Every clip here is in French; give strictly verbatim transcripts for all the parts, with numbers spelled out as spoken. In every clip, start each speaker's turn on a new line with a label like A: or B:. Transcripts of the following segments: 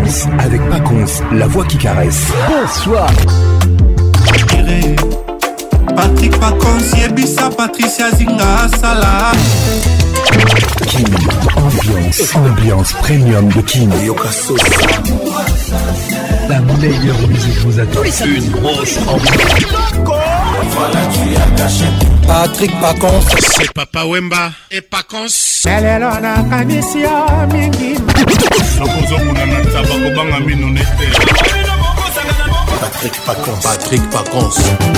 A: Ambiance avec Paconce, la voix qui caresse. Bonsoir.
B: Patrick Paconce, Yebisa, Patricia Zinga, Salah.
A: Kin, ambiance, ambiance premium de Kin. La meilleure musique vous attend. Une grosse ambiance.
B: Voilà, tu as caché.
C: Patrick Paconce,
D: c'est Papa Wemba et Paconce.
A: Patrick Paconce, Patrick Paconce.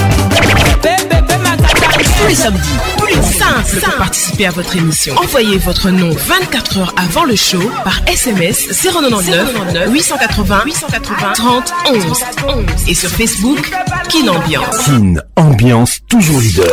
E: Tous les samedis, tous les simple pour participer à votre émission. Envoyez votre nom vingt-quatre heures avant le show par S M S zéro neuf huit cent quatre-vingts huit cent quatre-vingts trente onze et sur Facebook Kin Ambiance.
A: Kin Ambiance toujours leader.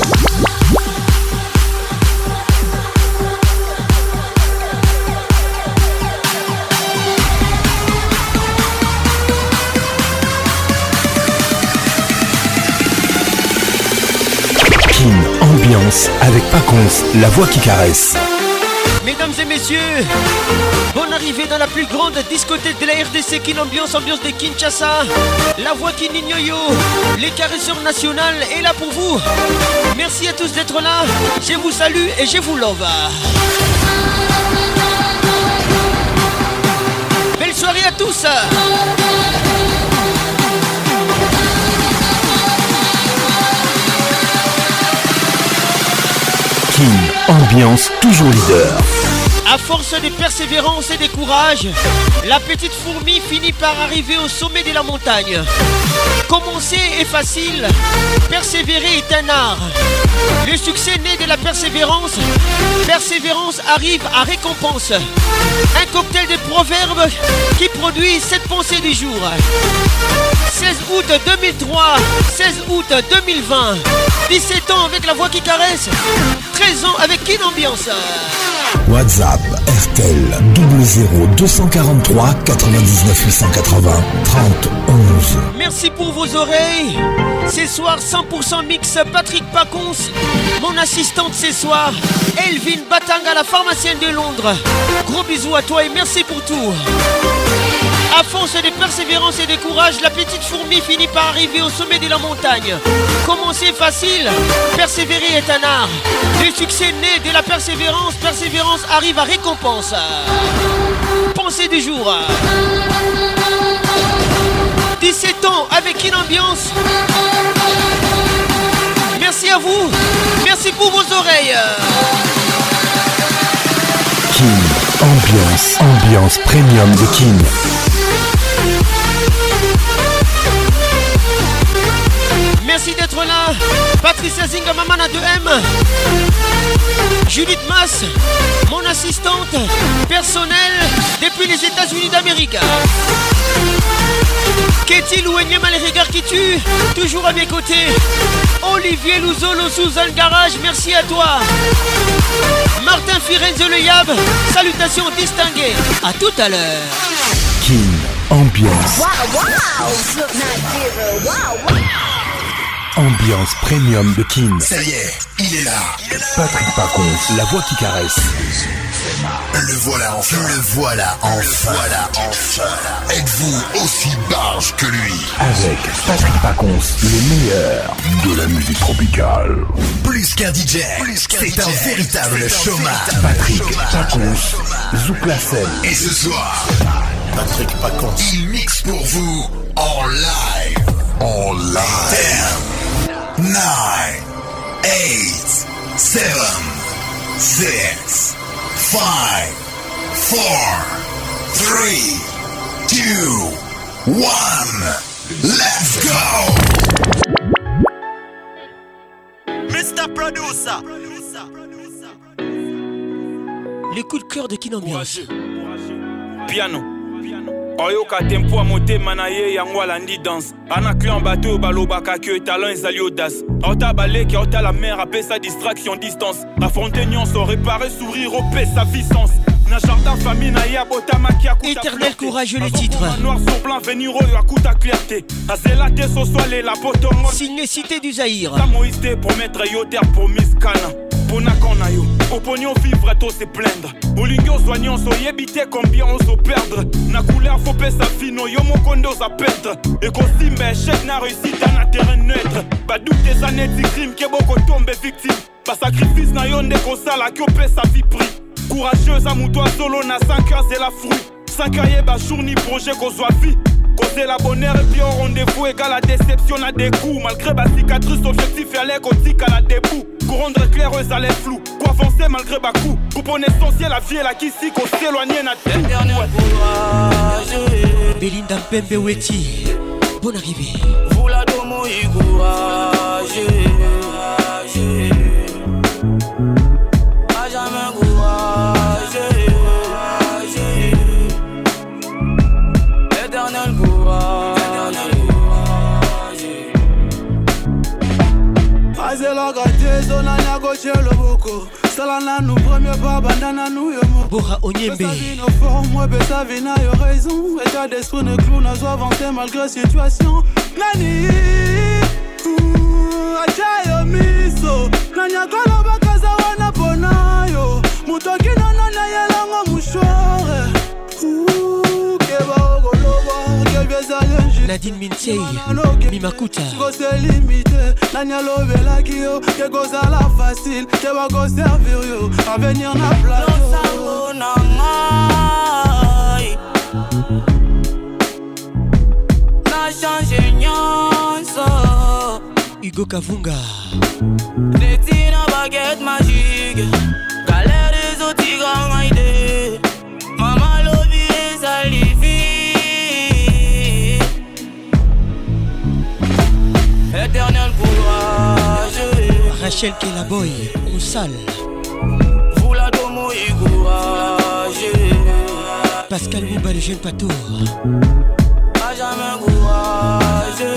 A: Ambiance avec Paconce, la voix qui caresse.
F: Mesdames et messieurs, bonne arrivée dans la plus grande discothèque de la R D C, Kin Ambiance, ambiance de Kinshasa. La voix qui Yo, les caresseurs nationales est là pour vous. Merci à tous d'être là. Je vous salue et je vous love. Belle soirée à tous.
A: Ambiance toujours leader.
F: À force de persévérance et de courage, la petite fourmi finit par arriver au sommet de la montagne. Commencer est facile, persévérer est un art. Le succès naît de la persévérance. Persévérance arrive à récompense. Un cocktail de proverbes qui produit cette pensée du jour. seize août deux mille trois, seize août deux mille vingt. dix-sept ans avec la voix qui caresse, treize ans avec Kin Ambiance.
A: WhatsApp R T L zéro zéro deux cent quarante-trois quatre-vingt-dix-neuf huit cent quatre-vingts trente onze.
F: Merci pour vos oreilles. Ce soir cent pour cent mix Patrick Paconce. Mon assistante ce soir Elvin Batanga, la pharmacienne de Londres. Gros bisous à toi et merci pour tout. À force de persévérance et de courage, la petite fourmi finit par arriver au sommet de la montagne. Commencer facile, persévérer est un art. Le succès naît de la persévérance, persévérance arrive à récompense. Pensée du jour. dix-sept ans avec Kin Ambiance. Merci à vous, merci pour vos oreilles.
A: Kin Ambiance, ambiance premium de Kin.
F: Merci d'être là. Patricia Zinga, Mamana de M. Judith Mass, mon assistante personnelle depuis les États-Unis d'Amérique. Ketty Louenyema, les regards qui tuent, toujours à mes côtés. Olivier Louzolo, Suzanne Garage, merci à toi. Martin Firenze Le Yab, salutations distinguées. À tout à l'heure.
A: Kin Ambiance.
G: Wow, wow. Wow, wow.
A: Ambiance premium de Kin.
B: Ça y est, il est là.
A: Patrick Paconce, la voix qui caresse.
B: Le voilà enfin. Le voilà enfin. Le voilà enfin. Êtes-vous aussi barge que lui?
A: Avec Patrick Paconce, le meilleur de la musique tropicale.
B: Plus qu'un D J, c'est un véritable showman.
A: Patrick Paconce, Zouk la scène.
B: Et ce soir, Patrick Paconce, il mixe pour vous en live. En live. ten, nine, eight, seven, six, five, four, three, two, one. Let's go! mister Producer.
F: Les coups de cœur de Kin Ambiance.
H: Piano. Oyoka tempo a motema na ye yango alandi danse ana clan bateau balobaka que talent ezali audace ota baleki ota la mer apesa distraction distance affronter nyonso réparer sourire opesa puissance na jardin famille na ya botamaki akuta
F: Éternel courageux le titre
H: noir sur blanc venir oyo akuta clarté azela te so soit les la potongo
F: signé Cité du Zaïre
H: Moïse pour mettre yo terre pour Miss Kana pona kona yo oponion vivre to se plaindre olingo soignant so yebite combien on se perdre na couleur faut pe sa fino yo mon kondo sa perdre et costume échec na réussite na terrain neutre pas doute des années de crime que beaucoup tombe victime pas sacrifice na yo ndeko sala que pe sa vie pris courageuse à toi solo na cinq heures c'est la fruit cinq heures yeba journée projet qu'on soit vie causer la bonheur et puis au rendez-vous égale la déception à des coups malgré ma cicatrice objectif aller côtique à la debout pour rendre éclaireuse à les flous quoi avancer malgré ma coup coupe essentiel la vie et la qui si qu'on s'éloigner na tout
F: Belinda Mpembe Weti bonne arrivée
C: vous la domo y courage a jamais courage éternel
I: Azela gâté, zona na gauche le boko. Salana nous premier pas bandana nous yomo.
F: Bora Onyembe.
I: Sa vie nos formes, moi besa vina yo raison. État d'esprit ne clou n'a soit avancer malgré situation. Nani, achayo miso. Nanya kola bakaza wana ponayo. Mutoki nana na yelanga mushore. Keba ogoloba, kebye zayenji.
F: Nadine Minsei, Mimakuta.
I: C'est limité, Nanya lovela kio, que goza la facile, que va go servir yo, à venir na plateau.
C: Na changé nyonso.
F: Hugo Kavunga.
C: Netina baguette magique, galère des autres tigres maïdé. Maman lobby les alivis. Éternel courage.
F: Rachel Kelaboy, on sale.
C: Vous la domo y courage.
F: Pascal Mouba, le jeune patour.
C: A jamais courage.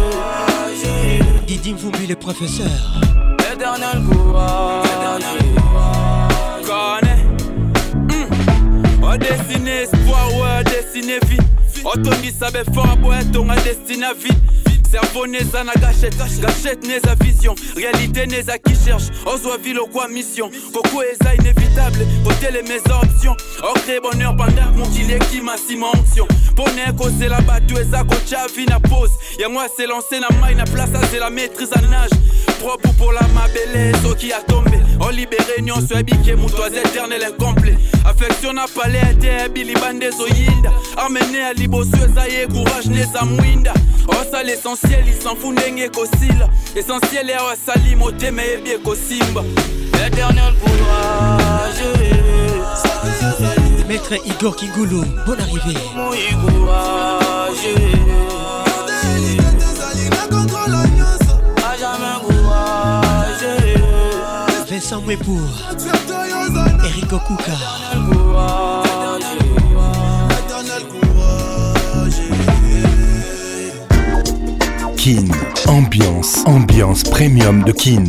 F: Didi Mvumbi, le professeur.
C: Éternel courage.
H: Connais. On destine espoir, ouais, destine vie. Otongi sabe fort, ouais, ton destine à vie. Cerveau n'est à gâchette, gâchette n'est à vision. Réalité n'est à qui cherche, oso ville au quoi mission. Coco est à inévitable, côté les mes options. Ocré bonheur pendant mon gilet qui m'a si mon onction. Poney causer la battue et ça coach à vie na pause. Y'a moi c'est lancé na maille na place, c'est la maîtrise à nage. Propre pour la ma belle, so qui a tombé. On libéré, nyon soit biqué, moutois éternel incomplet. Affection n'a pas l'air, Billy Bandé, so yinda. Amené à libo, suezaye, courage, n'est à mouinda. Oh, ça l'essentiel, il s'en fout n'engue qu'oscille. Essentiel est à sali, moté, mais bien qu'ossimba.
C: Éternel courage.
F: Maître Igor Kingulu, bonne arrivée.
C: Mon courage. A jamais courage.
F: Vincent Mwepour, Eric Okuka.
A: Kin, ambiance, ambiance premium de Kin.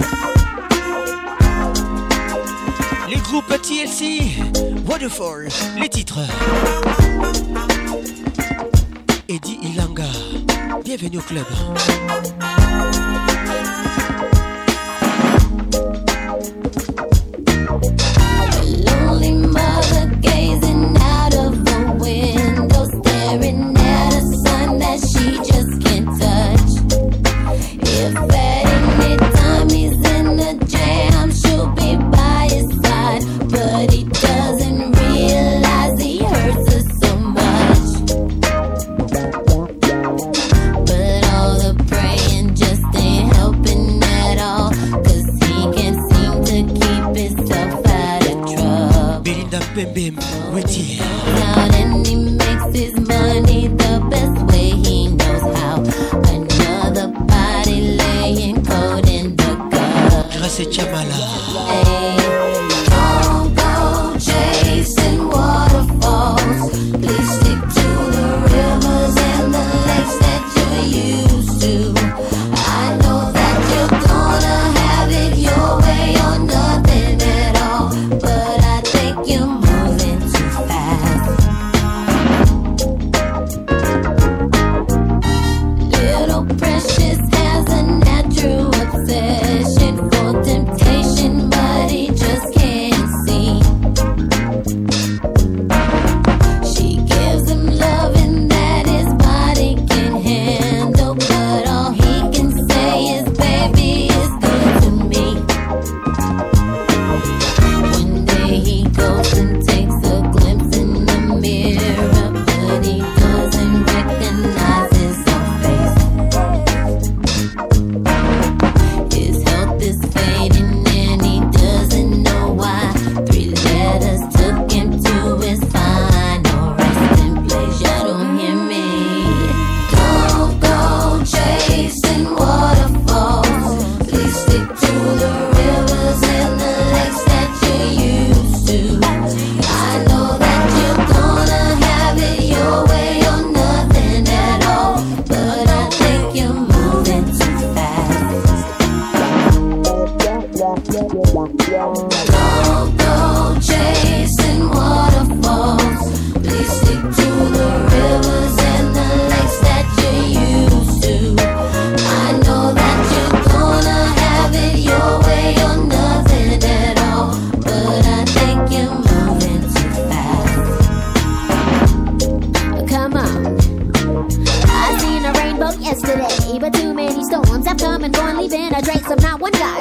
F: Les groupes T L C, Waterfall, les titres. Eddie Ilanga, bienvenue au club.
J: Lonely mother gazing out of the window, staring at a sun that she just can't touch. If at any time he's in the jam, she'll be by his side, but he doesn't realize he hurts her so much. But all the praying just ain't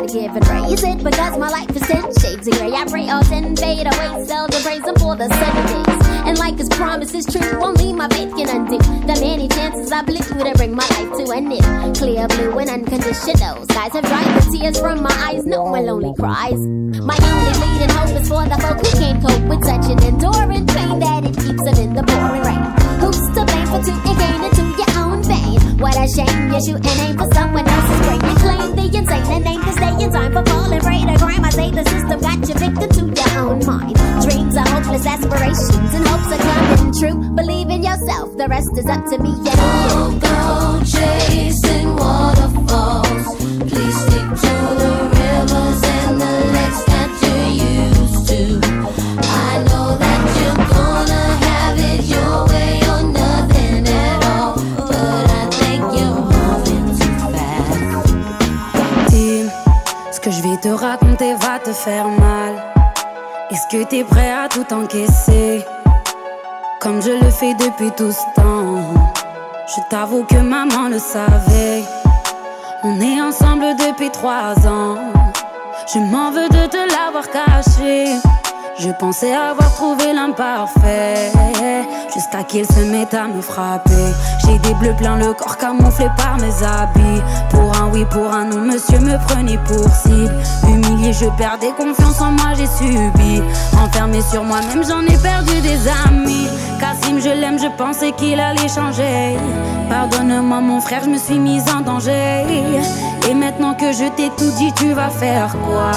J: gotta give and praise it because my life is ten shades of gray. I pray all ten fade away, seldom praise him for the sunny days. And like his promise is true, only my faith can undo the many chances I blew to bring my life to an end. Clear blue and unconditional skies have dried the tears from my eyes, no one lonely cries. My only leading hope is for the folk who can't cope with such an enduring pain that it keeps them in the pouring rain. Who's to blame for two and gain into your own vein? What a shame, you shoot and aim for someone else's brain. You claim the insane and aim to stay in time for falling prey to crime. I say the system got you victim to your own mind. Dreams are hopeless aspirations and hopes are coming true. Believe in yourself, the rest is up to me and you.
K: Don't go chasing waterfalls. Please stick to the rivers and the lakes that you're used to. I know that you're gonna have it your way or nothing at all, but I think you're moving too fast.
L: Tim, ce que je vais te raconter va te faire mal. Est-ce que t'es prêt à tout encaisser, comme je le fais depuis tout ce temps? Je t'avoue que maman le savait. On est ensemble depuis trois ans. Je m'en veux de te l'avoir caché. Je pensais avoir trouvé l'imparfait, jusqu'à qu'il se mette à me frapper. J'ai des bleus plein le corps camouflé par mes habits. Pour un oui, pour un non, monsieur me prenait pour cible. Humilié, je perdais confiance en moi, j'ai subi. Enfermé sur moi-même, j'en ai perdu des amis. Kassim, je l'aime, je pensais qu'il allait changer. Pardonne-moi mon frère, je me suis mise en danger. Et maintenant que je t'ai tout dit, tu vas faire quoi?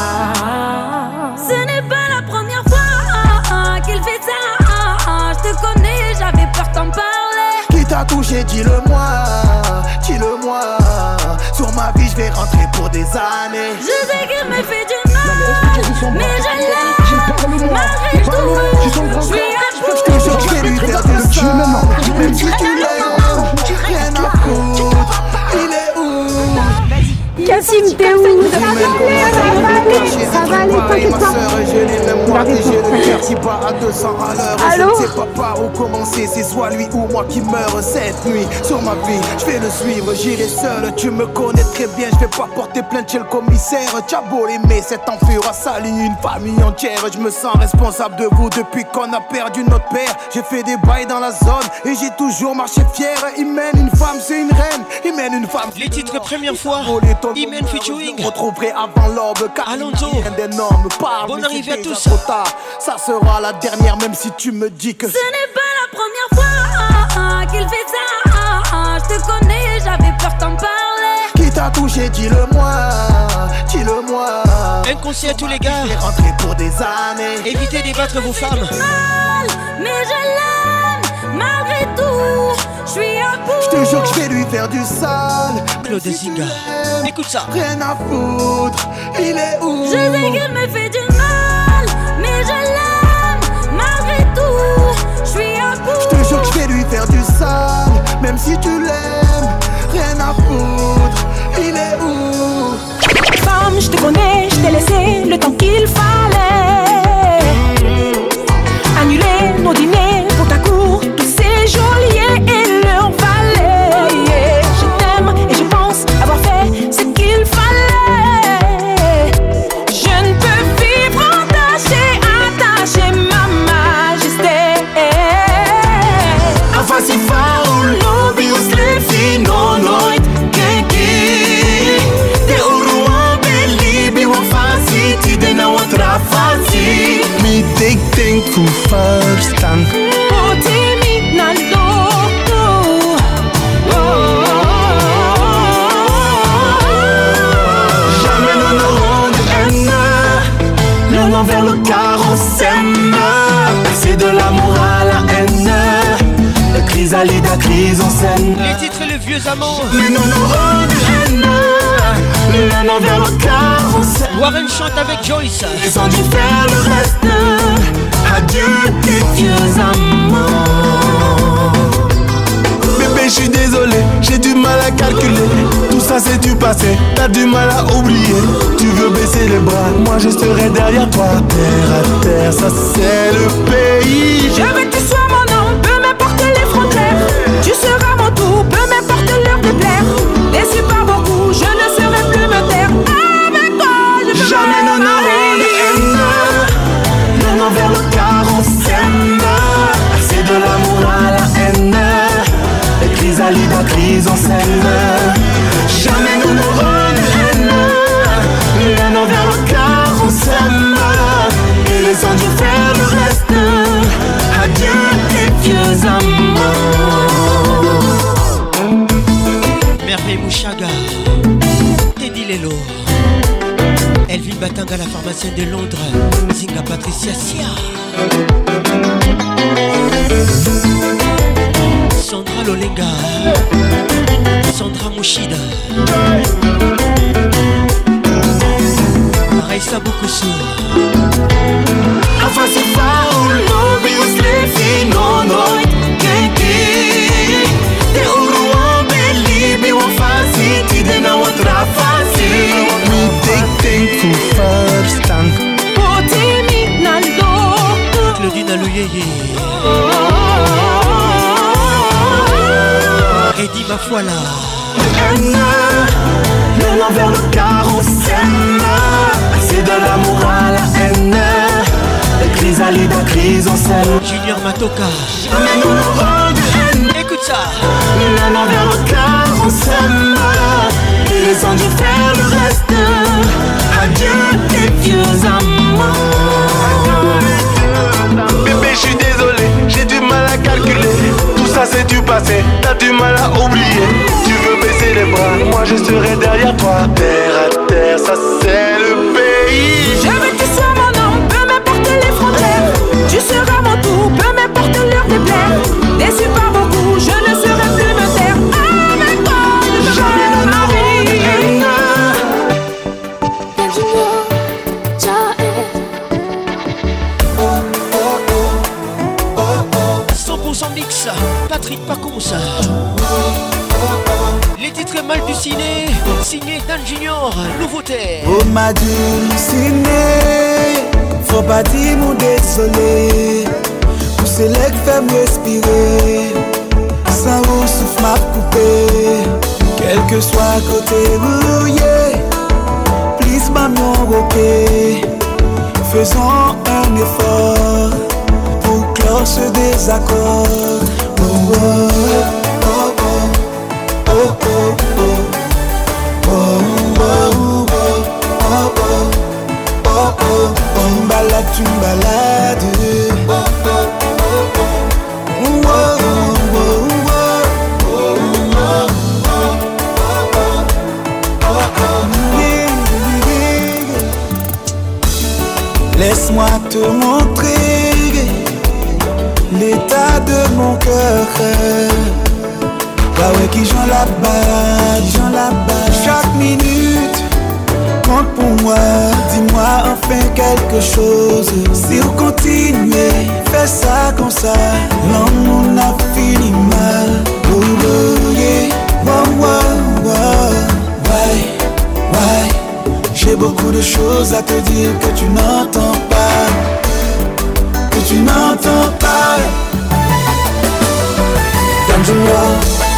L: Ce n'est pas la première fois qu'il fait ça. Je te connais, j'avais peur d'en parler.
M: Qui t'a touché, dis-le-moi, dis-le-moi. Sur ma vie, je vais rentrer pour des années.
L: Je sais qu'il me fait du mal, mais je l'aime. Malgré tout, je suis à bout.
M: Je te jure, je vais lui faire du sang. Même si tu l'aimes, rien à foutre. Il est où?
N: Kassim, t'es où? Ça va aller, ça va aller, t'inquiète pas.
M: Je l'ai même moi et j'ai le cœur qui bat à deux cents à l'heure. Je
N: Allô?
M: ne sais pas par où commencer, c'est soit lui ou moi qui meurt cette nuit. Sur ma vie, je vais le suivre, j'irai seul. Tu me connais très bien, je vais pas porter plainte chez le commissaire. T'as beau l'aimer, cet enfer a sali une famille entière. Je me sens responsable de vous depuis qu'on a perdu notre père. J'ai fait des bails dans la zone et j'ai toujours marché fier. Il mène une femme, c'est une reine. Il mène une femme.
F: Les titres première fois. Imen featuring.
M: Je retrouverai avant l'aube.
F: Alonso.
M: D'énormes parts.
F: Bonne arrivée à tous.
M: Ça sera la dernière, même si tu me dis que
L: ce n'est pas la première fois qu'il fait ça. Je te connais, j'avais peur d'en parler.
M: Qui t'a touché, dis-le-moi, dis-le-moi.
F: Un conseil à tous les gars.
M: Je vais rentrer pour des années.
F: Évitez d'ébattre vos femmes.
L: Mal, mais je l'aime, malgré tout. Je suis à bout.
M: Je te jure que je vais lui faire du sale.
F: Claude Zinga, écoute ça.
M: Rien à foutre, il est où?
L: Je sais qu'il me fait du mal, mais je l'aime, malgré tout. Je suis à bout.
M: Je te jure que je vais lui faire du sale. Même si tu l'aimes, rien à foutre, il est où?
N: Femme, je te connais, je t'ai laissé le temps qu'il fallait. Annuler nos dîners pour ta cour, tous ces geôliers et leur valet. Je t'aime et je pense avoir fait ce qu'il fallait. Je ne peux vivre entaché, attaché, ma majesté.
O: Avasi faul, bios lefi no noit keki. Te uruan beli biwa fasi ti de na outra fasi. Me take think for first time.
N: Potimi na loto.
O: Jamais nous n'aurons de haine. Le nom vers le carrossème. C'est de l'amour à la haine. Le chrysalide à crise en scène.
F: Les titres et le vieux amant.
O: Mais nous n'aurons de haine. Le nom vers le carrossème.
F: Warren chante avec Joyce.
O: Ils ont dû faire le reste. Adieu tes vieux amants. Bébé, je suis désolé, j'ai du mal à calculer. Tout ça c'est du passé, t'as du mal à oublier. Tu veux baisser les bras, moi je serai derrière toi. Terre à terre, ça c'est le pays.
N: Je veux que tu sois mon homme, peu m'importe les frontières. Tu seras mon tout, peu m'importe l'heure de plaire. Déçu par beaucoup, je ne serai plus me taire. Avec toi.
O: crise en scène. Jamais nous n'aurons de haine. L'un envers l'autre car on s'aime. Et laissons Dieu faire le reste. Adieu tes vieux amours.
F: Merveille Mouchaga, Teddy Lelo, Elvin Batanga, la pharmacienne de Londres, Zinga Patricia Sia, Sandra Lolenga, Sandra Mouchida, Raissa Boukoussou.
O: Enfin c'est pas où l'obvious les filles non non Kenki Te uruan beli Be wan fasi Ti dena wan trafasi We take thankful first tank
N: Poti Naldo
F: Claudine Alouyeye Eddie Mafuala
O: Le l'envers le car on s'aime. C'est de l'amour à la haine. Chrysalide, crise en scène.
F: Junior Matoka.
O: Jamais nous n'aurons de haine.
F: Écoute ça.
O: L'un envers l'autre car on s'aime. Et laissons Dieu faire le reste. Adieu tes vieux amours.
P: Bébé je suis désolé, j'ai du mal à calculer. Tout ça c'est du passé, t'as du mal à oublier. Tu veux baisser les bras, moi je serai derrière toi. Terre à terre, ça c'est le pays.
N: Je veux que tu sois mon homme, peu m'importe les frontières. Tu seras mon tout, peu m'importe l'heure de plaire. Déçu par beaucoup, je ne serai plus me taire. Avec toi, je jamais ne
F: cent pour cent mix, Patrick Pacons. Les titres mal du ciné, signé Dan Junior, nouveauté.
M: Oh ma dulcinée, faut pas dire mon désolé. Pousser les femmes respirer, sans vous souffle m'a coupé. Quel que soit côté mouillé, please maman roqué. Faisons un effort pour clore ce désaccord. Oh oh oh oh oh oh oh oh oh oh oh. Tu me balades, tu me balades. Laisse-moi te montrer l'état de mon cœur. Bah ouais qui j'en là-bas, j'en là-bas. Chaque minute compte pour moi. Dis-moi enfin quelque chose. Si vous continuez, fais ça comme ça. L'amour n'a fini mal. Oh, oh, yeah. Wow, wow, wow. Ouais, ouais. J'ai beaucoup de choses à te dire que tu n'entends pas. Que tu n'entends pas. Dan Junior.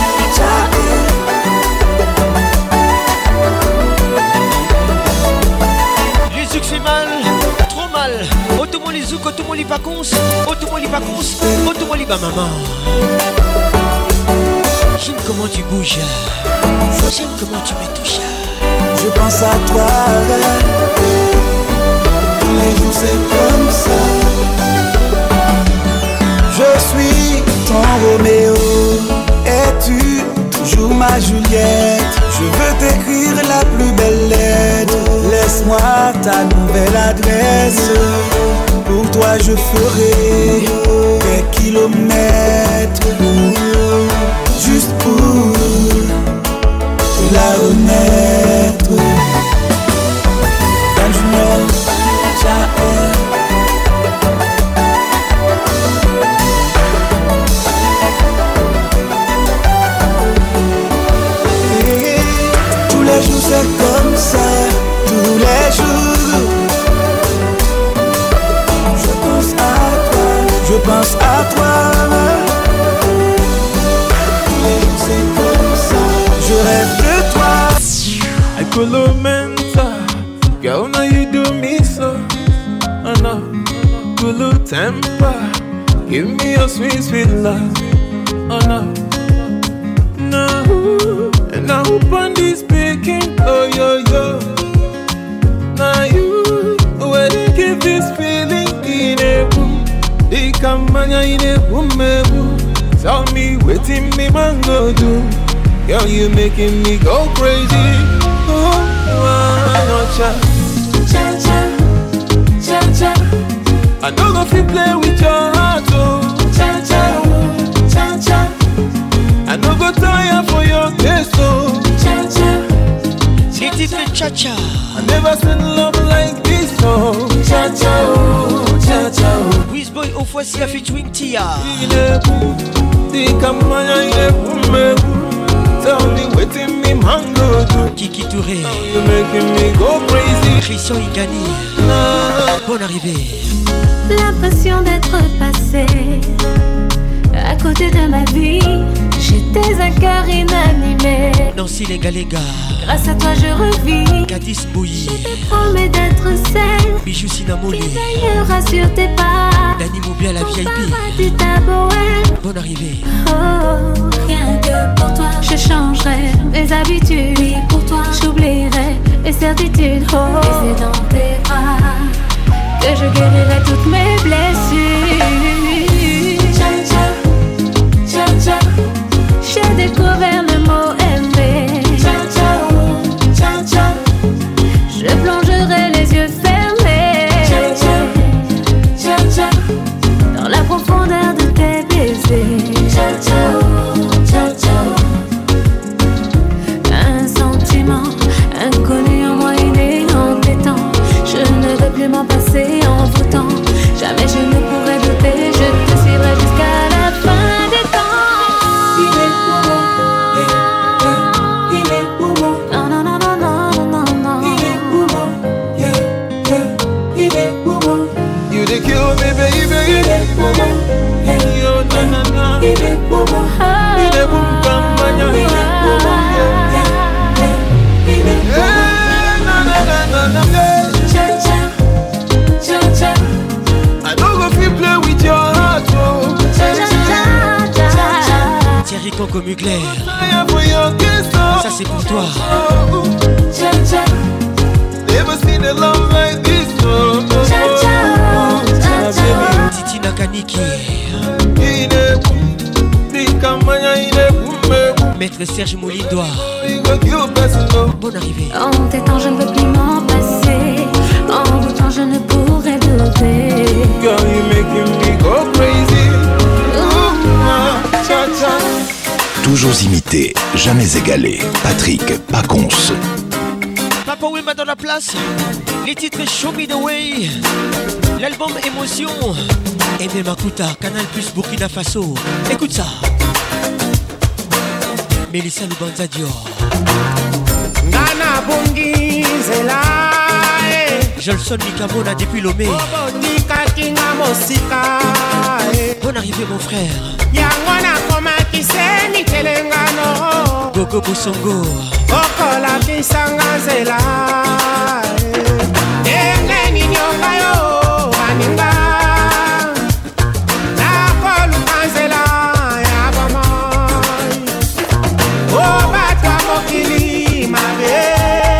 F: Les zouk fait mal, trop mal. Automoli les zouk, automoli les vacances, automoli les vacances, automoli ba maman. J'aime comment tu bouges, j'aime comment tu me touches.
M: Je pense à toi. Tous les jours c'est comme ça. Je suis ton Roméo et tu toujours ma Juliette. Je veux t'écrire la plus belle lettre. Laisse-moi ta nouvelle adresse. Pour toi je ferai des kilomètres. Juste pour te la remettre. Dan Junior, tous les jours c'est comme ça, tous les jours. Je pense à toi, je pense à toi. Tous les jours c'est comme ça, je rêve de toi.
P: I could lamenta, girl now you do me so. Oh no, cool temper, give me your sweet sweet love. Oh no, no.
Q: Now who on this speaking? Oh yo yo. Now you where they give this feeling in a boom. They come in a boom me boom. Tell me waiting me man go do. Girl you making me go crazy. Oh, oh, cha cha cha cha cha. I know if you play with your heart, oh cha cha cha cha. I no go tire for your taste, oh cha cha.
F: Les titres cha cha.
Q: I never seen love like this, oh cha cha, oh cha cha.
F: Wizboy au Foissi a featuring Tia.
Q: Il est beau, dis comme moi il est beau, mais tell me waiting me mango do.
F: Kiki Touré.
Q: You making me go crazy.
F: Christian Igani. Bonne arrivée.
K: L'impression d'être passé à côté de ma vie. J'étais un cœur inanimé.
F: Nancy Lenga Lenga.
K: Grâce à toi je revis.
F: Gadis Bouilly.
K: Je te promets d'être celle.
F: Bijou Sinamolé.
K: Qui veillera sur tes pas.
F: Dani Moubia la V I P.
K: Du tabouret.
F: Bonne arrivée.
K: Oh, rien que pour toi. Je changerai mes habitudes. Oui, pour toi. J'oublierai les certitudes. Oh, et c'est dans tes bras que je guérirai toutes mes blessures. Cha cha, cha cha. J'ai découvert le mot aimer. Cha cha, cha cha. Je plongerai les yeux fermés. Cha cha, cha cha. Dans la profondeur de tes baisers. Cha cha, cha cha. Un sentiment inconnu en moi et inquiétant. Je ne veux plus m'en passer en voûtant. Jamais je ne pourrai douter. Je te suivrai jusqu'à la fin des temps. Il est pour moi, yeah, yeah. Il est pour moi. Non, non, non, non, non, non, non. Il est pour moi, yeah, yeah. Il est pour moi.
Q: You the kill me baby.
K: Il est pour moi, yeah,
Q: yo na na na.
K: Il est pour moi.
Q: Il est pour moi, il est pour moi, yeah, yeah.
K: Il est pour moi.
Q: Na na na na na. I don't go feel play with your heart, oh.
F: Thierry Coco Mugler. Ça c'est pour toi.
Q: Never seen a love like this, oh.
F: Titi Nakaniki. Maître Serge Moulindois. Bonne arrivée.
K: En t'étant je ne veux plus m'en passer. En vous temps je ne pourrai douter.
Q: Girl, you making me go crazy. Ooh, cha cha.
A: Toujours imité, jamais égalé. Patrick Pacons.
F: Papa Wemba dans la place. Les titres Show Me The Way. L'album Émotion. Aimé Makuta, Canal Plus Burkina Faso. Écoute ça. Mélissa Lubanza Dior.
R: Nana Bungi Zela.
F: Jolson Mikamona depuis Lomé. Bonne arrivée mon frère.
R: Yangona koma kiseni telengano.
F: Gogo Bosongo.
R: Okola kisanga Zela. Enge ni nyonga yo aninga. Na kolu kanzela ya bama. O batwa mokili mabe.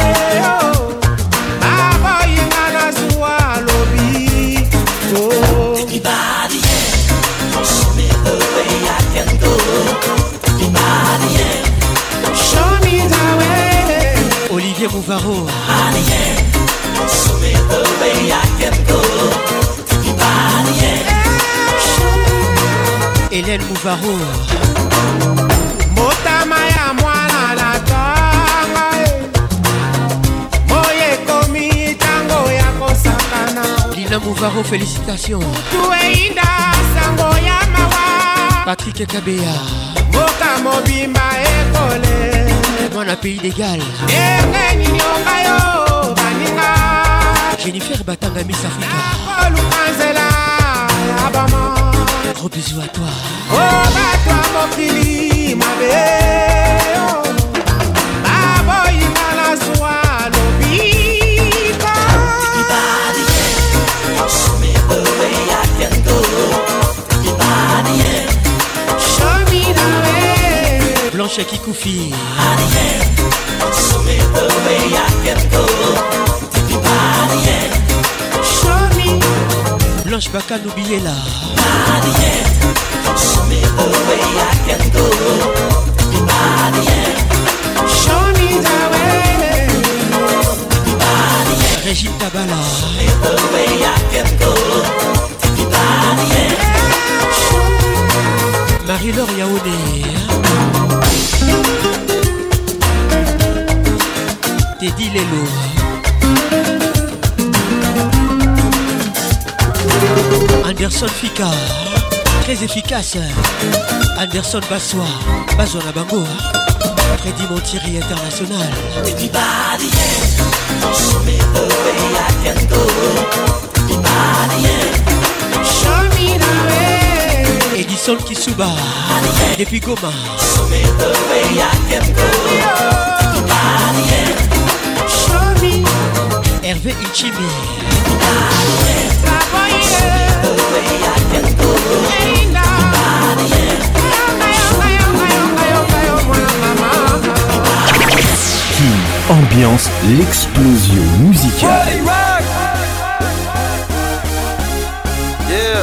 F: Olivier Mouvaro. Hélène Mouvaro.
R: Motama ya mwana na tanga. Moye komi tango ya kosakana.
F: Lina Mouvaro, félicitations.
R: Tueinda sango ya mawa.
F: Patrick Kabea.
R: Moka mobimba ekole.
F: Mwana pays d'égal.
R: Enge nyonga yo baninga.
F: Jennifer Batanga Miss Africa.
R: Kolu kanzela ya bama.
F: Gros bisous à toi.
R: Oh batwa mokili mabe. Babo ingala zwa lobika.
O: Show me the way I can go.
R: Show me the way.
F: Blanche Kikoufi.
O: Show me the way I can go. Take me by the hand. Show me.
F: Blanche Baka n'oubliez là.
O: By the hand. Show me the way I can go. Take me by the hand. Show me the way. Take me by the hand.
F: Régine Tabala.
O: Show me the way I can go. Take me by the hand.
F: Marie-Laure Yaoundé. Teddy Lelo. Anderson Fika. Très efficace. Anderson Bassois. Bazona Bango. Freddy Montieri International.
O: Everybody, yeah. Show me the way I can go. Everybody, yeah. Show me the way.
F: Edison Kisuba. Depuis Goma.
O: Show me the way I can go. Everybody, yeah. Show me.
F: Hervé Ichimi.
O: Everybody, yeah. Show me the way I can go. Everybody, yeah.
A: King ambiance l'explosion musicale.
S: Yeah.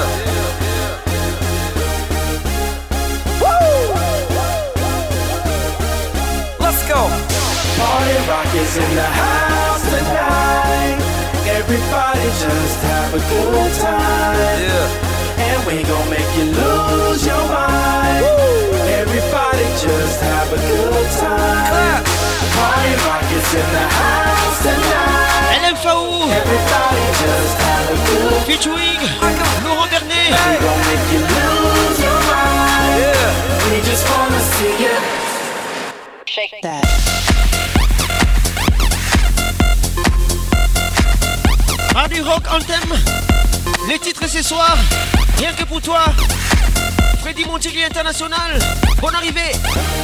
S: Let's go.
I: Party rock is in the house tonight. Everybody just have a good time.
S: Yeah.
I: And we gon' make you lose your mind. Woo. Everybody just have a good time.
S: Clap.
I: Party rock is in the house tonight.
F: L M F A O.
I: Everybody just have a good time.
F: Featuring Laurent Bernet.
I: We gon' make you lose your mind.
S: Yeah.
I: We just wanna see you
G: shake that.
F: Radio Rock Anthem. Les titres ce soir, rien que pour toi. Freddy Montieri International. Bonne arrivée.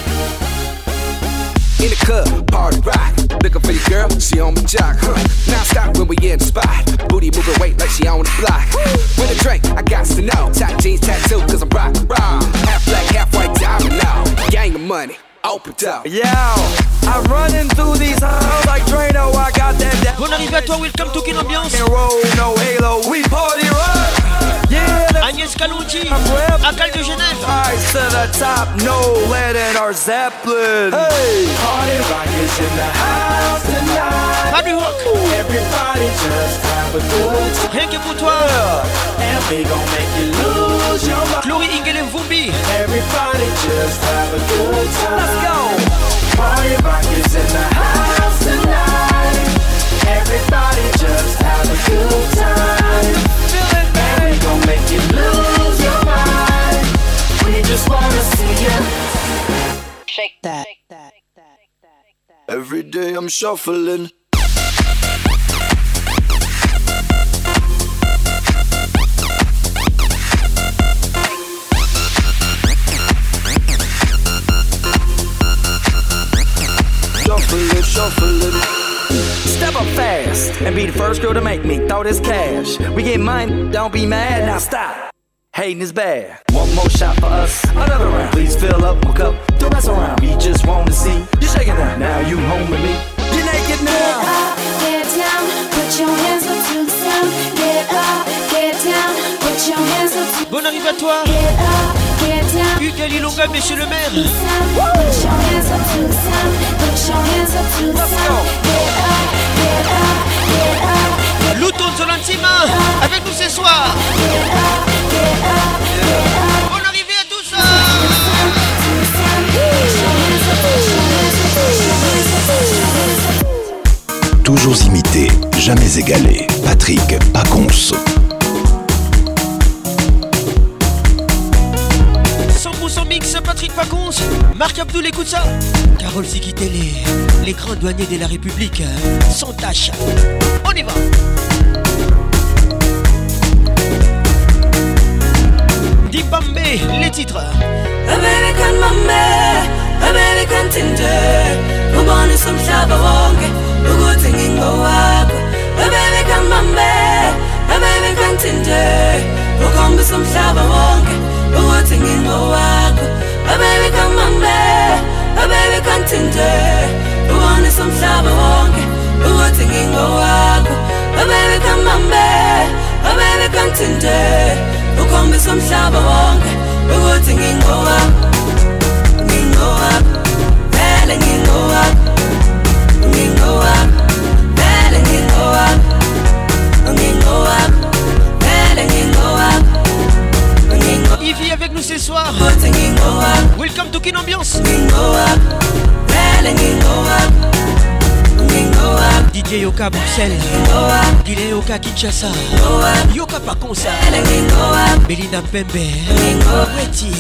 T: In the club, party rock. Looking for the girl, she on my jock. Huh. Now stop when we in the spot. Booty moving weight like she on the block. With a drink, I got to know. Top jeans tattoo, cause I'm rock, rock. Half black, half white diamond now. Gang of money, open up.
S: Yo, I'm running through these halls like Drano. I got that.
F: Bonne arrivée à toi, welcome to Kin Ambiance.
S: Roll, no halo, we party rock. Yeah,
F: Agnès Kalonji, Akal de Genève.
S: Rise to the top, no lead in our Zeppelin.
I: Hey, party rock is in the house tonight.
F: Radio Rock.
I: Everybody just have a good time.
F: Rien que pour toi.
I: And we gon' make you lose your mind.
F: Chloé Ingele Vumbi.
I: Everybody just have a good time.
S: Let's go.
I: Party rock is in the house tonight. Everybody just have a good time.
S: Feel it,
I: and we gon' make you lose your mind. We just wanna see you
G: shake that.
T: Every day I'm shuffling. Shuffling, shuffling.
S: Step up fast and be the first girl to make me throw this cash. We get mine, don't be mad, now stop. Hating is bad. One more shot for us, another round. Please fill up my cup, don't mess around. We just want to see you shaking down. Now you home with me, you're naked now.
K: Get up, get down, put your hands up to the sound. Get up, get down, put your hands up to the sound.
F: Bonne arrivée à toi.
K: Get up, get down.
F: Hugues Alilonga, monsieur le maire.
K: Put your hands up to the sound. Put your hands up to the sound. Get up, get up, get up.
F: Louton Zolantima, avec nous ce soir. Bonne arrivée à tous.
A: Toujours imité, jamais égalé. Patrick Pacons.
F: cent pour cent mix, Patrick Pacons. Marc Abdoul, écoute ça. Carole Zikitele, les grands douaniers de la République, sans tâche. On y va. Dibambe, les titres.
O: American Mame, American Tinder. Ubone somhlaba wonke, ukuthi ngingowakho. American Mame, American Tinder. Ukhombisa umhlaba wonke, ukuthi ngingowakho. American Mame,
K: somhlaba wonke ukuthi ngingowakho ngingowakho vele ngingowakho ngingowakho vele ngingowakho ngingowakho vele ngingowakho.
F: Il vit avec nous ce soir. Welcome to Kin Ambiance. D J Yoka Bruxelles, Guinée Yoka Kinshasa, Yoka Pakonsa, Belinda Pembe, Weti.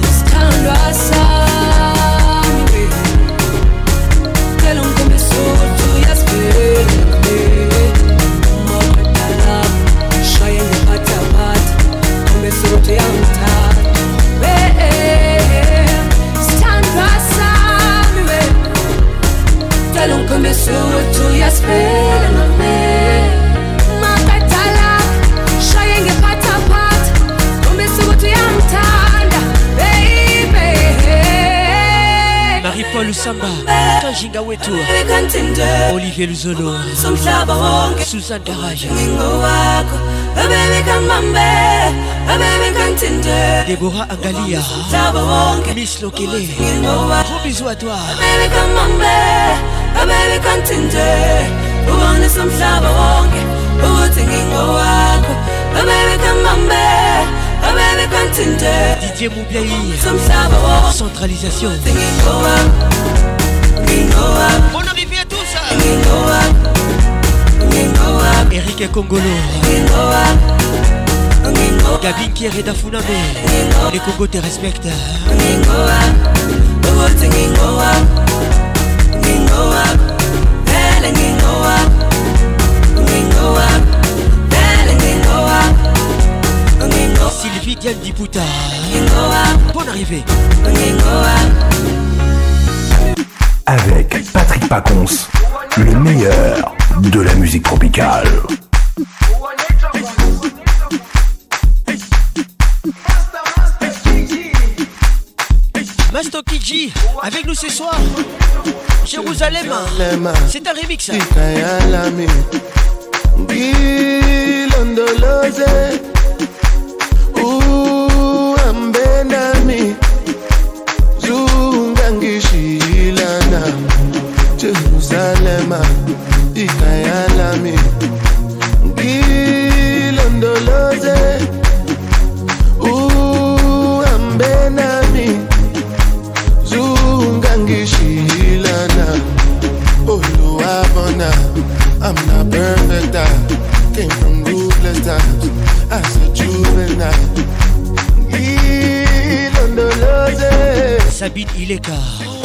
K: Don't come so to your spirit of me. Makatala, showing a part apart. Come so to your tanda, baby.
F: Marie-Paul Samba, Kanjinga Wetu, Olivier Luzolo, Suzanne Daraj, Déborah Angalia, Miss Lokele. Gros bisous à toi.
K: Baby continue, we want some flower wonke, we want singing go walk. Baby come on back, baby continue.
F: Didier Moubiaï,
K: some flower wonke,
F: centralisation.
K: Singing go walk, go walk.
F: Bonne arrivée à tous.
K: Go walk, go walk.
F: Eric Kongolo,
K: go walk.
F: Gabin Kiereda Funame, les Congos te respectent.
K: Go walk, we want singing go walk.
F: Sylvie Diane Diputa, bonne arrivée.
A: Avec Patrick Pacons, le meilleur de la musique tropicale.
F: Masto Kiji, avec nous ce soir. Jérusalem, c'est un remix.
Q: Ambenami Zungangishilana Jerusalem Ikayalami Gilondoloze Ambenami Zungangishilana Oluwabona I'm not perfect, I came from ruthless times as a juvenile.
F: Sabine Ileka,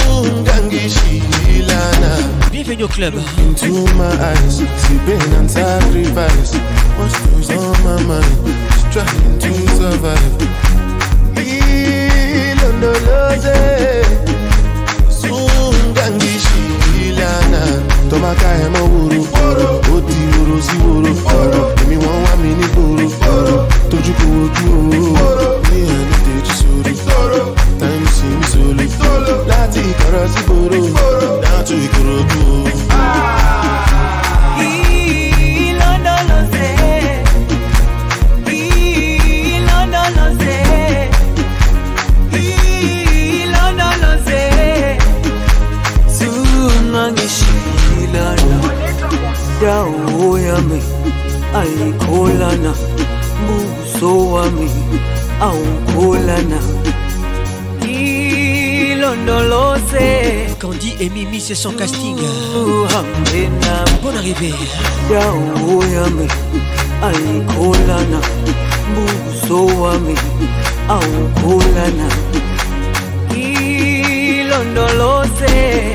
F: bienvenue au club.
Q: Into my eyes, see pain and sacrifice. What's goes on my mind? Just trying to survive. Tomaka emo wuru, oti wuru si wuru. Emi won wa mi ni buru, toju ko oju o. Ni eni teji sori, time si mi solo. Lati ikoro si buru, down to Ikorodu.
K: Ilondoloze, Ilondoloze, Ilondoloze. Sungangishilana, dawo yami ayikholana, buso wami awukholana. Ilondoloze,
F: Candy et Mimi c'est son casting. Bonne arrivée.
K: dawo yami ayikholana, buso wami awukholana. Ilondoloze.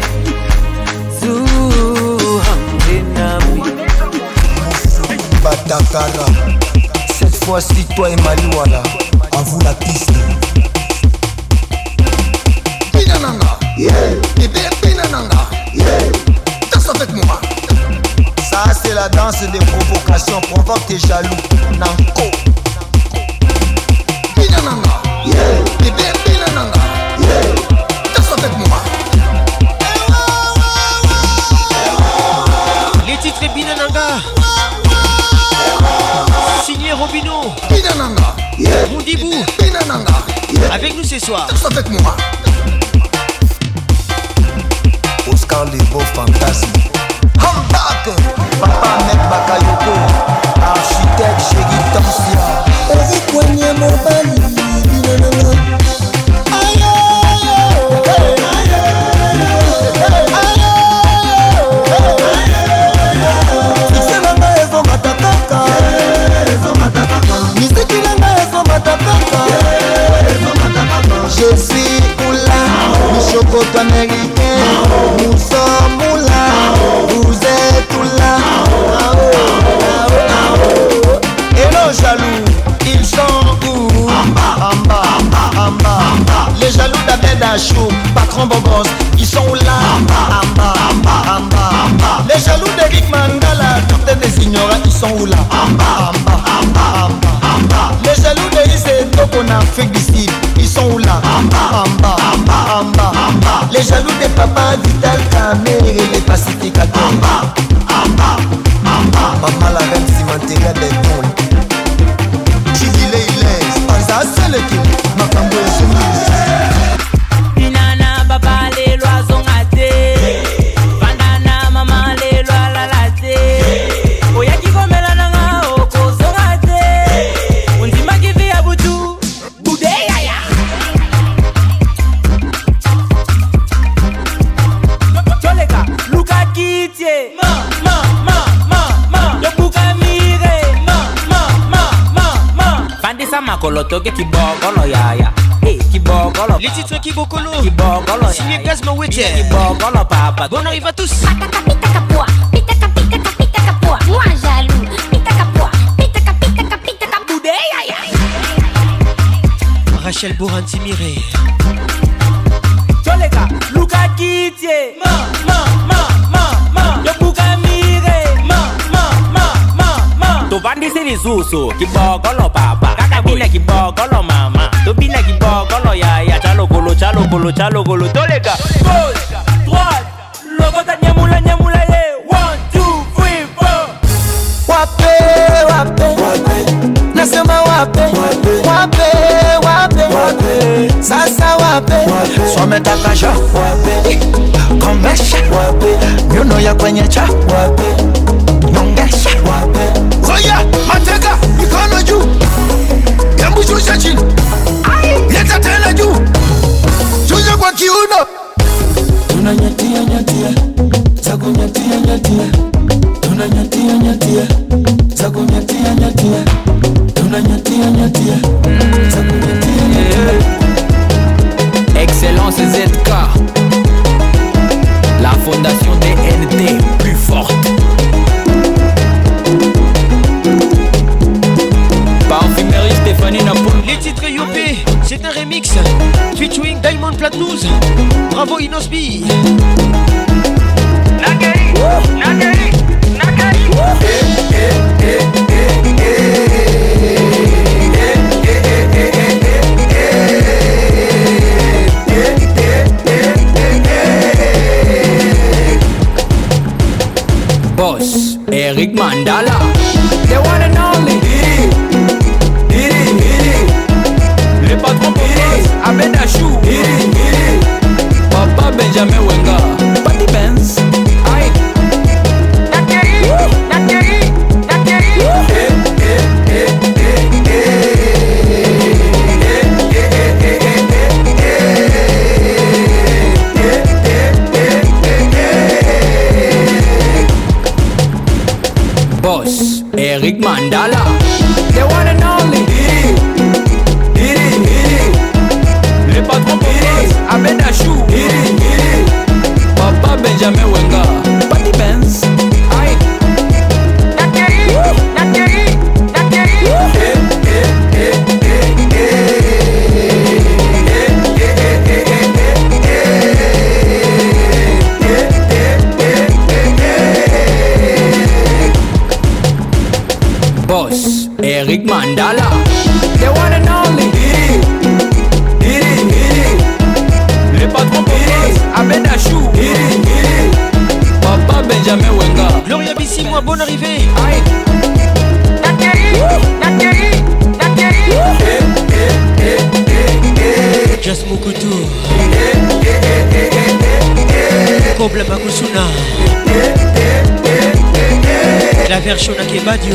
U: Batakara, cette fois-ci toi et Malouala, à vous la piste.
B: Pinananga, yeah, bébé Pinananga, yeah, danse avec moi.
U: Ça c'est la danse des provocations, provoque tes jaloux, Nanko.
B: Pinananga, yeah, bébé Pinananga, yeah, danse avec moi.
F: Les titres Binananga, signé Robino,
B: Pinananga,
F: Mondibou, soir.
U: Danse avec moi. Oscar Lebo Fantasme. Hambak. Papa Mek Bakayoko. Architecte Chéri Tansia. Ozi Kwenye Mobali. Je suis Oula, Michocoto américain. Nous sommes Oula, vous êtes Oula. Et nos jaloux, ils sont où? En bas, en bas, en bas. Les jaloux d'Abed Achou, patron Bobos, ils sont où là? En bas, en bas, en bas. Les jaloux d'Eric Mangala, toutes des ignorants, ils sont où là? En bas, en bas, en bas, en bas. Les jaloux de Issé Togo en Afrique du Sud, ils sont où là? En bas, en bas, en bas, en bas, en bas. Les jaloux des papas Vital Kamer et les pacificateurs. En bas, en bas, en bas. Maman la reine cimenteria des poules. Chidile il est, pas à seul qui m'a cambré soumise.
D: Binana baba les lois ont raté. Bandana maman les lois la laté. Oya qui comme la nanga o kozo raté. On dit ma qui vit à Boutou. Boudé yaya. Toleka, Luka Kitie. Ma ma ma ma ma. Yo buka mire. Ma ma ma ma ma. Bandi sama kolotoke kibogolo yaya.
F: Les titres Kibokolo
D: Kibokolo
F: signé Gazma Wete
D: Kibokolo papa.
F: Bon arrive à tous.
J: Pitaka pitaka poa, pitaka pitaka pitaka poa. Moi jaloux, pitaka poa, pitaka pitaka pitaka
D: boudeya.
F: Rachel Bourranti Miré.
D: Toleka, Luka Kitie. Ma ma ma ma ma. Yo buka mire. Ma ma ma ma ma. To bandi sini susu Kibokolo papa. Kakabina Kibokolo mama. To bina Kibokolo yaya. Chalo golo chalo golo chalo golo. Toleka. Gauche, droite. Lobota nyamula nyamula ye. One two three four.
U: Wape wape. Nasema wape wape wape. Sasa wape. Someta kasha wape. Komesha wape. Nyuno ya kwenye cha wape. Nyongesha wape. Oya mateka mikono juu. Yambu shusha chini. Leta tena juu. Shusha kwa kiuno. Tunanyatia nyatia. Zago nyatia nyatia. Tunanyatia nyatia. Zago nyatia nyatia. Tunanyatia nyatia. Zago nyatia nyatia.
S: Excellence Z K. La fondation D N T plus forte. Parfumerie Stéphanie Napoul.
F: Les titres Yopé, c'est un remix featuring Diamond Platnumz. Bravo Inosbi.
D: Nagari, Nagari, Nagari.
S: Boss, Eric Mandala. The one and only. Le patron Boss, Abed Achou. Papa Benjamin Wenga. Patty Benz. Aïe.
D: Nagari, Nagari, Nagari.
S: Boss, Eric Mandala. The one and only. Le patron Boss, Abed Achou. Papa Benjamin Wenga. Patty Benz. Aïe.
D: Nagari, Nagari, Nagari.
S: Boss, Eric Mandala. The one and only. Le patron Boss, Abed Achou. Papa Benjamin Wenga.
F: Gloria Bissi, moi, bonne arrivée.
S: Aïe.
D: Nagari, Nagari, Nagari.
F: Jas Mokutu Kobla Makusuna La version na Kebadio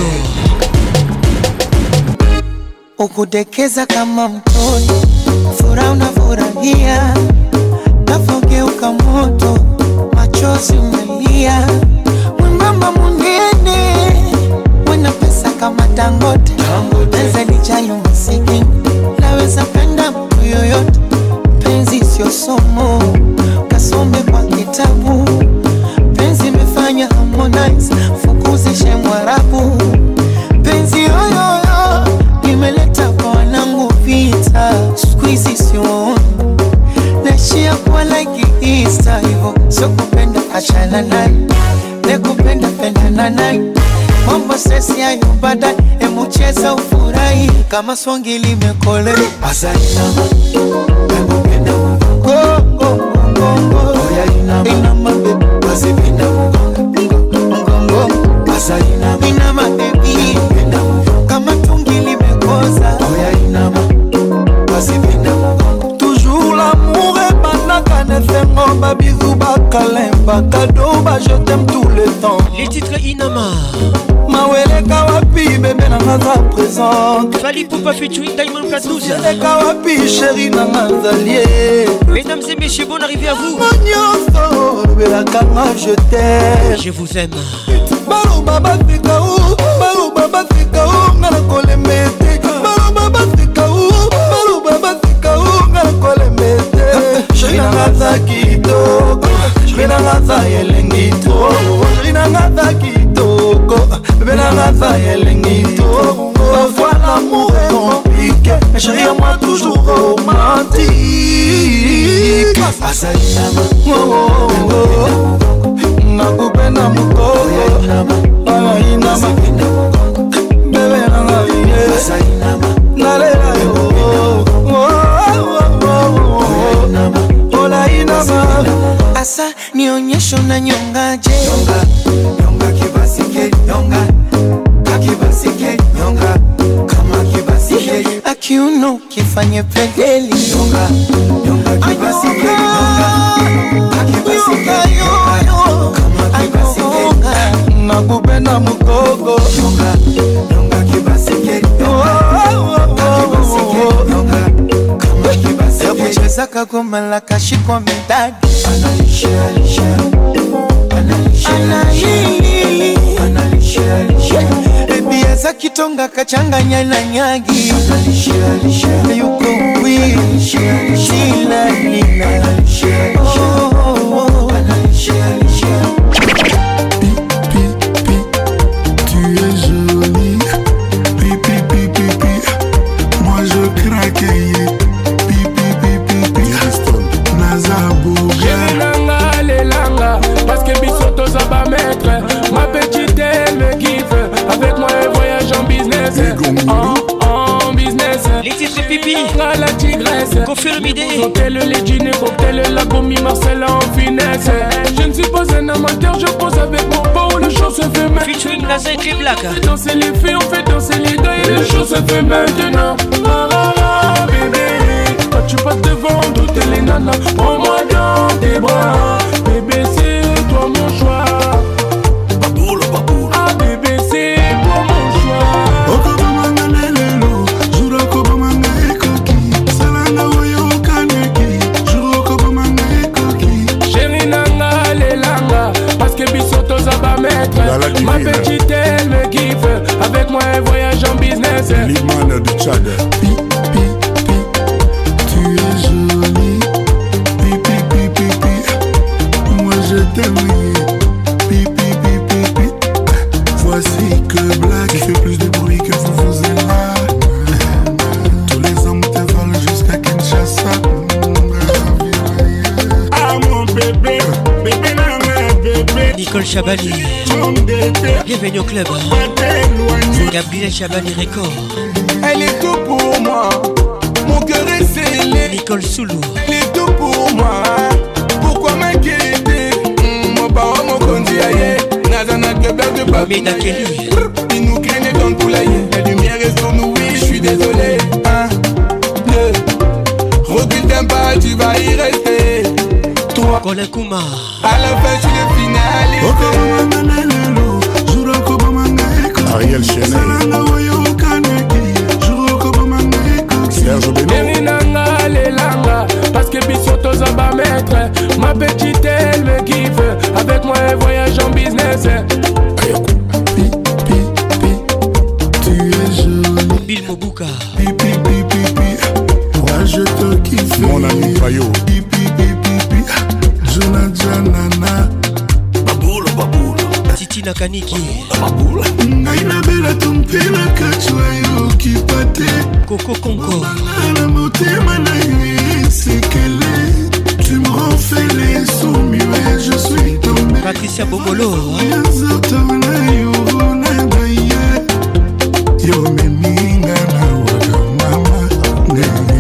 U: ukudekeza kama mtoto, furaha unafurahia, nafogeuka moto, machozi umelia, mwembamba munene, wena pesa kama Dangote, penzi lijalo masikini, naweza penda mtu yoyote, penzi sio somo, kasome kwa kitabu, penzi imefanya Harmonize, fukuzishe Mwarabu, penzi yoyoyo nimeleta kwa wanangu vita, squeezy sioni naishia kwa like Easter, hivo sio kupenda achana naye, nekupenda pendana naye, mambo sesi hayo baadaye, emu cheza ufurahi kama swangi limekole. Asa inama, emu penda mgongo, mgongo, mgongo, oya inama, inama baby, basi penda mgongo, mgongo, asa inama, inama baby, penda mgongo, kama tungi limekoza, oya inama, basi penda mgongo. Toujours l'amour est banaka nefengo, babizou bakalemba, cadeau ba je t'aime tout le temps.
F: Les titres Inama
U: Mawele kawapi bébé na ngaza présente,
F: Fali Poupa featuring Diamond Platnumz.
U: Mawele kawapi chérie na ngazalie.
F: Mesdames et messieurs, bonne arrivée à vous.
U: Je t'aime,
F: je vous aime.
U: Balo baba fika ou, balo baba fika ou, ngana kole mete. Balo baba fika ou, balo baba fika ou, ngana kole mete. Chérie na ngaza kitoko, chérie na ngaza yelengi to, chérie na ngaza kitoko, bébé na ngaza yelengi to. Parfois l'amour est compliqué, mais chérie à moi toujours romantique. Asa inama, oh oh oh, nakupenda mukoko, aya inama, bebe nanga iye, asa inama, nalela yo, oh oh oh, ola inama. Asa nionyesho na nyongaje, nyonga, nyonga kibasike, nyonga, kakibasike, nyonga, kama kibasike, akiuno kifanye pegeli, nyonga, nyonga kibasike, nyonga, kakibasike, nyonga, kama kibasike, nakupenda mukoko, nyonga, nyonga kibasike, nyonga, kakibasike, nyonga, kama kibasike, kucheza kagoma la kashikwa medadi, analisha, alisha, analisha, analili, analisha, alisha, baby eza kitonga kachanganya na nyagi, analisha, alisha, yuko wii, shila nina, analisha, alisha, oh oh oh, analisha, alisha.
E: Pi, pi, pi, tu es jolie. Pi, pi, pi, pi, pi, moi je craque. Pi, pi, pi, pi, pi, Nazabouga.
V: J'ai langa, les langa, parce que Bissoto ça va mettre. Ma petite elle me kiffe, avec moi elle voyage en business. En, en business.
F: Les titres pipi,
V: la tigresse.
F: Confirme idée.
V: Cocktail, les dîners, cocktail, la commis, Marcel en finesse. Je ne suis pas un amateur, je pose avec mon beau, le show se fait maintenant.
F: Featuring Naza et Black.
V: On fait danser les filles, on fait danser les gars et le show se fait maintenant. Ah ah ah bébé, quand tu passes devant toutes les nanas, prends-moi dans tes bras. Bébé c'est toi mon choix. Ah bébé c'est toi mon choix.
E: Okobamanga lelelo, juro okobamanga ekoki. Salanga oyo kaneki, juro okobamanga ekoki.
V: Chérie nanga lelanga, parce que Bissoto ça va mettre. Ma petite elle me kiffe, avec moi elle voyage en business.
E: L'imane du Tchad. Pi, pi, pi, tu es jolie. Pi, pi, pi, pi, pi, moi je t'aime. Pi, pi, pi, pi, pi, voici que Black fait plus de bruit que vous vous êtes là. Tous les hommes te volent jusqu'à Kinshasa.
V: Ah mon bébé, bébé nana bébé.
F: Nicole Chabani, bienvenue au club. Gabriel Chabani Record.
U: Elle est tout pour moi, mon cœur est scellé.
F: Nicole Soulou,
U: elle est tout pour moi. Pourquoi m'inquiéter? Mon parent, mon conduit aïe. Nazana Québec de Babi. Il nous craignait dans le poulailler. La lumière est sur nous, oui, je suis désolé. Un, deux, recule d'un pas.
F: Colin Kouma.
Q: À la fin, je suis finalité.
E: Ariel Chenet. Serge Beno.
V: Merinanga lelanga, parce que bisoto zaba maître. Ma petite elle me kiffe, avec moi elle voyage en business.
E: Tu es jolie.
F: Bill Mobuka.
E: Pi pi pi pi pi. Moi je te kiffe. Mon ami Payo. Pi pi pi pi pi. Jonathan Nana. Baboula baboula.
F: Titi Nakaniki.
E: Baboula. Ngai na bela tumpela kachwa yo kipate.
F: Coco Conco.
E: La motema na yo sekele. Tu me rends fêlé sous muet, je suis tombé.
F: Patricia Bongolo.
E: Yo meninga na waka mama nene.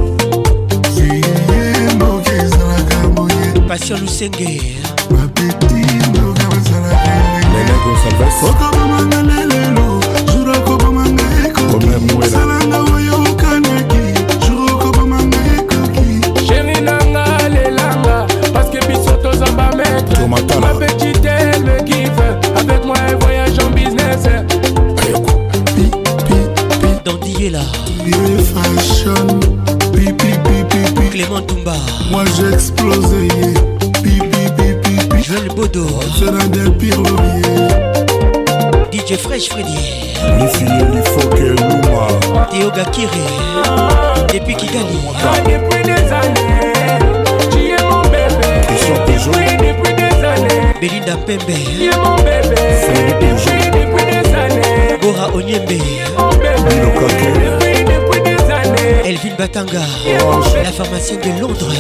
E: Ziye moke zalaka moye.
F: Passion Lusenge.
E: Ma petite moke zalaka moye. Nene Gonsalves. Oko bomanga lelelo, juro ko bomanga eko. Ome mwela. Salanga woyo kanaki, juro ko bomanga eko ki.
V: Chérie nanga lelanga, parce que bisoto zamba maître. Ma petite elle me kiffe, avec moi elle voyage en business.
F: Dandiela.
E: Fashion. Pi pi pi pi pi.
F: Clément Toumba.
E: Moi j'ai explosé. Pi pi pi pi pi.
F: Joël Bodo.
E: C'est l'un des pires lauriers.
F: D J Fresh Freddy.
E: Les filles, il faut qu'elle louma.
F: Théo Gakire. Depuis Kigali.
V: Depuis des années, tu es mon bébé. Depuis, depuis des années.
F: Belinda Pembe.
V: Tu es mon bébé. Depuis, depuis des années.
F: Gora Onyembe.
V: Depuis, depuis des années.
F: Elvin Batanga. La pharmacienne de Londres.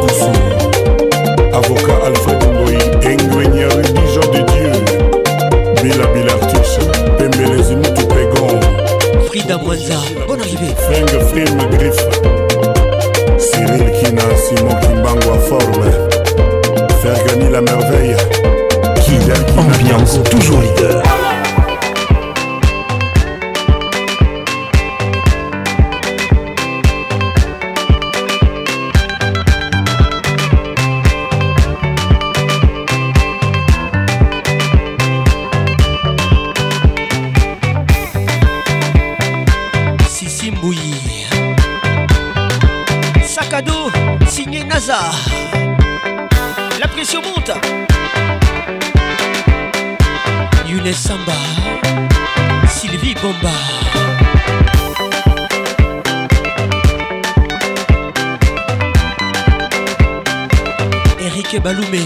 E: Avocat Alfred Ngoyi. Ingénieur Dijon de Dieu. Bila Bilartus. Pembele Zimutu Pégon.
F: Frida Mwanza. Bonne arrivée.
E: Feng Film Griffe. Cyril Kina. Simon Kimbango à forme. Faire gagner la merveille.
A: Ambiance toujours leader.
F: Sissi Mbouyi. Sac à dos, signé NASA. La pression monte. Younes Samba. Sylvie Bomba. Eric Baloumé.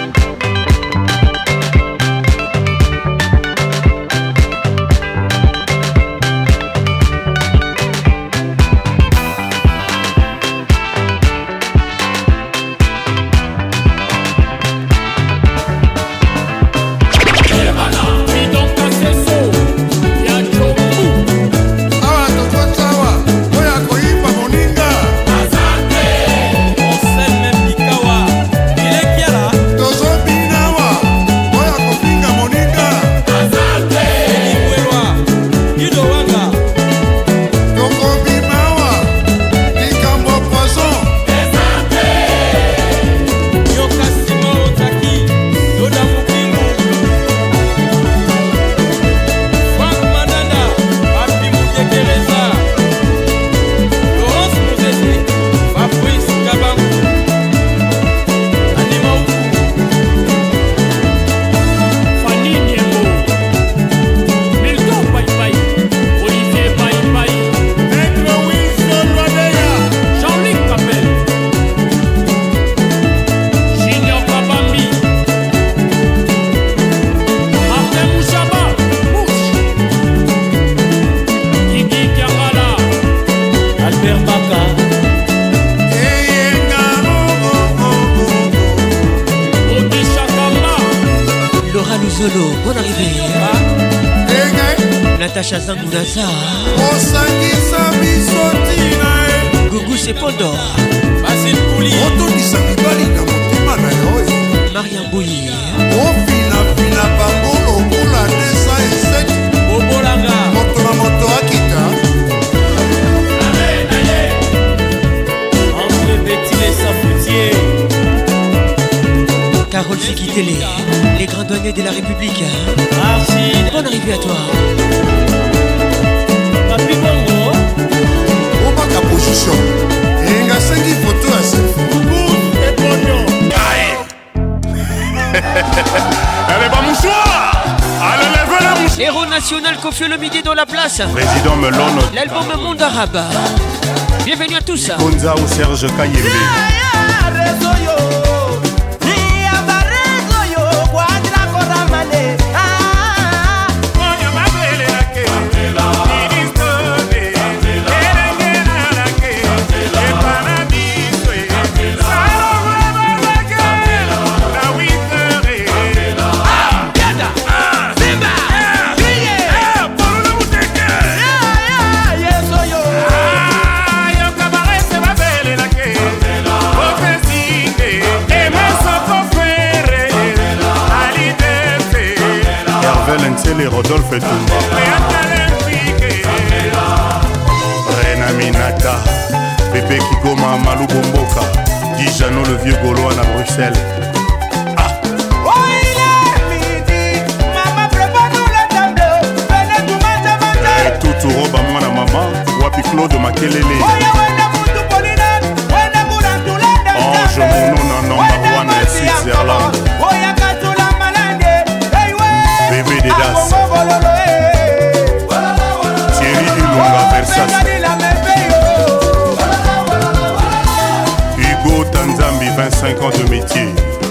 F: Zolo, bonne arrivée. Natacha Zangunasa. Gougou Sepondo. Mariam Bouyi. Carole Sikitele, les grands douaniers de la République. Merci. Bonne arrivée à toi.
E: Papi Bongo. Au bas ta position. Et il y a cinq photos à ce et pognon.
V: Allez, va mouchoir. Allez, lève la mouchoir.
F: Héros national Kofi Olomide dans la place.
V: Président Melon.
F: L'album Monde Arabe. Bienvenue à tous.
V: Konza ou Serge Kayembe. Les Rodolphe et Toumba Rena Minata Bébé Kigoma Malou Bomboka Dijano le vieux Gaulois à Bruxelles. Ah.
R: Oh il est midi, maman prépare-nous le tableau. Venez tout manger, manger.
V: Et tout tout robe à moi la maman Wapi Claude Makelele.
R: Oh ya wenda mutu polina, wenda mura tulanda.
V: Oh je mon nom non Marwan et Switzerland.
R: Oh ya katula malande. Hey ouais.
V: Bébé des Das. Thierry Ilunga Versace. Hugo Tanzambi, vingt-cinq ans de métier.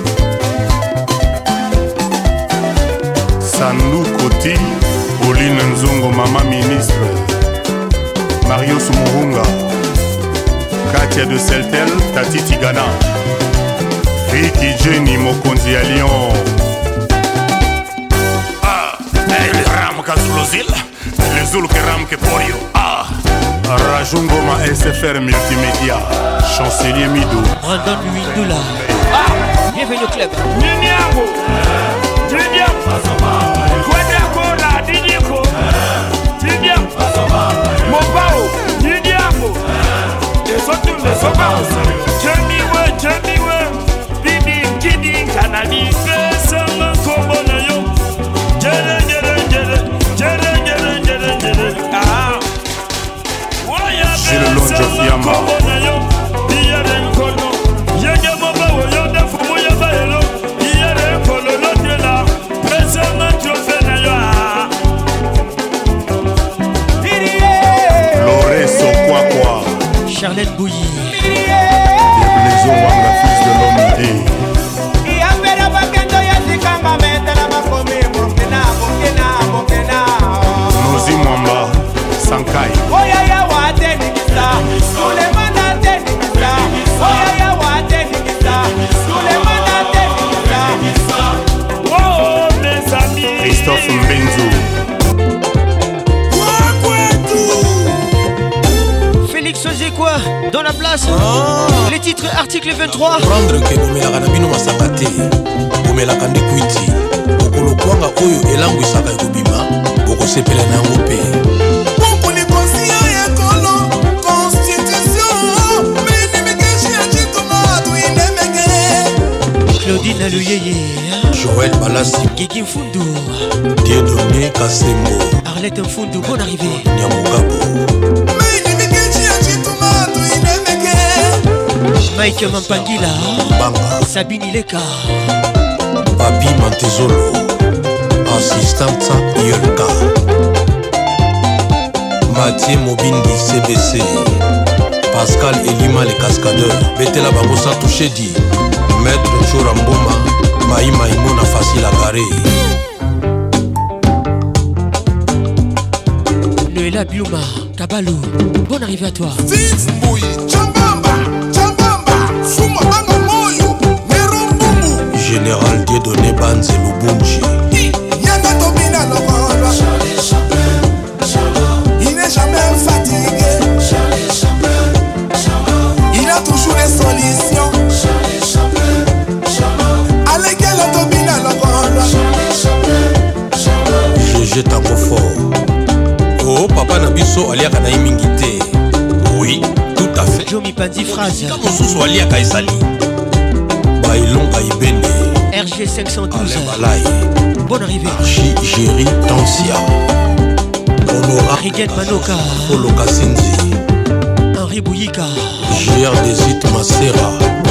V: Sandou Koti, Pauline Nzongo, maman ministre. Mario Sumurunga, Katia de Seltel, Tati Tigana. Ricky Jenny, Mokonzi à Lyon. Les Zulu que ram que porio. Ah, Rajungoma S F R Multimédia, chancelier Midou.
F: Brandon Luindula. Ah, bienvenue au club.
V: Niniango, Niniango, Kwedakola, Niniango, Niniango, Mobao, Niniango. Les autres ne sont pas au sérieux. Jamiwe, Jamiwe, Bibi, Kidi, Kanani, Sama, Kobonayo, Jere, Jere, Jere. J'ai le long de Fiamma. Loreso quoi quoi.
F: Charlène Bouilly.
V: Bienvenue Wanga, fils de l'homme idée. Nozi Mwamba, Sankai.
R: Oyaya wate nikisa, Sulemana te nikisa. Oyaya wate nikisa, Sulemana te nikisa.
V: Oh mes amis. Christophe Mbenzo.
F: Félix faisait quoi dans la place? Oh. Les titres article vingt-trois.
C: Prendre que Bomelaka na bino masakate. Bomelaka nde kwiti. Okolo kwanga oyo elangu isaka ekobima. Boko sepela na yango pe.
E: Boko ni konsia ekolo constitution. Meni mikeshi ya chitoma tu inemeke.
F: Claudine Aluyeye.
C: Joël Balassi.
F: Guigui Mfundu.
C: Dieudonné Kasembo.
F: Arlette Mfundu, bonne arrivée.
C: Nyamugabo.
F: Mike Mampangila.
C: Banga.
F: Sabine Ileka.
C: Papi Mantezolo. Assistante Yolka. Mathieu Mobindi C B C. Pascal Elima les cascadeurs. Betela Bango sans toucher dit. Maître Choramboma. Maï Maïmona facile à garer.
F: Noëlla Biuma. Kabalou. Bonne arrivée à toi.
C: Général Dieudonné Banze Lubunji.
E: Il n'est jamais fatigué. Il a toujours des solutions. Allez, quel automobile à la
C: G G Tango fort. Oh, papa Nabiso aliaka na imingité. Oui, tout à fait.
F: Jomi Pandi phrase.
C: Kamosusu aliaka esali. Bailonga ibende.
F: T cinq cent douze.
C: Balaye.
F: Bonne arrivée.
C: Archie Géry Tansia. Honora
F: Rigen Manoka.
C: Polo Kasinzi.
F: Henri Bouyika.
C: G R Desit Masera.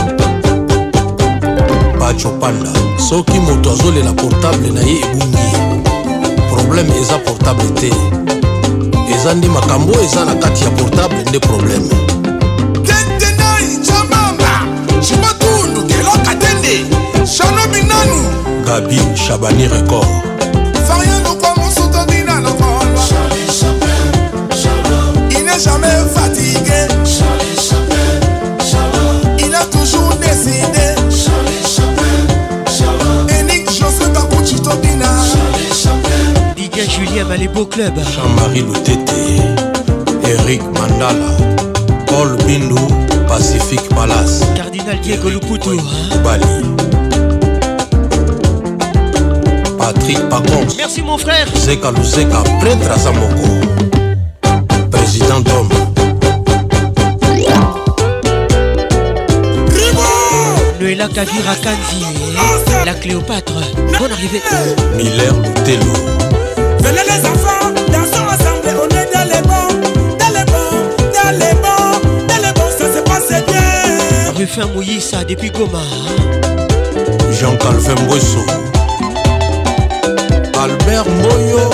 C: Pacho Panda. Soki moto azolela portable na ye ebungi. Problème eza portable te. Eza ndi makambo eza na kati ya portable nde problème.
H: Tentenai chamamba. Shimatundu kelo katende. Shano binanu.
C: Gabi Chabani Record.
H: Fariano kwa monsoto dina no kolwa. Charlie Chappelle, Charles. Il n'est jamais fatigué. Charlie Chappelle, Charles. Il a toujours décidé. Charlie Chappelle, Charles. Enik José Kakuchito dina. Charlie Chappelle.
F: Didier Julien Malébo Club.
C: Jean-Marie Lutete. Eric Mandala. Paul Bindu. Pacific Palace.
F: Cardinal Diego Luputo.
C: Bali. Patrick Pacons.
F: Merci mon frère.
C: Zeka Luzeka, prêtre à Zamoko. Président d'homme.
F: Noëlla Kavira Kanzi. La Cléopâtre. Bonne arrivée.
C: Miller Lutelo.
R: Venez les enfants, dansons ensemble, on est dans les bons, dans les bons, dans les bons, dans les bons, ça se passe bien.
F: Ruffin Mouyissa depuis Goma.
C: Jean-Calvin Mbosso. Albert Moyo.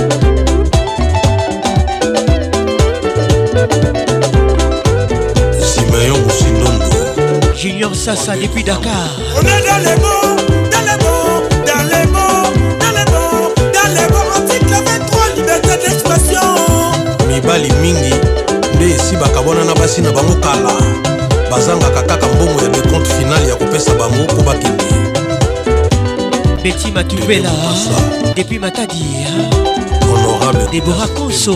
C: Simeon Moussindondo.
F: Junior Sassa depuis Dakar.
R: On est dans les bons, dans les bons, dans les bons, dans les bons, dans les bons. Article vingt-trois, liberté d'expression.
C: Mibali mingi nde esi bakabona na basi na bango kala bazangaka kaka mbongo ya decompte final ya kopesa bango po bakende.
F: Betty Matoubela depuis Matadi.
C: Honorable
F: Deborah Konso.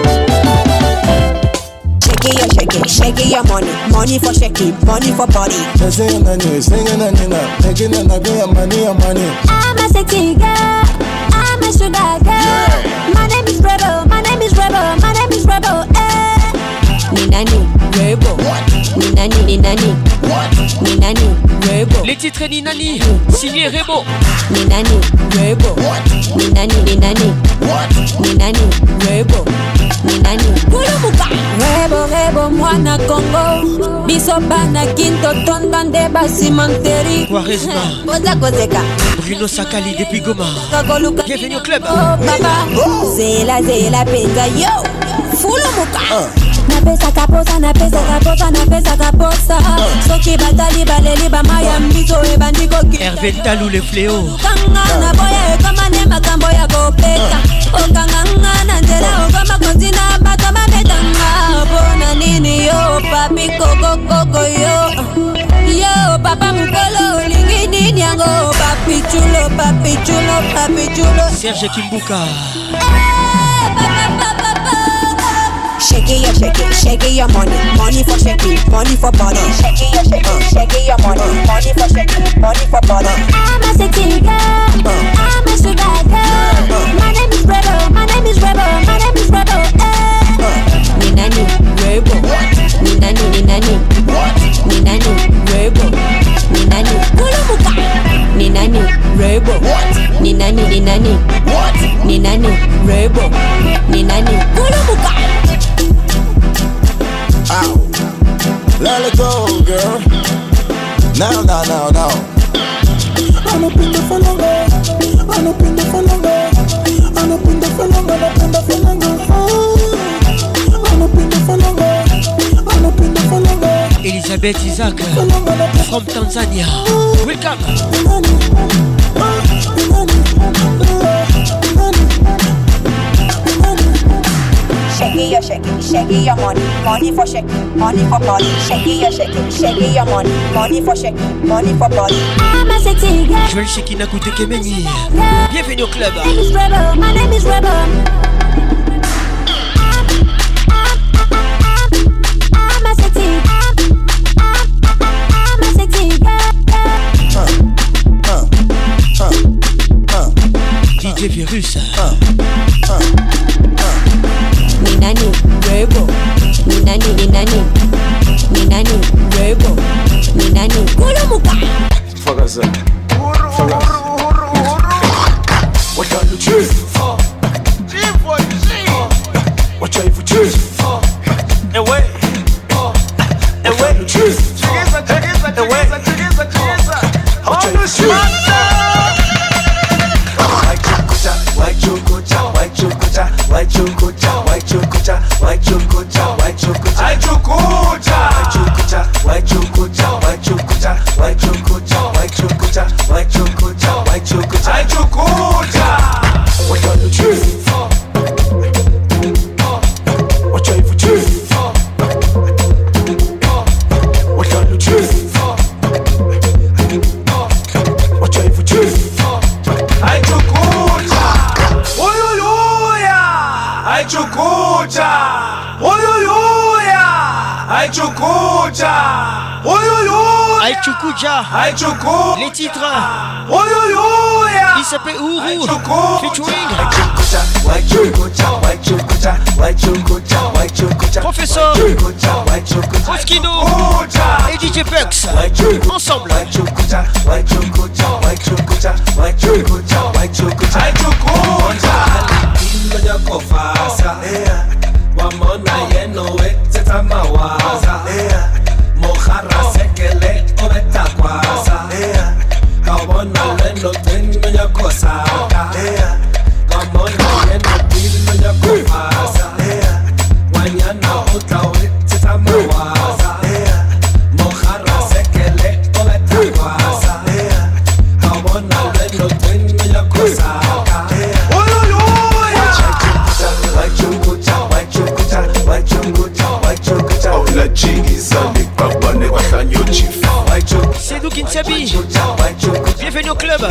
L: Shake it, shake it, shake it, your money, money for shake it, money for body.
Q: Singing and you, singing and you, making and I get your money, your money.
K: I'm a sexy girl, I'm a sugar girl. My name is Rebel, my name is Rebel, my name is Rebel. Eh.
L: Ninani, Rebel. Ninani, Ninani. Ninani, Rebel.
F: Les titres Ninani, signé Rebo.
L: Ninani, Rebel. Ninani, Ninani. Ninani, Rebel. Ninani, Kulubuka.
K: Rebo, Rebo, mwana Congo. Bisoba na kinto tondande basimanteri.
F: Quaresma.
L: Koza kozeka.
F: Bruno Sakali depuis Goma. Bienvenue au club.
K: Oh baba.
L: Zela, zela, peza, yo.
K: Fulumuka. Napesa kaposa, napesa kaposa, napesa kaposa. Soki batali baleli bamaya mbizo ebandiko ki.
F: Hervé Talou le fléau.
K: Kangana boya ekama ne makambo ya kopeta. Okanganga na nzela okama kontina bato mabetanga. Bona nini yo papi koko koko yo. Yo papa mukolo lingi nini yango papi chulo papi chulo papi chulo.
F: Serge Kimbuka.
L: Shake it, yeah, shake it, shake it, your money, money for shake it, money for body. Shake it, yeah, shake it, shake it, your money, money for shake it, money for body.
K: I'm a sexy girl, I'm a sugar girl. My name is Rebel, my name is Rebel, my name is Rebel. Eh.
L: Ninani, Rebel. Ninani, Ninani. Ninani, Rebel. Ninani, Kulubuka. Ninani, Rebel. Ninani, Ninani. Ninani, Rebel. Ninani, Kulubuka.
Q: Ow. Let it go, girl. Now, now, now, now. I'm up in the falanga. I'm up in the falanga. I'm up in the falanga. I'm up in the falanga. I'm up in the falanga. I'm up in the falanga.
F: Elisabeth Isaac from Tanzania. Welcome.
L: Shake it, yeah, shake it, shake it, your money, money for shake it, money for body. Shake it, yeah, shake it, shake it, your money, money for shake it, money for body.
K: I'm a sexy girl.
F: Joël Shekina Koutekemeni. Bienvenue au club.
K: My name is Rebel, my name is Rebel. I'm a sexy, I'm a sexy girl.
F: D J Virus.
L: Ninani, Rebel. Ninani, Ninani. Ninani, Rebel. Ninani, Kulubuka.
Q: Fuck us up. Fuck us.
F: Les titres. Il s'appelle Ourou featuring Professeur Moschino et D J Pux ensemble. C'est nous Kinsabi. Bienvenue au club.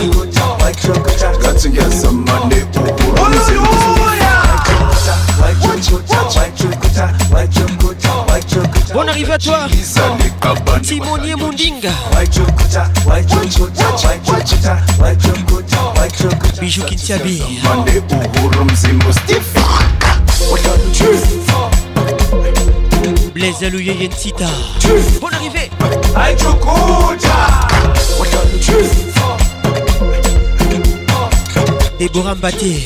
F: Bonne arrivée à toi Timonier Mundinga. Bijou Kinsabi. Blaise Alouye Yensita. Bonne arrivée. Déborah Mbaté.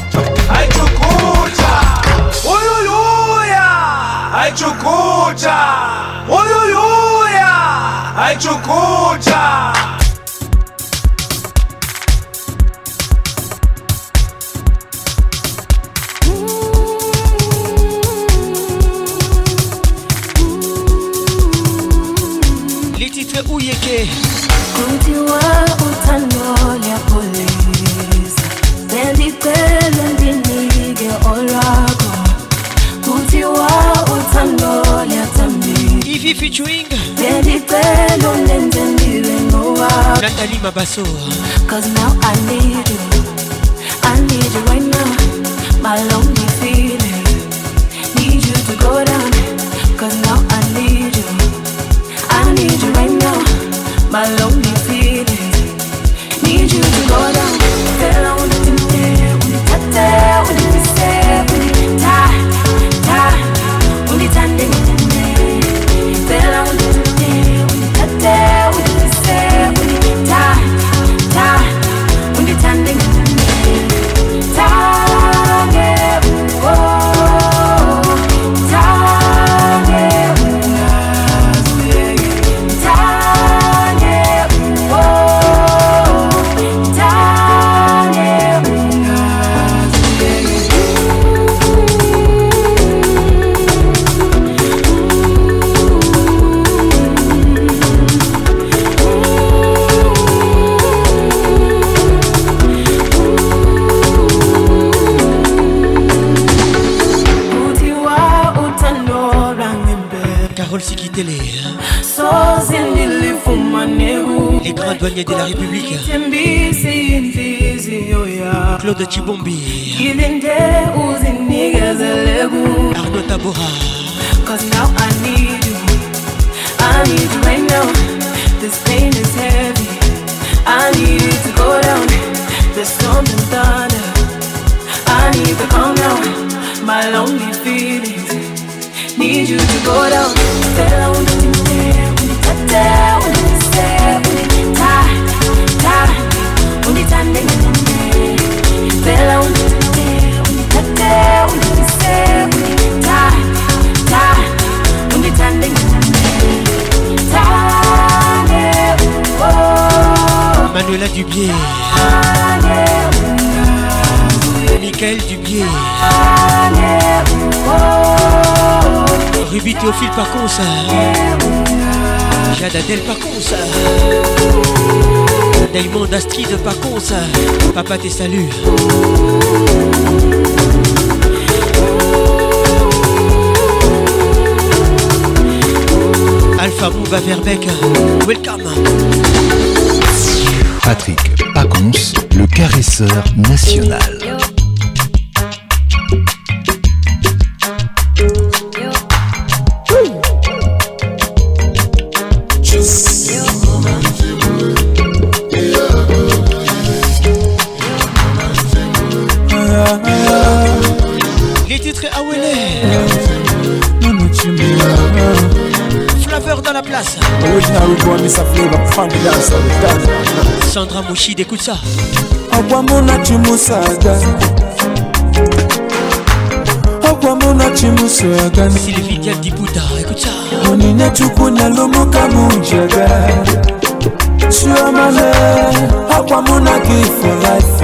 F: Les titres Ouyeke.
K: Kuntiwa utano ya police Bendipele ndinige olago Kuntiwa utano ya tambi
F: Ivy featuring
K: Bendipele ndendendire noa
F: Nathalie Mabasso.
K: Cause now I need you I need you right now My lonely feeling Need you to go down Cause now I need you I need you right now My lonely feelings Need you to go down Tell her when you do it When you touch it When you kiss it When you tie, tie When you tie it Tell her when you do it When you touch it When you kiss it When you tie, tie When you tie it Tie it, oh Tie it,
F: Carole Sikitele.
K: Les
F: Les grands douaniers de la République. Claude Chibombi. Arnaud Tabora.
K: Cause now I need you I need you right now This pain is heavy I need you to go down There's something thunder I need to calm down My lonely feelings Need you to go down Tell when you there When you touch it When you say When you tie, tie When you tie, tie Tell when you there When you touch it When you say When you tie, tie When you tie, tie Tie, oh
F: Manuela Dubier, Michael Dubier, Ruby Théophile Pacons, Jade Adèle Pacons, Diamond Astrid Pacons, Papa te salue. Alpha Mouva Verbeck, welcome.
A: Patrick Pacons, le caresseur national.
F: Les titres Awele. Flaveur dans la place. Sandra Mouchid, écoute ça.
I: Akwamuna chimusaga Akwamuna chimusaga
F: Sylvie Dial Diputa, écoute ça.
I: Monine chukuna lomuka munjaga Shuamane Akwamuna give for life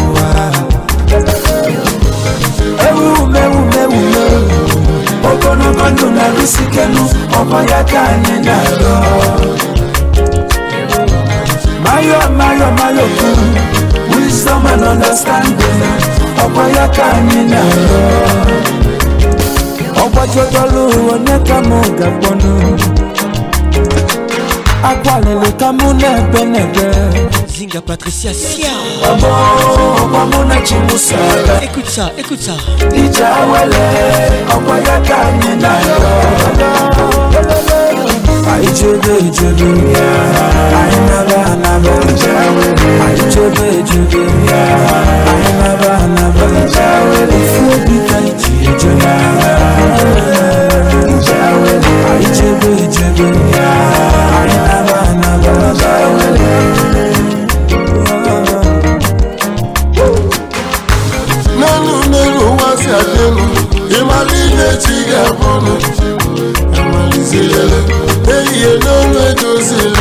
I: Ewu mewu mewu mewu Ogono gondo na risikenu Omayaka nyenaro Mayo mayo mayo kuru Wisdom and understanding Omayaka nyenaro Ogbajodolu oneka moga bono Akwalele kamune benebe
F: Zinga Patricia Sia.
I: Abo, Okwamuna chimusaga.
F: Écoute ça, écoute ça.
I: Ijawele, Okwayaka nyenaro Aijebe, ijebe, Ainaba, anaba, Aijebe, ijebe, Ainaba, anaba, Ufuobika iji ejena Aijebe, ijebe, Ainaba, anaba,
E: Nanu nenu wasi adenu Imalile chiga bono Amalizilele Eye nonu edozile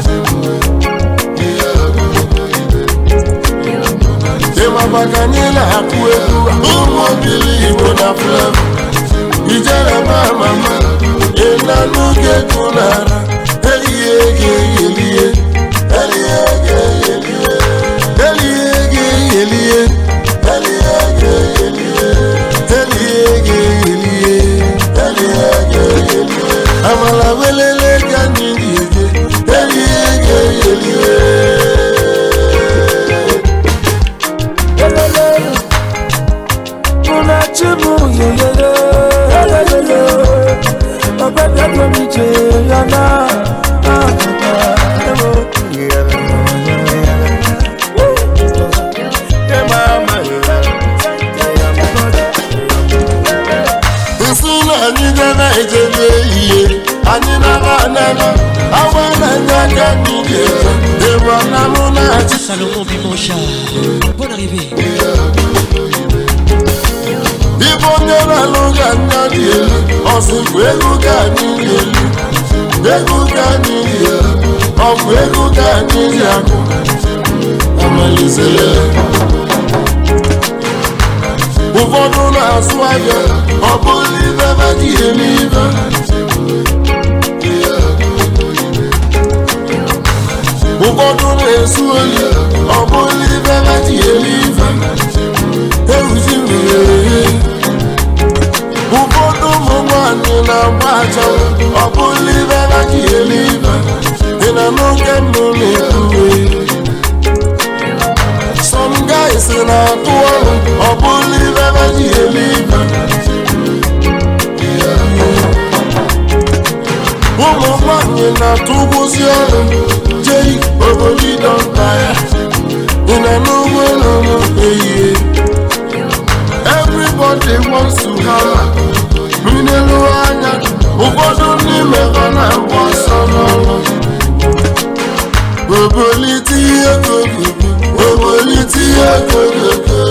E: Ema bakanila akuekura Umobili ibo na flevo Ijere mama mama Enanu kekunara Eye ege elie Elie ege elie Elie ege elie Amala welele kanini eli ege eli
I: Una chimu yele yele Obeda komi je yana
F: Salomon Bimoncha, bonne arrivée.
E: Ibonera longa nyadi, osikwegu kanini, egu kanini, okwegu kanini ako. Amalizele. Ụfọdụ na-asụ ahịa, ọ bụrụ ibe maka elibe. Ụfọdụ na-esu oyi, ọ bụrụ ibe maka elibe. Ewuzi mmiri. Ụfọdụ ụmụ nwanyị na-agba achanwụ, ọ bụrụ ibe maka elibe. Ị na n'oge mbụ na-ekwuwe. Some guys na-atụ ọrụ, ọ bụrụ ibe maka elibe. Ụmụ nwanyị na-atụgbuzi ọrụ, jei oboli dọnta ya. Ị na n'ugbo n'ụlọ ehihie. Everybody wants to have minelu anya. Ụfọdụ n'ime ha na-agba ọsọ n'ọrụ. Oboli tinye kogogo, oboli tinye kogogo.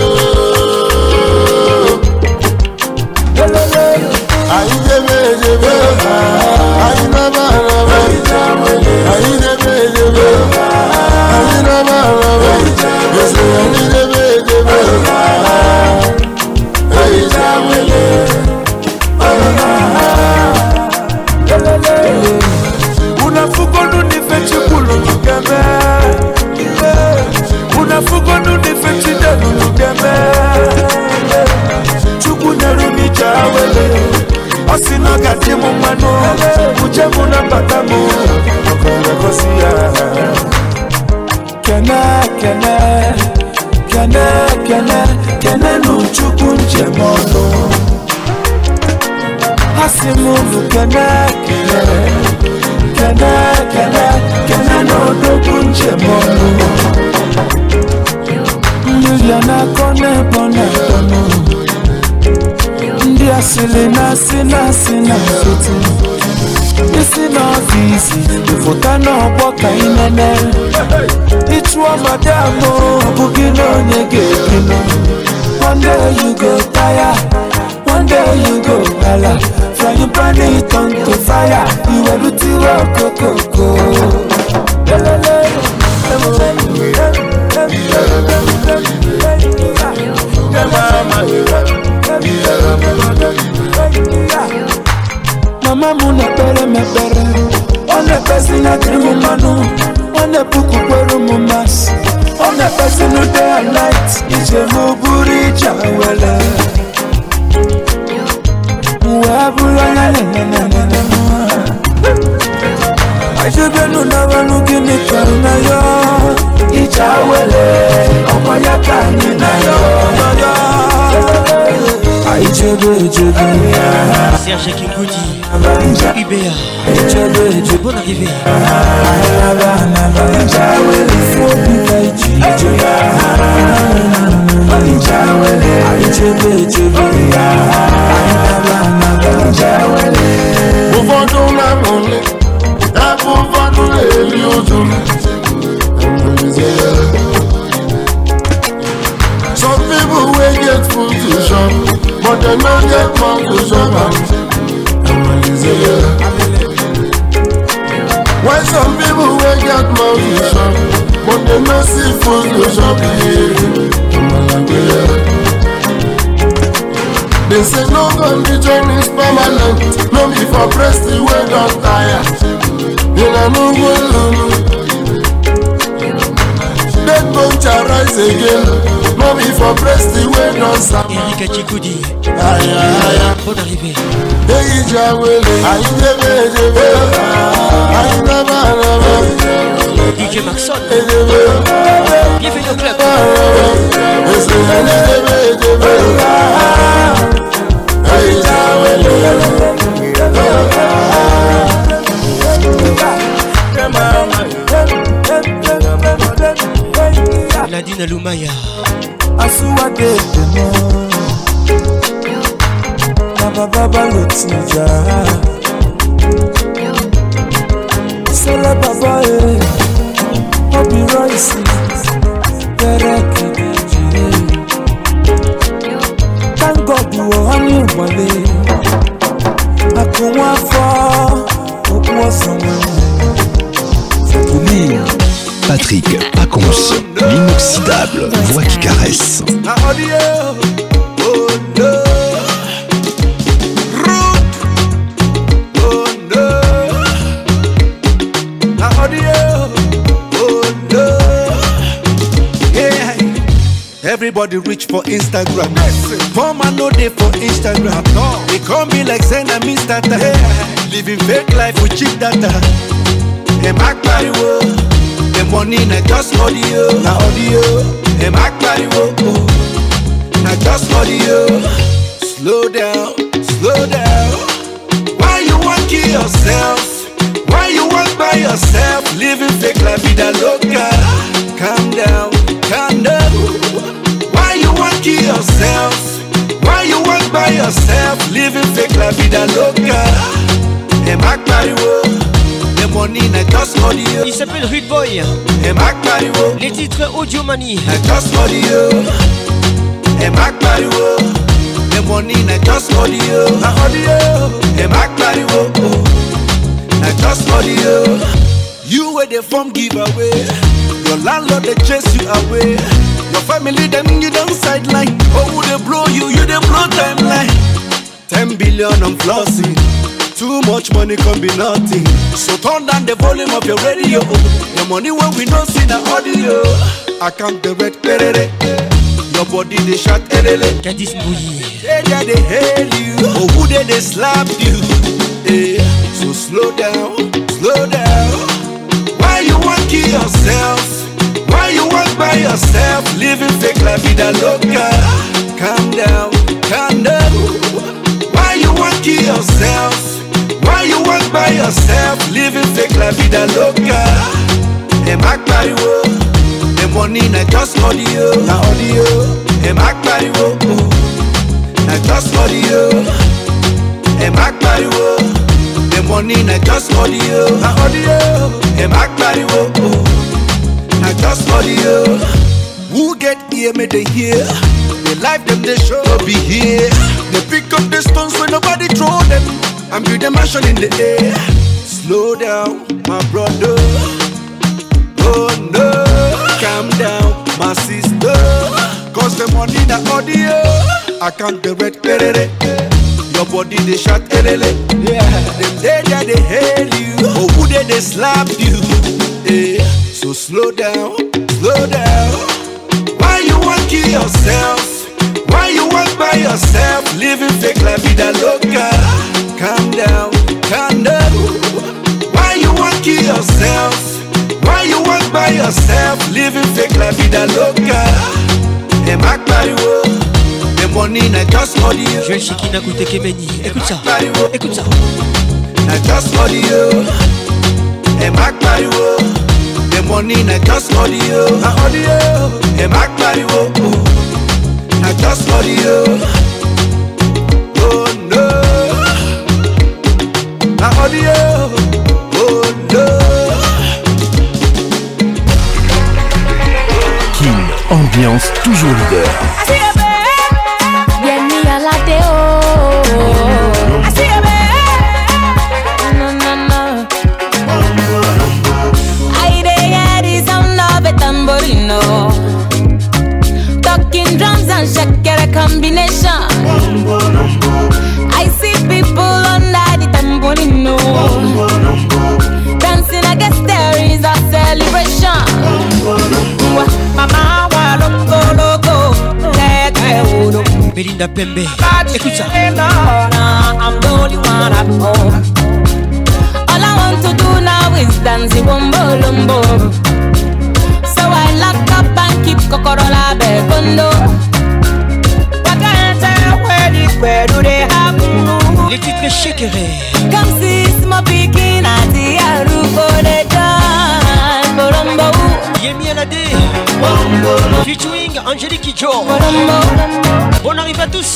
E: Anyị debe edebe, anyị naba araba, anyị debe edebe, anyị naba araba.
V: Unafugonu ni fechi kulu nugeme Unafugonu ni fechi denu nugeme Chuku neru ni jawele Osino gati mumano Uche muna batamu Okore kosia Kene, kene Kene, kene Kene nu chuku nje mono Hasimunu kene, kene Kene, kene, kene no dogu nje mono Liliana kone bona tono Ndi asili na sina sina fiti Isi na ofisi Ifota na oboka inene Ichwa madamo Bugino nyege kino One day you go tire One day you go hala Frying pan it on to fire You are luti wa koko Mama muna pere me pere One pesi na grimu manu One puku kweru mumas One pesi no day and night Ije muburi chawele Muabula na na na na na na Ajebe no na wanu gini karuna yo Ichawele Omo ya kani na yo Ajebe jebe
F: Serge Kingoudi Ubea Bonne arrivée
E: Uvando na mole Uvando le liozum Some people will get food to shop But they don't get money to shop Why some people will get money to shop But they don't see food to shop They say no condition is permanent No be for press the way don't tire In a new world Dead bone shall rise again No be for press the way don't stop
F: Erika Chikoudi
E: Aïe aïe aïe
F: Bonne arrivée
E: Hey Jawele Aïe debe debe Aïe daba daba
F: D J Maxon Bienvenue au club
E: Hey Jawele
F: Nadine Lumaya
V: Asuwa de demo Baba baba lotija Sela baba e Obi Royce Pere kidiji Thank God you are on your wale Akunwa fo Okuwa someone
A: Patrick Pacons, l'inoxydable voix qui caresse.
V: Everybody reach for Instagram. Poor man no day for Instagram. They call me like saying I'm Mister Tata. Living fake life with cheap data. Hey, Mac Pariwo. The money na just audio. Na audio. Hey, Mac Pariwo. Na just audio. Slow down, slow down. Why you want kill yourself? Why you want by yourself? Living fake life with a loca. Calm down, calm down. Why you want kill yourself? Why you want by yourself? Living fake life with a loca. Hey, Mac Pariwo. The money na just audio.
F: Il s'appelle Rude Boy.
V: Hey, Mac Pariwo.
F: Les titres Audio Money.
V: Na just audio. Hey, Mac Pariwo. The money na just audio. Na audio. Hey, Mac Pariwo. Na just audio. You were the form giveaway. Your landlord they chase you away.
I: Your family them you don't sideline. Oh, who they blow you, you they blow timeline. Ten billion on flossing. Too much money can be nothing. So turn down the volume of your radio. The money when we don't see the audio. I can't the red perere. Your body they shot erele.
F: Candice Mbouyi.
I: They they they hail you. Oh who they they slap you. Yeah. So slow down, slow down. Why you want kill yourself? Why you want by yourself? Living fake la vida loca. Calm down, calm down. Why you want kill yourself? Why you walk by yourself, living fake la vida loca? Hey, Mac Pariwo, the money na just audio, na audio. Hey, Mac Pariwo, na just audio. Hey, Mac Pariwo, the money na just audio, na audio. Hey, Mac Pariwo, na just audio. Who get here, may they hear? They life them, they show be here. They pick up the stones when nobody throw them. I'm with the mansion in the air. Slow down, my brother. Oh no, calm down, my sister. Cause the money na audio. I can't the red perere. Your body they shot erele. Yeah, them they there they hail you. Oh who they they slap you. Yeah, so slow down, slow down. Why you want kill yourself? Why you walk by yourself? Living fake la vida loca. Calm down, calm down. Why you want kill yourself? Why you walk by yourself? Living fake la vida loca. Hey, Mac Pariwo, the money na just audio.
F: Joël Chikina Koute Kemeni, écoute ça, écoute ça.
I: Na just audio. Hey, Mac Pariwo, the money na just audio, na audio. Hey, Mac Pariwo, na just audio. Oh no. La audio, oh no.
A: King, ambiance toujours leader.
K: Vieni a la teo. No, no, no. I dey hear the sound of a tamborino. Talking drums and shakira combination. I see people under the tamborino. Dancing, I guess there is a celebration. Mama, wa loco, loco, let
F: Belinda Pembe, écoute ça.
K: I'm the only one at home. All I want to do now is dance wombo lumbo. So I lock up and keep Kokorola Bekondo. Where do they have
F: les titres shakerés?
K: Come see my picking at the Aruko de John Borombo.
F: Yemi Alade featuring Angélique Kidjo. Bon arrive à tous.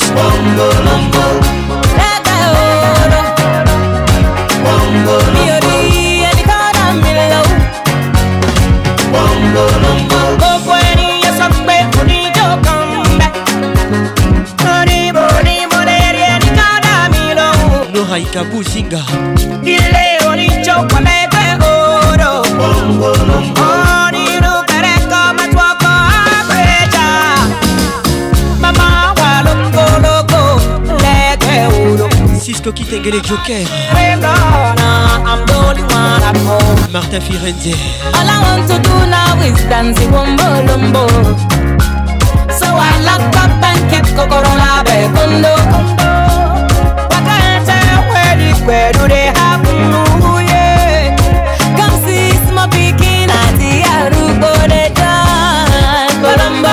F: Noraika Buzinga.
K: Il est au lit chocolat oro. Oh, ni no kare comme toi quoi Mama wa loco loco le oro.
F: Cisco Kitengele Joker.
K: I'm the only one at home.
F: Martin Firenze.
K: All I want to do now is dance wombo lumbo. So I lock up and keep Kokorola Bekondo. Where do they have you? Yeah. Come see my picking at the Arugo de John Colombo.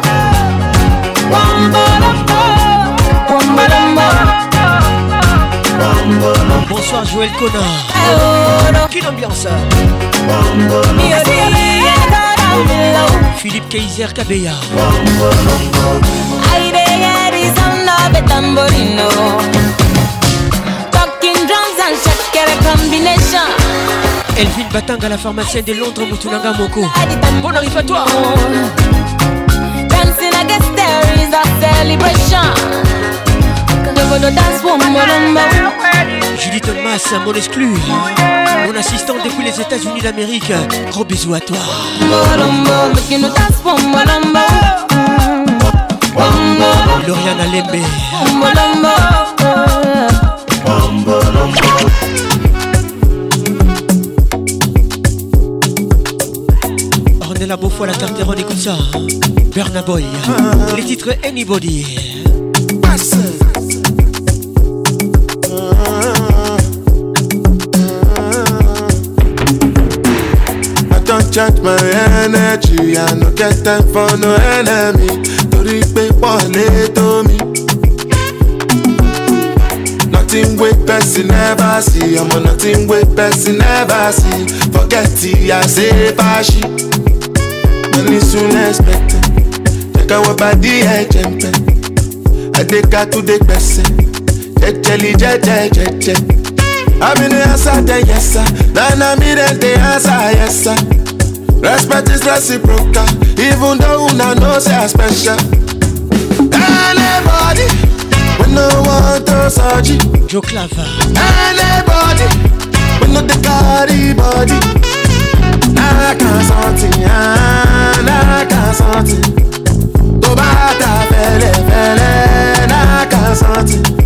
F: Bonsoir Joël Connard. Quelle ambiance. Philippe Kaiser Kabeya.
K: I dey hear the sound of a tamborino. Combination.
F: Elvin Batanga, la pharmacienne de Londres, Moutoulanga Moko. Bon arrive à toi.
K: Dancing, I guess there is a celebration.
F: Julie Thomas, mon exclu. Mon assistant depuis les États-Unis d'Amérique. Gros bisous à toi. Lauriane Alembe. Ornella Beaufoy, la Carteron, écoute ça. Burna Boy, les titres Anybody.
M: Don't charge my energy, I no get time for no enemy. Tori pe pole to me. Nothing with person never see, I'm on nothing with person never see. Forget it, I say fashi. Money soon expected. Check out what body I jump. I take her to the person. Jelly, jelly, jelly, jelly. I'm in the answer, then yes sir. Then I'm in the answer, yes sir. Respect is reciprocal, even though una know say I special. Anybody, we no want to surgery.
F: Joe Clava.
M: Anybody, we no the carry body. I can't something, I can't something. To bata fele fele, I can't something.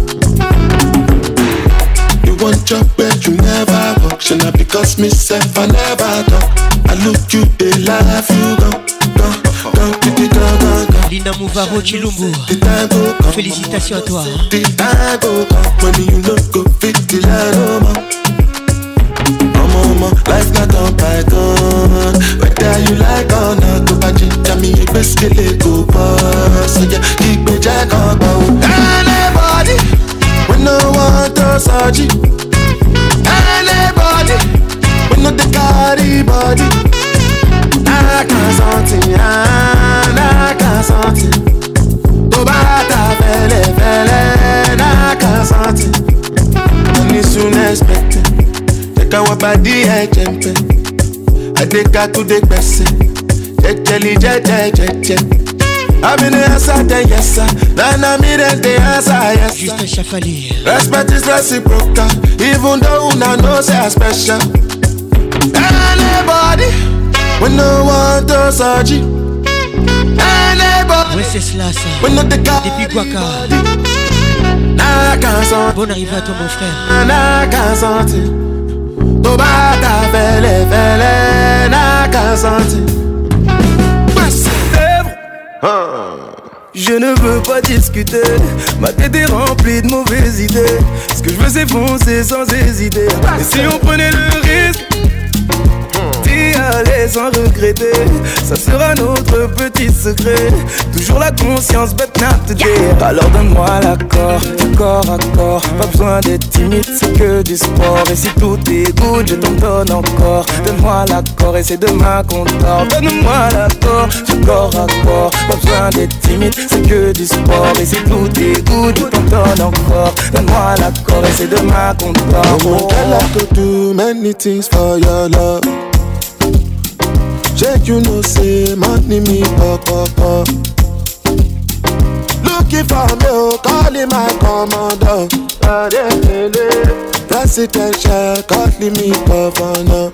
M: One job where you never walk, should not because myself I never talk. I look you, they laugh you go, go, go, go, go, go, go.
F: Lina Mouvaro Chilumbu, félicitations à toi.
M: The time go come when you no go fit the line no more. Oh mama, life not on python. Whether you like or not, go back to me, you best kill it, go boss. So yeah, keep me jack on bow. Anybody, we no want to surgery. Anybody, we no the carry body. I can't something, I can't something. To bata fele fele, I can't something. Money soon expected. Check out what body I jump. I take her to the person. Jelly, jelly, jelly, jelly. I'm in the answer, then yes sir. Then I'm in the answer, yes sir.
F: Justin Chafali.
M: Respect is reciprocal, even though una know say I special. Anybody, we no want to surgery. Anybody,
F: ouais c'est cela ça.
M: We no the guy.
F: Depuis Guaca.
M: Nah, can't sortir.
F: Bonne arrivée à toi mon frère.
M: Nah, can't sortir. To bata fele fele, nah, can't sortir.
O: Je ne veux pas discuter, ma tête est remplie de mauvaises idées. Ce que je veux c'est foncer sans hésiter. Et si on prenait le risque d'y aller sans regretter, ça sera notre petit secret. Toujours la conscience, but not today. Alors donne-moi l'accord, du corps à corps. Pas besoin d'être timide, c'est que du sport. Et si tout est good, je t'en donne encore. Donne-moi l'accord et c'est demain qu'on dort. Donne-moi l'accord, du corps à corps. Pas besoin d'être timide, c'est que du sport. Et si tout est good, je t'en donne encore. Donne-moi l'accord et c'est demain qu'on dort.
M: Oh, I like to do many things for your love. Check you know say money me pop pop pop. Looking for me, oh, calling my commander. Presidential, calling me governor.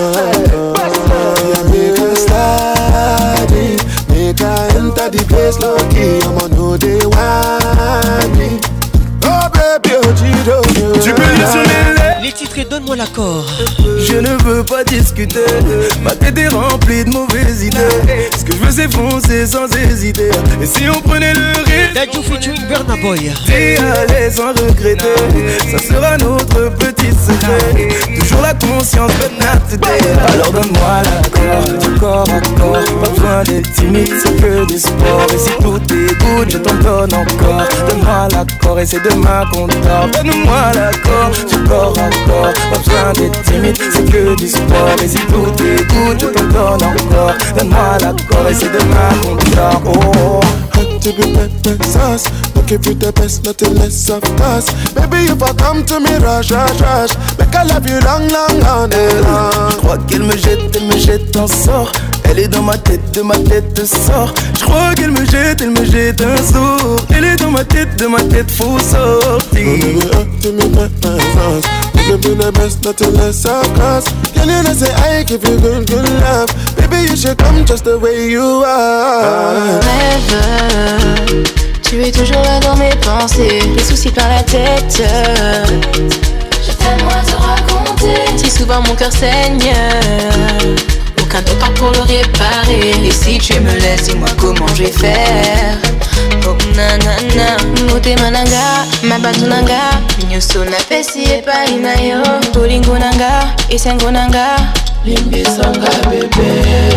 M: Make a slide, make a enter the place lucky. I'ma know they want me. Oh baby, oh Gido.
O: Tu peux lui sonner
F: les titres et donne-moi l'accord.
O: Je ne veux pas discuter, ma tête est remplie de mauvaises idées. Ce que je veux c'est foncer sans hésiter. Et si on prenait le risque
F: Dadju featuring Burna Boy,
O: d'y aller sans regretter, ça sera notre petit secret. Toujours la conscience, but not today. Alors donne-moi l'accord, du corps à corps. Pas besoin d'être timide, c'est que du sport. Et si tout est good, je t'en donne encore. Donne-moi l'accord et c'est demain qu'on dort. Donne-moi l'accord, du corps à corps. Pas besoin d'être timide, c'est que du sport. Et si tout est good, je t'en donne encore. Donne-moi l'accord et c'est demain qu'on dort. Oh.
M: To be pepper sauce, looking for the best, nothing less of course. Baby, if I come to me, rush, rush, rush, make I love you long, long, long, long.
O: Je crois qu'elle me jette, elle me jette un sort. Elle est dans ma tête, de ma tête sort. Je crois qu'elle me jette, elle me jette un sort. Elle est dans ma tête, de ma tête faut sortir.
M: Baby, up to me, pepper sauce, looking for the best, nothing less of course. Can you not say I give you good, good love? Baby, you should come just the way you are.
K: Rêve, tu es
N: es toujours là dans mes pensées. Les soucis plein la tête. J'ai tellement à te raconter. Si souvent mon cœur saigne, aucun docteur pour le réparer. Et si tu me laisses, dis-moi comment je vais faire. Oh nanana, mote mananga, mabatu nanga, nyoso na pesi epa inayo, bolingo nanga, esengo nanga, limbisanga bébé.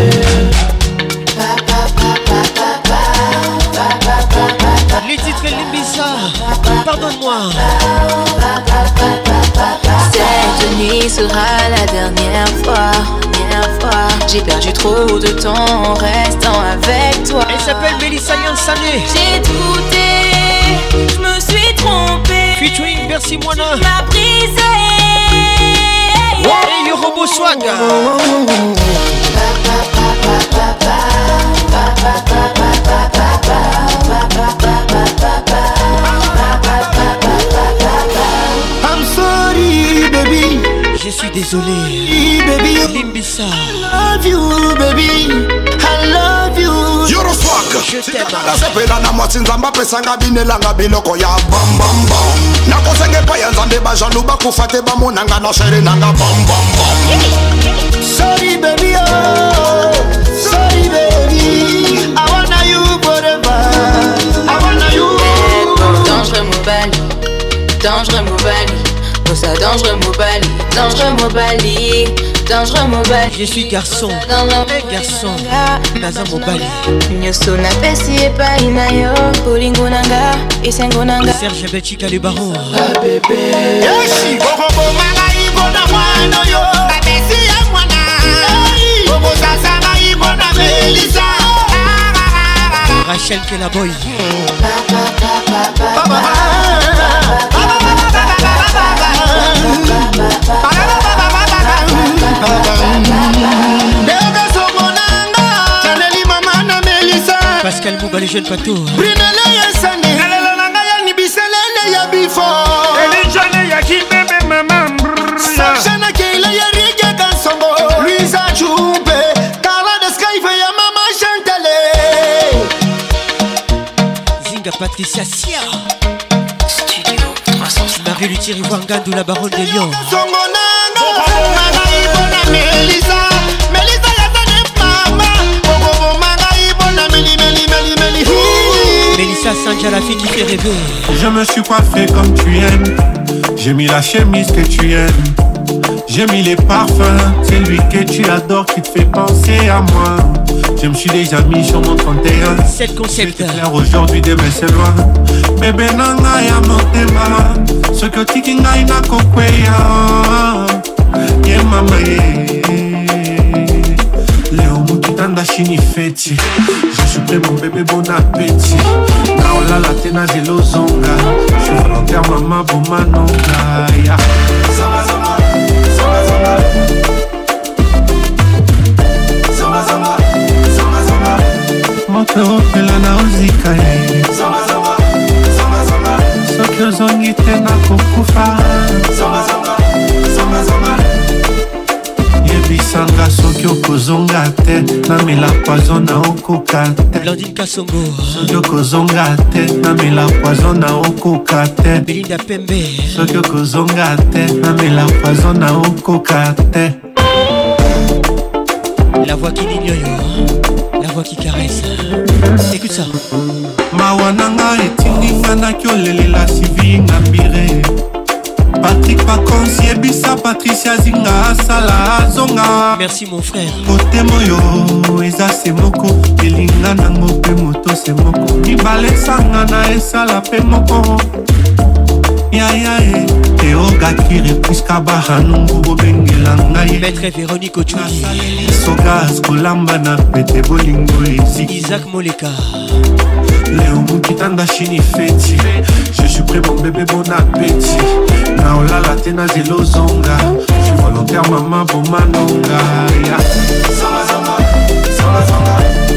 F: Les titres Limbisa, pardonne-moi.
N: Cette nuit sera la dernière fois, dernière fois. J'ai perdu trop de temps en restant avec toi.
F: Elle s'appelle Mélissa Yansané.
N: J'ai douté, je me suis trompée.
F: Featuring Bercy Moana.
N: M'a brisé.
F: Et le robot swag.
U: I'm sorry, baby.
F: Je suis désolé.
U: Baby,
F: Limbisa.
U: I love you, baby. I love you.
B: You're a fuck.
F: Je t'aime.
B: Nasepela na mwatsinza mbapesanga binelanga biloko ya bam bam bam. Nakosenge payanza nde bajalu bakufate bamonanga na shere nanga bam bam bam.
U: Sorry, baby, oh. Sorry, baby. I wanna you forever. I wanna you.
N: Dangereux Mobali, dangereux Mobali. Oh ça dangereux Mobali, dangereux Mobali, dangereux Mobali.
F: Je suis garçon,
N: hey,
F: garçon, Naza Mobali.
N: Nyoso na pesi epa inayo, bolingo nanga, esengo nanga.
F: Serge Betchika le baron.
U: Ah bébé. Yeshi, bobo manga ibona mwana yo. Babesi ya mwana. Bobo sasa na ibona Melissa.
F: Rachel Kelaboy. Pascal Mouba, les jeunes patos.
U: Brinele ya sane. Ngalala nanga ya nibiselele ya bifo.
P: Elijane ya kibebe mama mbrrrr.
U: Sapshana keila ya rige kansongo. Luisa Chumpe. Carla de Skyfe ya mama Chantele.
F: Zinga Patricia Sia. Studio trois cent cinq. Marie Luthier Ivoangandou, la baronne des Lions.
U: Songo nanga. Manga ibona Melissa. Melissa ya zane mama. Bobo manga ibona Meli Meli Meli Meli.
F: Mélissa Sandja, la fille qui fait rêver.
W: Je me suis coiffé comme tu aimes. J'ai mis la chemise que tu aimes. J'ai mis les parfums. C'est lui que tu adores qui te fait penser à moi. Je me suis déjà mis sur mon trente et un.
F: C'est concept.
W: C'est clair aujourd'hui, demain c'est loin. Bébé nanga ya motema. Ce que tiki ngai na kokweya. Ye mama ye. Léo mukitanda shini feti. Je suis prêt mon bébé, bon appétit. Naola la tena zelo zonga. Je suis volontaire maman bon manonga. Yeah. Zonga zonga, zonga zonga. Zonga zonga, zonga zonga. Moto opela na ozika ye. Zonga zonga, zonga zonga. Soki ozongi te na kokufa. Zonga zonga, zonga zonga. Yebisanga soki okozonga te. Namela poison na okoka te.
F: Blandine Kasongo.
W: Soki okozonga te. Namela poison na okoka te.
F: Belinda Pembe.
W: Soki okozonga te. Namela poison na okoka te.
F: La voix qui l'ignore, la voix qui caresse. Écoute ça.
W: Mawananga etinginga na kiolelela sivi ngambire. Patrick Pacons yebisa Patricia Zinga asala zonga.
F: Merci mon frère.
W: Côté moyo eza semoko elinga nango pe moto semoko. Mibale sanga na esala pe moko. Ya ya e Teoga kire puisque bahanungu bobengela ngai.
F: Maître Véronique Ochuli.
W: Sogas kolamba na pete bolingo ezi.
F: Isaac Moleka.
W: Léo Mukitanda shini feti. Je suis prêt mon bébé, bon appétit. Naola la tena zelo zonga. Je suis volontaire maman bon manonga. Yeah. Zonga zonga, zonga zonga.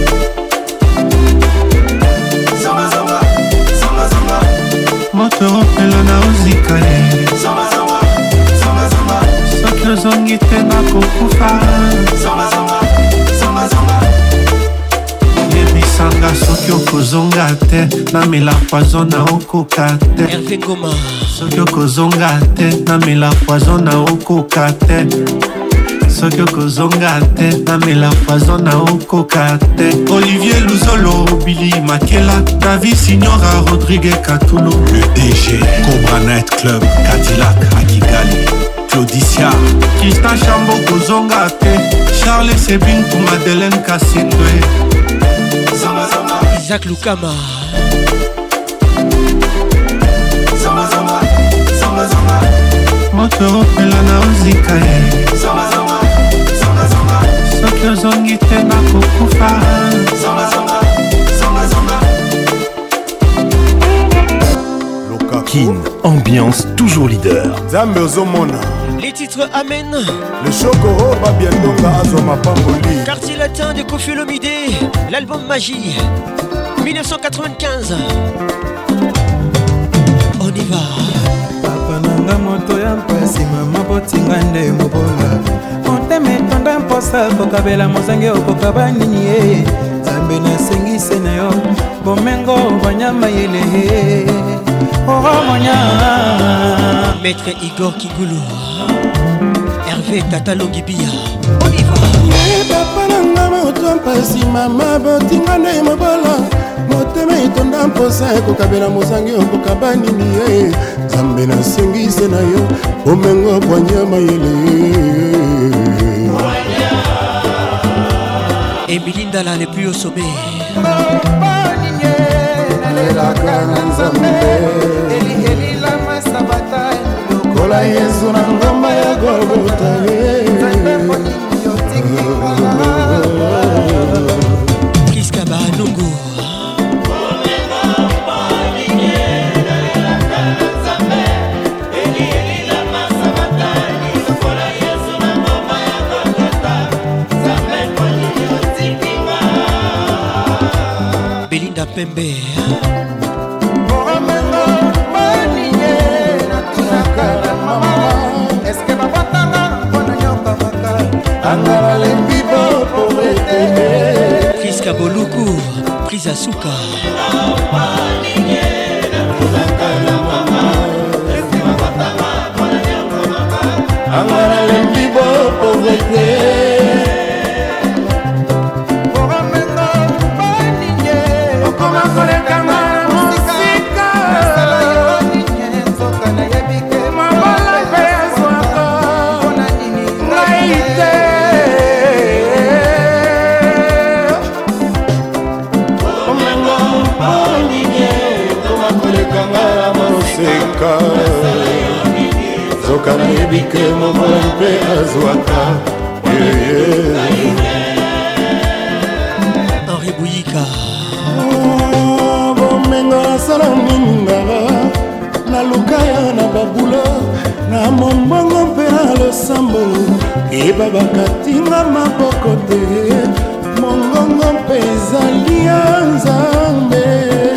W: Zonga zonga, zonga zonga. Moto opela na ozika ye. Zonga zonga, zonga zonga. Soki ozongi te na kokufa. Zonga zonga, zonga zonga. masanga soki okozonga te namela poison na okoka te
F: Hervé Ngoma
W: soki okozonga te namela poison na okoka te soki okozonga te namela poison na okoka te Olivier Luzolo Billy Makela David Signora Rodrigue Katulo
C: le D G Cobra Night Club Cadillac à Kigali Claudicia
W: Kistan Chambo kozonga te Charles Sebin pour Madeleine Kassindwe
F: Zama Zama Isaac Lukama
W: Zama Zama Zama Zama moto opela na ozika ye Zama Zama Zama Zama soki ozongi te nakokufa Zama Zama Zama Zama
A: Kin, ambiance toujours leader.
G: Zambe Ozomona.
F: Les titres Amen.
G: Le Chokoro va bientôt Azoma Pamboli.
F: Quartier latin de Koffi Olomide. L'album Magie. dix-neuf cent quatre-vingt-quinze. On y va.
Q: Papa nanga moto ya mpasi mama botinga nde mobola. Moteme tonda mposa kokabela mozange okokaba nini ye. Zambe nasengise na yo. Bomengo banyama yele. Oh monya.
F: Maître Igor Kigulu. Hervé Tatalo Gibia. On y va.
E: Papa nanga moto mpasi mama botinga nde mobola. Moteme itonda mposa kokabela mozangi okokaba nini ye. Zambe nasengise na yo omengo bwanyama yele.
F: Et Belinda là le plus au sommet.
E: Kola Yesu na ngoma ya Golgotha.
F: Kiskaba Nungu. Belinda Pembe. Priska Boluku, Prisa Souka.
E: Zoka na yebike momo mpe azwaka.
F: Henri Bouyika.
E: Bomengo nasala nini ngara naluka ya na babula na mombongo mpe na losambo eba bakatinga maboko te mongongo mpe ezali ya Nzambe.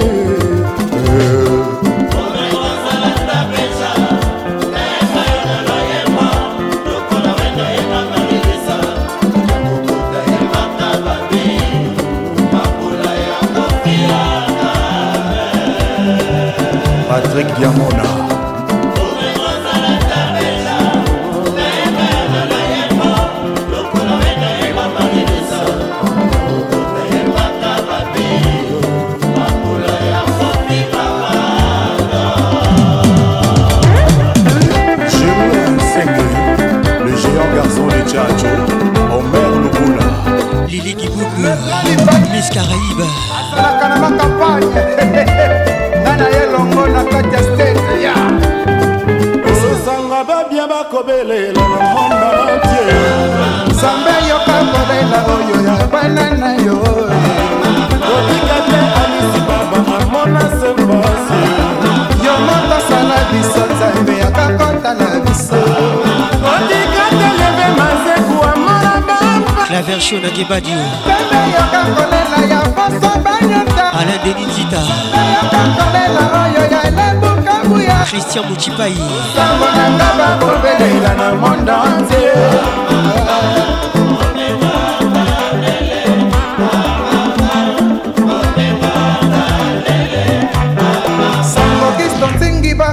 G: Patrick Diamona. Le géant garçon de Tchatcho, Omer Lubula.
F: Lili Kibougou, Miss Caraïbe.
E: Osanga babia bakobelela na monde entier.
H: Zambe yoka kolela oyo ya bana na yo.
E: Kotika te Alisi Baba amona se pasi.
H: Yo moto sala biso Zambe akakota na biso.
E: Kotika te leve mazeku amona bamba.
F: La version de Gebadio.
H: Zambe yoka kolela ya boso banyota.
F: Alain Denis Zita.
H: Yoka kolela oyo ya elembuka buya.
F: Christian Mouchipaï.
H: Sango nanga bakobelela na monde entier.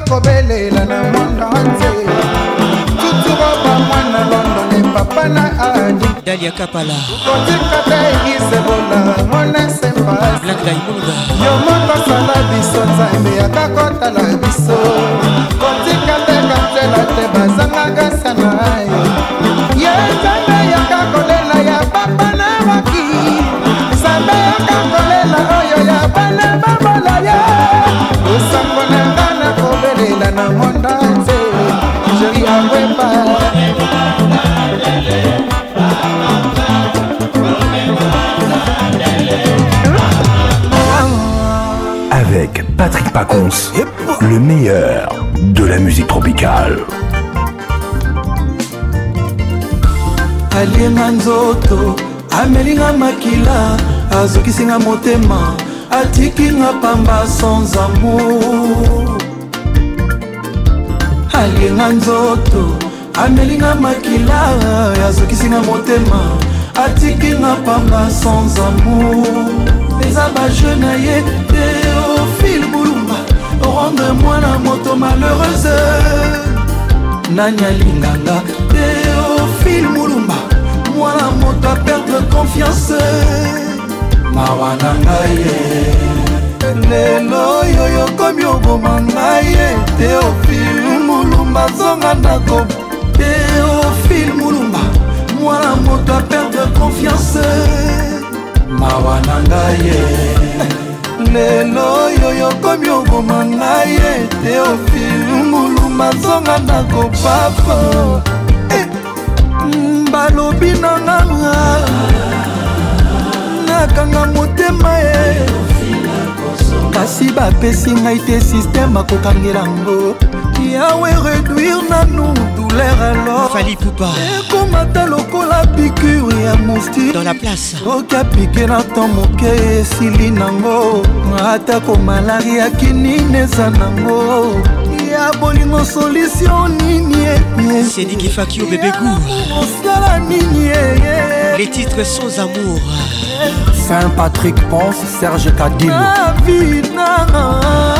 J: kobelela na mwanda nze tuturoba mwana London e papa na adi
F: Dalia Kapala
J: kotika te isebola mona semba
F: Black Diamond
J: yo moko sala biso nzambe akakotala biso kotika te katela te bazangaka sana ye nzambe yakakolela ya papa na waki nzambe yakakolela oyo ya bana babola ye osango na nga na kobelela na monda nze jeri akwepa
A: Avec Patrick Pacons, le meilleur de la musique tropicale.
Q: Alienga nzoto, amelinga makila, azokisinga motema, atikinga pamba sans amour. Alienga nzoto, amelinga makila, azokisinga motema, atikinga pamba sans amour. Les abajeux naïe, Théophile Boulumba, rendre-moi la moto malheureuse. Nanya Linganga, Théophile Moulumba, moi la moto à perdre confiance. Mawanangaye, Lelo yoyo comme yobo mangaye. Théophile Moulumba, Zonganako, Théophile Moulumba, moi la moto à perdre confiance. Mawanangaye Lelo yoyo komi oboma ngaye Théophile Moulumba zonga ndako papa balobi na nganga nakanga motema ye kasi bapesi ngai te système akokangela ngo yawe réduire nanu douleur alors
F: Fali Poupa
Q: ekomata lokola piqûre ya moustique
F: dans la place
Q: oka piqué na ton moke esili nango atako malaria kinini eza nango ya bolingo solution nini
F: c'est dit qu'il faut qu'il y ait bébé goût
Q: osala nini
F: les titres sans amour
J: Saint-Patrick Ponce, Serge Kadilo
Q: na vie nanga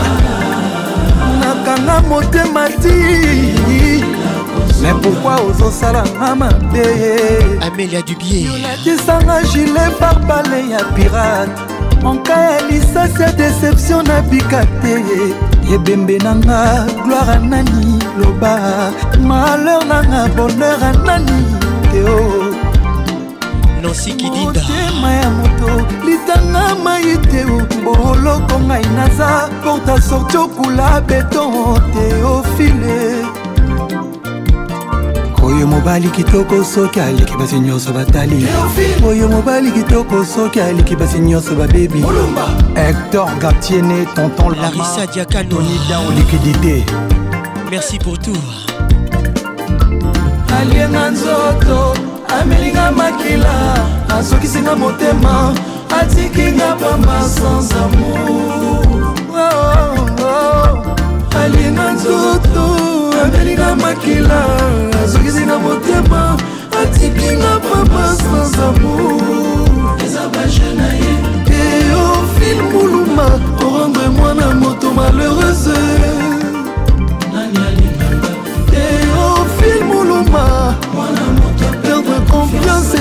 Q: nakanga motema ti mais pourquoi ozosala nga mabe
F: Amélia Dubier
Q: olakisanga gilet barbale ya pirate monka ya lisasi ya déception na bika te ebembe nanga gloire a nani loba malheur nanga bonheur a nani eo
F: Nancy Kidinda
Q: motema ya moto litanga mai te boloko ngai naza porta sorti okula beton Théophile oyo mobali kitoko soki aleki basi nyonso batali oyo mobali kitoko soki aleki basi nyonso babebi Hector Gatiene tonton
F: Larissa Diakano
Q: liquidité
F: merci pour tout
Q: alienga nzoto amelinga makila asokisinga motema atikinga pamba sans amour oh, oh, oh. alienga nzoto amelinga makila asokisinga motema atikinga pamba sans amour ezabajenaye Théophile Moulumba rendre-moi na moto malheureuse nani alinganga Théophile Moulumba mwana moto perdre confiance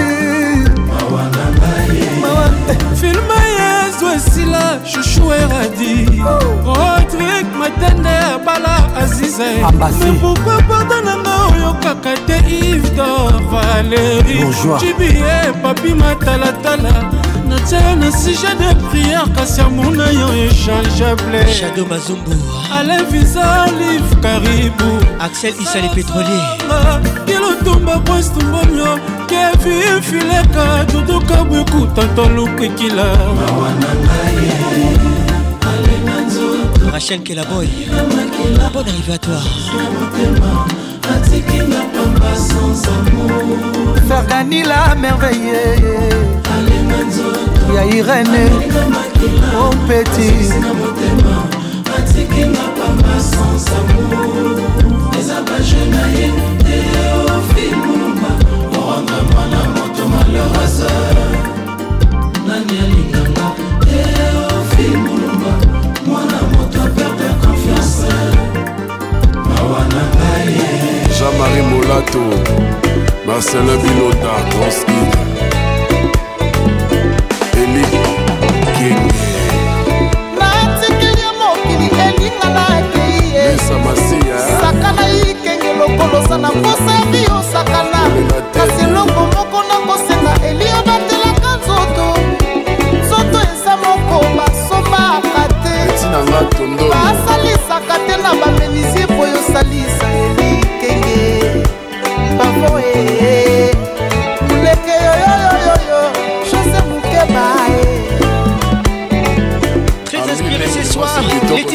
Q: filma yesu esila chouchou eradi rodrik matende bala azize mais pourquoi pardon nanga oyo kaka te Yves d'Or Valérie jibie papi matalatala natia na sujet de prière kasi amona yo échangeable
F: Shadow Mazumbu
Q: Alain Visa Liv Caribou
F: Axel Issa les pétroliers
Q: kilotumba postumbonyo Kevin Fileka Duduka Bweku Tonton Lukikila
F: Rachel Kelaboy bonne arrivée à toi
Q: Fergani la merveille ya Irene mon petit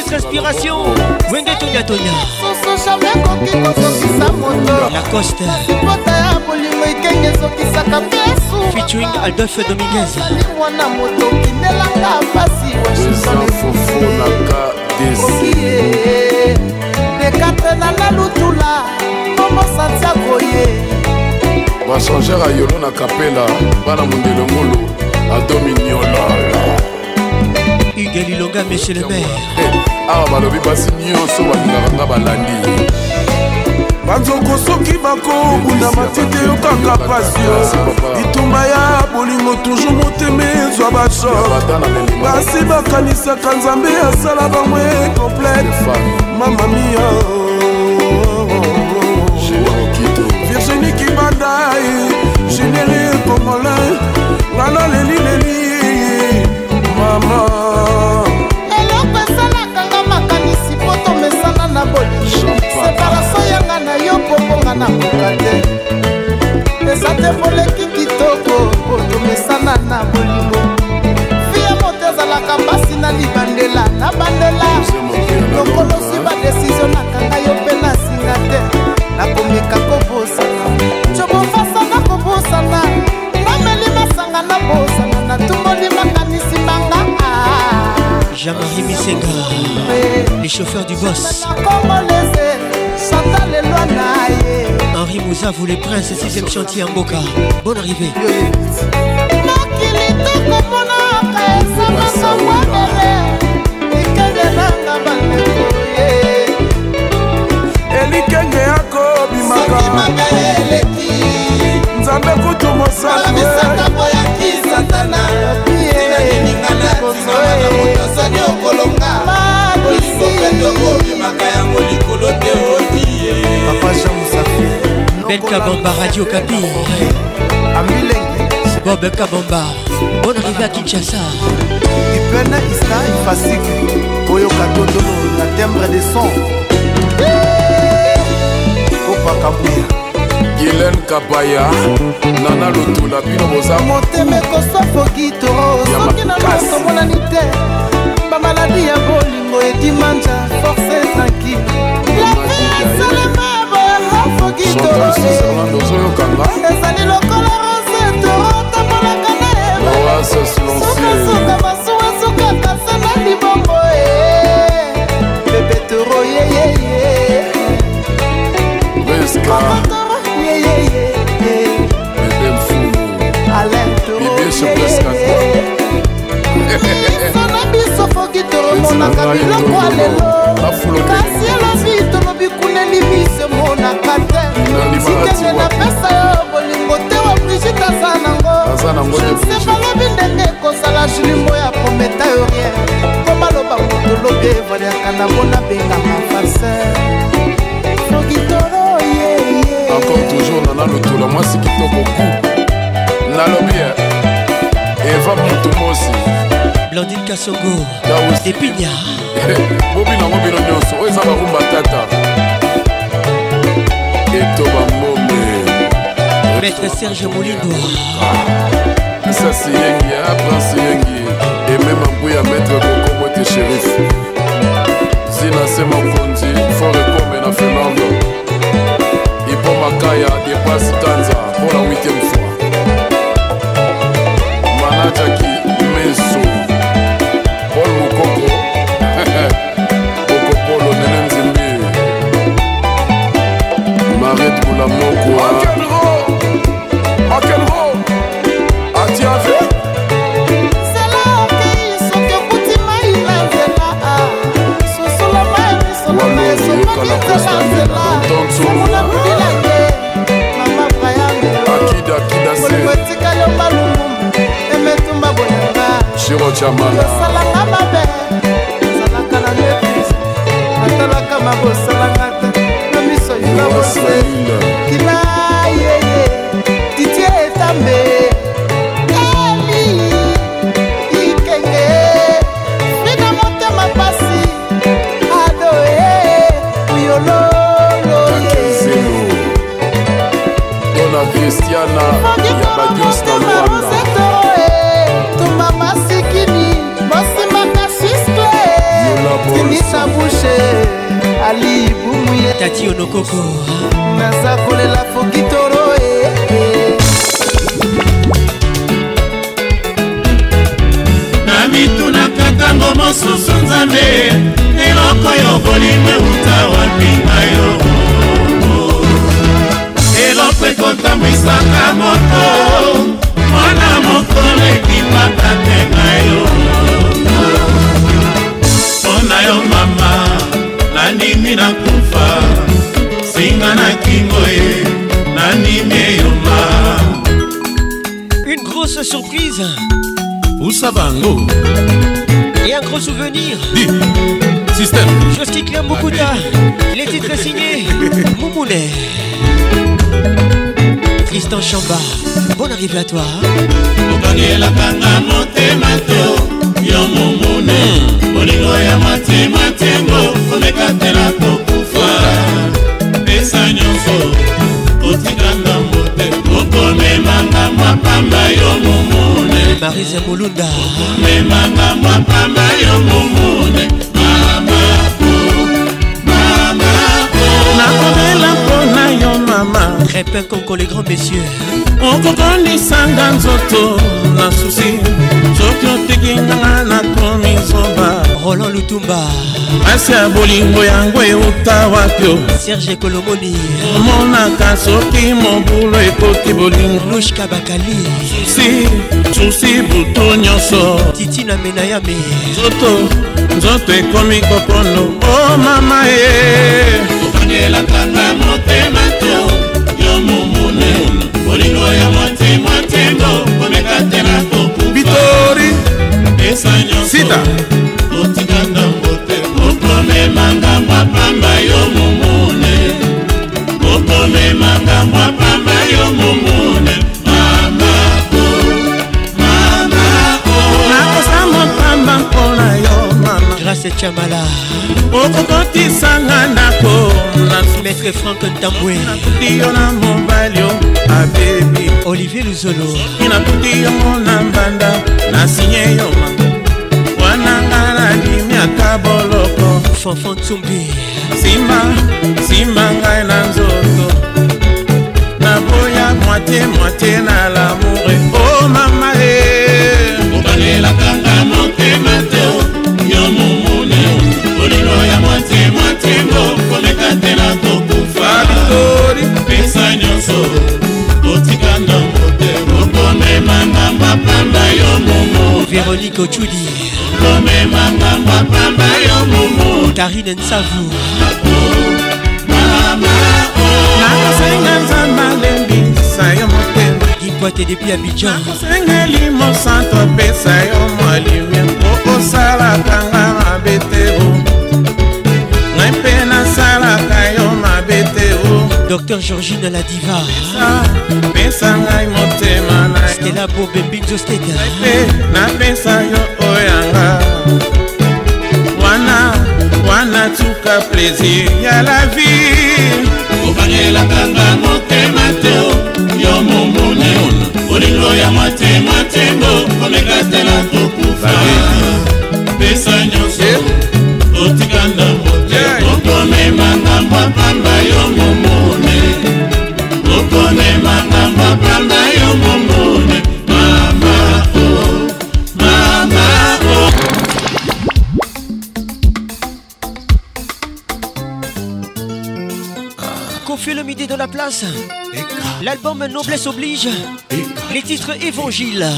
F: Maître Inspiration, Wenge Tonya Tonya.
J: Soso jamais koki kozokisa moto.
F: Lacoste.
J: Sipota ya bolingo ikenge ezokisaka pesu.
F: Featuring Adolphe Dominguez.
J: Mwana moto kinelanga pasi Washington Okie Dekatre na la lutula Momo Santiago ye
G: bachangere ya yolo na kapela bana mondele ngolo adominiola
F: Hugues Lilonga monsieur le maire
G: awa balobi basi nyonso balingaka nga balandi
W: banzoko soki bakobunda matete yokanga pasio bitumba ya bolingo toujours motema ezwa bashok basi bakanisaka nzambe asala bamwe complete mama mia Virginie Kibandai généré congolais ngana leli leli mama
J: eloko esalaka nga makanisi po tomesana na bolingo separation yanga na yo poponga na koka te eza te moleki kitoko po tomesana na bolingo fie moto ezalaka mpasi na libandela na bandela lokolosi badesizio nakanga yo mpe na singa te nakomeka kobosana cobofasana kobosana nameli masanga na bosana natumboli makanisi manga
F: Jean-Marie Misenga, les chauffeurs du boss. Henri Mouza, vous les princes, sixième chantier en Boca. Bonne arrivée.
W: elikenge yako bimaka nzambe kutu mosali
F: Ben Kabamba, Radio Kapi. Bob Kabamba, bonne arrivée à Kinshasa.
J: Ipena Ista Ifasik, Oyo Katotolo, la timbre de son. Opa Kabuya.
G: Guylaine Kabaya, Nana Lutula, Pino Boza.
J: Moteme Kosopo Gito, Soki na Maso Monanite. Bamaladi ya bolingo edimanja, force tranquille. La vie est seulement Hafo Gito. Ezali lokola rose, toro, tabolaka na eba.
G: Oasis silencieux.
J: Suka masuwa, suka kasana libongo eh. Bébé toro, yeah yeah yeah.
G: Beska.
J: Yeah yeah yeah.
G: Bébé Mfumu.
J: Alain toro,
G: yeah yeah yeah.
J: Sona biso foki toromonaka biloko alelo kasi elobi tolobi kuneli biso monaka te sikenge napesa yo bolingo te wa brigite aza nango se balobi ndenge ekosala julimbo ya kometa yo rien po baloba moto lobi evaliaka nango nabengaka farser foki toro yeye
G: encore toujours nana lotola mwasi kitoko ku nalobi eva mutu mosi
F: Blandine Kassongo, Epigna.
G: Bobi nango bino nyonso oyo eza barumba tata etoba mbombe
F: Maître Serge Molindo.
G: Sasi yengi ya prince yengi emema mbuya maître kokomote shérif zina se mokonzi fort ekome na Fernando ipo makaya depasi tanza pour la huitième fois manajaki meso Paul Mukoko Okopolo Nene Nzimbi Marette Moulamoko Akenro Akenro Atiave
J: C'est là ok, so que kuti mai na nzela Sosola mai, sosola mai, sosola mai, sosola mai Mama Brayame
G: Akida Akida Se
J: Mwetika yo malumu, emetumba bonanga
G: Shiro Chamala
J: Salanga mabe, salaka na nepis Natalaka mabosalanga te, na miso yuna bose Kila yeye, titie etambe Eli, ikenge Frida motema pasi Adoe, uyololo ye
G: Dona Christiana Yabadios na Luanda
J: Tumba masikini, mosimaka siscle Timisa
F: Tati Onokoko
J: naza kolela fokitoro
O: na mitunaka ntango mosusu nzambe eloko yo bolingo euta wapi na yo eloko ekotambwisaka moto mwana mokolo ekipaka te na yo mpona yo mama nandimi nakufa singa na kingo ye nandimi eyoma.
F: Une grosse surprise
C: Usabango
F: et un gros souvenir.
C: Dis, système.
F: Chose qui clame beaucoup tard. Les titres signés Moumoune. Tristan Chamba, bonne arrivée à toi.
O: Okangela kanga motema to yo Moumoune. Bolingo ya matema tengo komekatela kokufa. Pesa nyonso otikanga mote okomemanga mapamba yo Moumoune.
F: Marise Molunda
O: memanga mapamba yo Moumoune. Mama oh, mama oh.
W: Nakomela mpona yo mama
F: Crépin Conco les grands messieurs
W: okokondisanga nzoto na susi soki otekinganga nakomi zoba
F: Roland Lutumba
W: asi ya bolingo yango euta wapio
F: Serge Kolomoni
W: omonaka soki mobulu ekoti bolingo
F: Lushka Bakali
W: susi susi butu nyonso
F: Titina Menayame
W: nzoto nzoto ekomi kopono o mama ye
O: okangela kanga motema to yo Moumoune. Bolingo ya motema tengo komekatela kokufa.
W: Bitori
O: pesa nyonso
W: sita
O: otikanga mbote okomemanga mapamba yo Moumoune. Okomemanga mapamba yo Moumoune. Mama oh, mama oh.
W: nakosa mopamba mpona yo mama
F: Grâce Chamala
W: okokotisanga ndako
F: Maître Franck Ntambwe
W: nakuti yo na mobali yo abebi
F: Olivier Luzolo
W: inakuti yo na mbanda nasinye yo wananga nadimiaka boloko
F: Fanfan Tsumbi
W: simba simba ngai na nzoto naboya moitié moitié na lamoure o mama e
O: obanelakanga motema te yo Moumoune. Bolingo ya moitié moitié ngo komekatela kokufa. Pesa nyonso otikanga mbote okomemanga mapamba yo Moumoune.
F: Véronique Ochudi
O: okomemanga mapamba yo Moumoune.
F: Tarine Nsavu
O: mama oh.
W: nakosenga nzamba lembisa yo motema
F: Gipoite depuis Abidjan
W: nakosengeli mosanto apesa yo mwalimia mpo osalaka nga mabe te o ngai mpe nasalaka yo mabe te o
F: Docteur Georgine la diva
W: pesa ngai motema na yo
F: Stella Bobembinzo Steda
W: mpe napesa yo oyanga wana wana tuka plaisir ya la vie
O: obanelakanga motema te yo Moumoune. Bolingo ya motema tengo komekatela kokufa. Pesa nyonso otikanga mbote okomemanga mapamba yo Moumoune. Okomemanga mapamba yo Moumoune. Mama oh, mama oh.
F: Kofi le midi de la place. L'album Noblesse oblige. Les titres Évangile.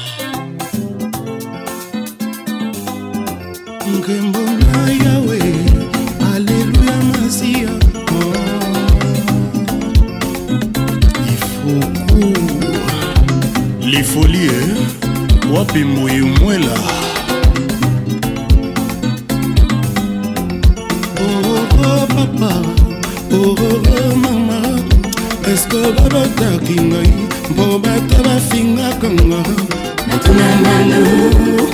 E: Nkembo na yawe Alléluia Masia oh. Ifuku Les folies eh? Wapi moyo mwela Oh oh papa Oh oh mama Est-ce que babotaki ngai Mpo bato bafingaka nga Natuna nanu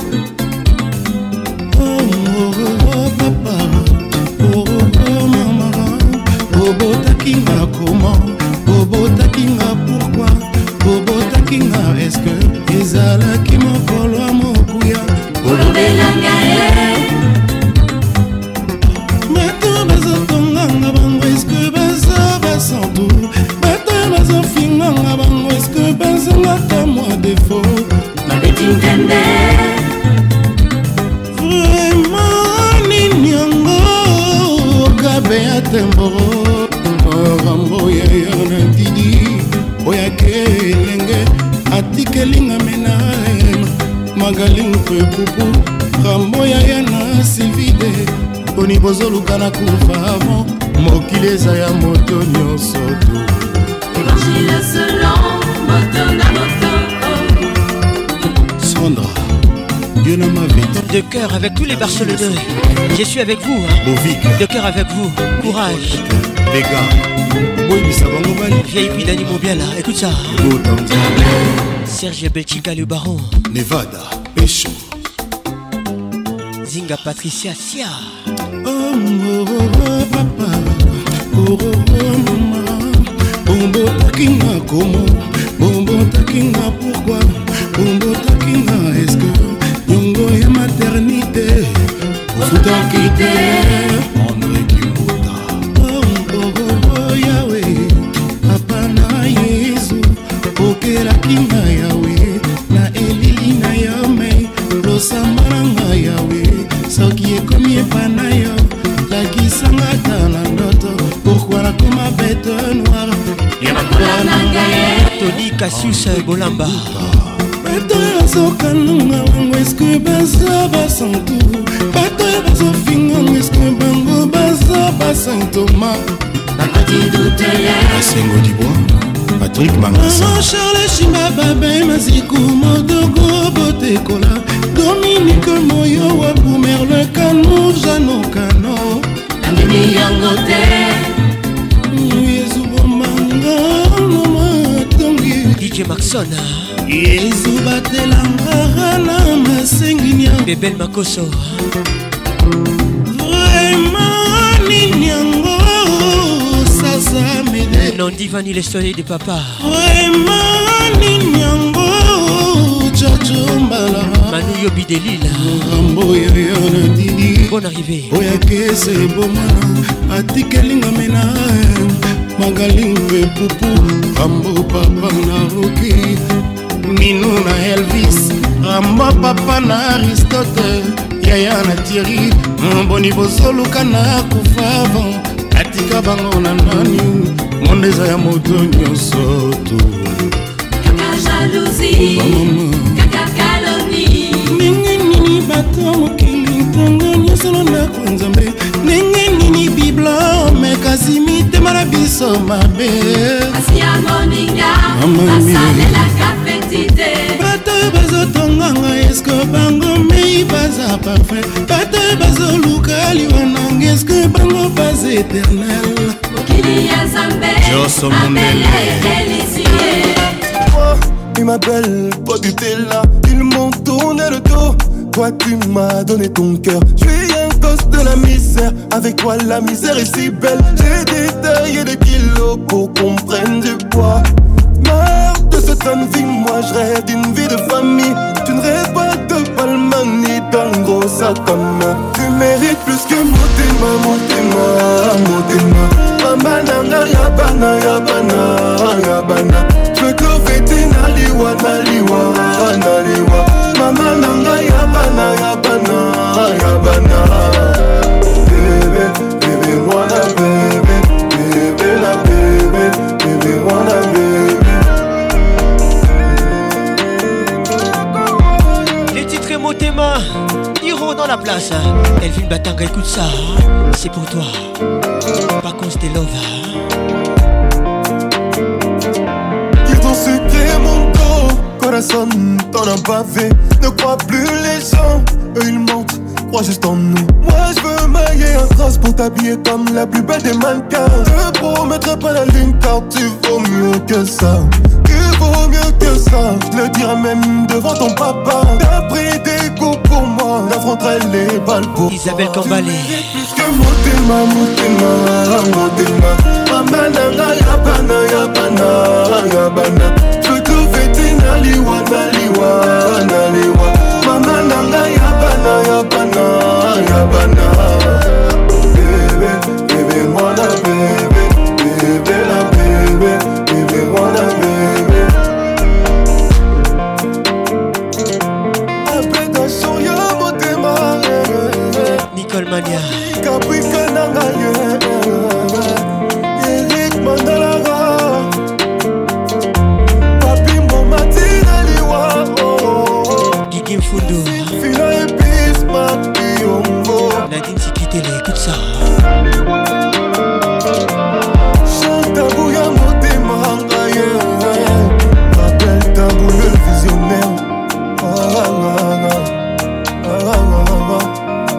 E: Oh papa, oh oh mama, Bobo takinga comment, Bobo takinga pourquoi, Bobo takinga est-ce que ezala ki mokolo mokuya, Bobo belanga eh. Bato bazotonga nga bango est-ce temboro rambo yaya na didi oyake elenge atikelinga menaem magalimpe pupu rambo yaya na silvide poni bozoluka na kufa avant mokili eza ya moto nyonso tu
D: Évangile selon moto na moto.
E: Sandra, Dieu n'a ma vie.
F: De cœur avec tous les Barcelonais. Je suis avec vous. Hein. De cœur avec vous. Courage.
E: Les gars. Oui, mais ça va nous valer.
F: Vieille puis Dani Mobiala. Écoute ça. Serge Belchica le baron.
E: Nevada. Pécho.
F: Zinga Patricia Sia.
E: Oh, oh, oh, papa. Oh, oh, oh, maman. Bombo takinga comment? Bombo takinga pourquoi? Bombo takinga est-ce que Yongo est maternité? Futa quitté André Kimbuta. Oh oh oh oh Yahweh Papa na Yesu Okela kinga Yahweh Na elili na Yahweh Losambana nga Yahweh Soki ekomi epana yo Lakisanga ta na ndoto Pourquoi la koma bête noire
F: Tony Cassius Bolamba.
E: Bato yazokanunga wango eske baza basantu bato yabazofinga eske bango baza basantoma
D: nakati dutele
E: Asengo Dibois Patrick Mangasa Charles Shimba Babe Maziku Modogo Botekola Dominique Moyo Wabu Merle Kano Jano Kano
D: Amini yango te
E: Yezu Bomanga
F: D J Maxon
E: Yezu batelanga na masenginya
F: Bebel Makoso
E: Vraiment ninyango sasa mede
F: Non divani le soleil de papa
E: Vraiment ninyango chacho mbala
F: Manu Yobi de Lille
E: Rambo yaya na didi
F: Bonne arrivée
E: Oya kese bomana Atikelinga mena Magalimpe pupu Rambo papa na Rocky Nino na Elvis Rambo papa na Aristote Yaya na Thierry Mboni bosoluka na kufa Atika bango na nani Mondeza ya moto nyonso tu
D: Kaka jalousie Kaka calomnie
E: Nenge nini bato mokili Ntongo nyonso na kwanzambe Nenge nini bibla Mekasi mitema na biso mabe
D: Asi ya moninga Asalelaka petite
E: Bato bazotonganga Eske bango mei baza parfait Bato bazoluka liwananga Eske bango baz éternel
D: Mokili ya Zambe
E: Joso
D: Amele délicieux.
S: Il m'appelle, toi tu t'es là, ils m'ont tourné le dos. Toi tu m'as donné ton cœur. Je suis un gosse de la misère. Avec toi la misère est si belle. J'ai détaillé des kilos pour qu'on prenne du poids. Marre de cette bonne vie, moi je rêve d'une vie de famille. Tu ne rêves pas de palman ni d'un gros sac comme moi. Tu mérites plus que Motema, Motema, Motema. Mama nanga yabana, yabana, yabana. Je veux que fêter naliwa, naliwa, naliwa. Mama nanga yabana, yabana, yabana. Bébé, bébé, wanna bébé. Bébé, la bébé, bébé, wanna bébé.
F: Les titres Motema Hiro dans la place. Elvin Batanga, écoute ça. C'est pour toi. Par contre, c'était love.
S: Ils ont sucré mon dos. Corazon, t'en as pas fait. Ne crois plus les gens. Eux ils mentent, crois juste en nous. Moi je veux mailler un cross pour t'habiller comme la plus belle des mannequins. Je promettrai pas la lune car tu vaux mieux que ça. Tu vaux mieux que ça. Je le dirai même devant ton papa. T'as pris des coups pour moi. J'affronterai les balles pour
F: Isabelle Kambalé.
S: Plus que Motema, Motema, Motema. Mama nanga yabana, yabana, yabana. Je veux tout fêter naliwa, naliwa, naliwa. Mama nanga yabana, yabana, yabana. Bébé, bébé, wanna bébé. Bébé, la bébé, bébé, wanna bébé. Appréciation, ya Motema.
F: Nicole Mania.
S: Caprica nanga, yeah.
F: écoute ça.
S: Tabou ya motema rappelle tabou le visionnaire. Ah, ah, ah, ah, ah, ah, ah.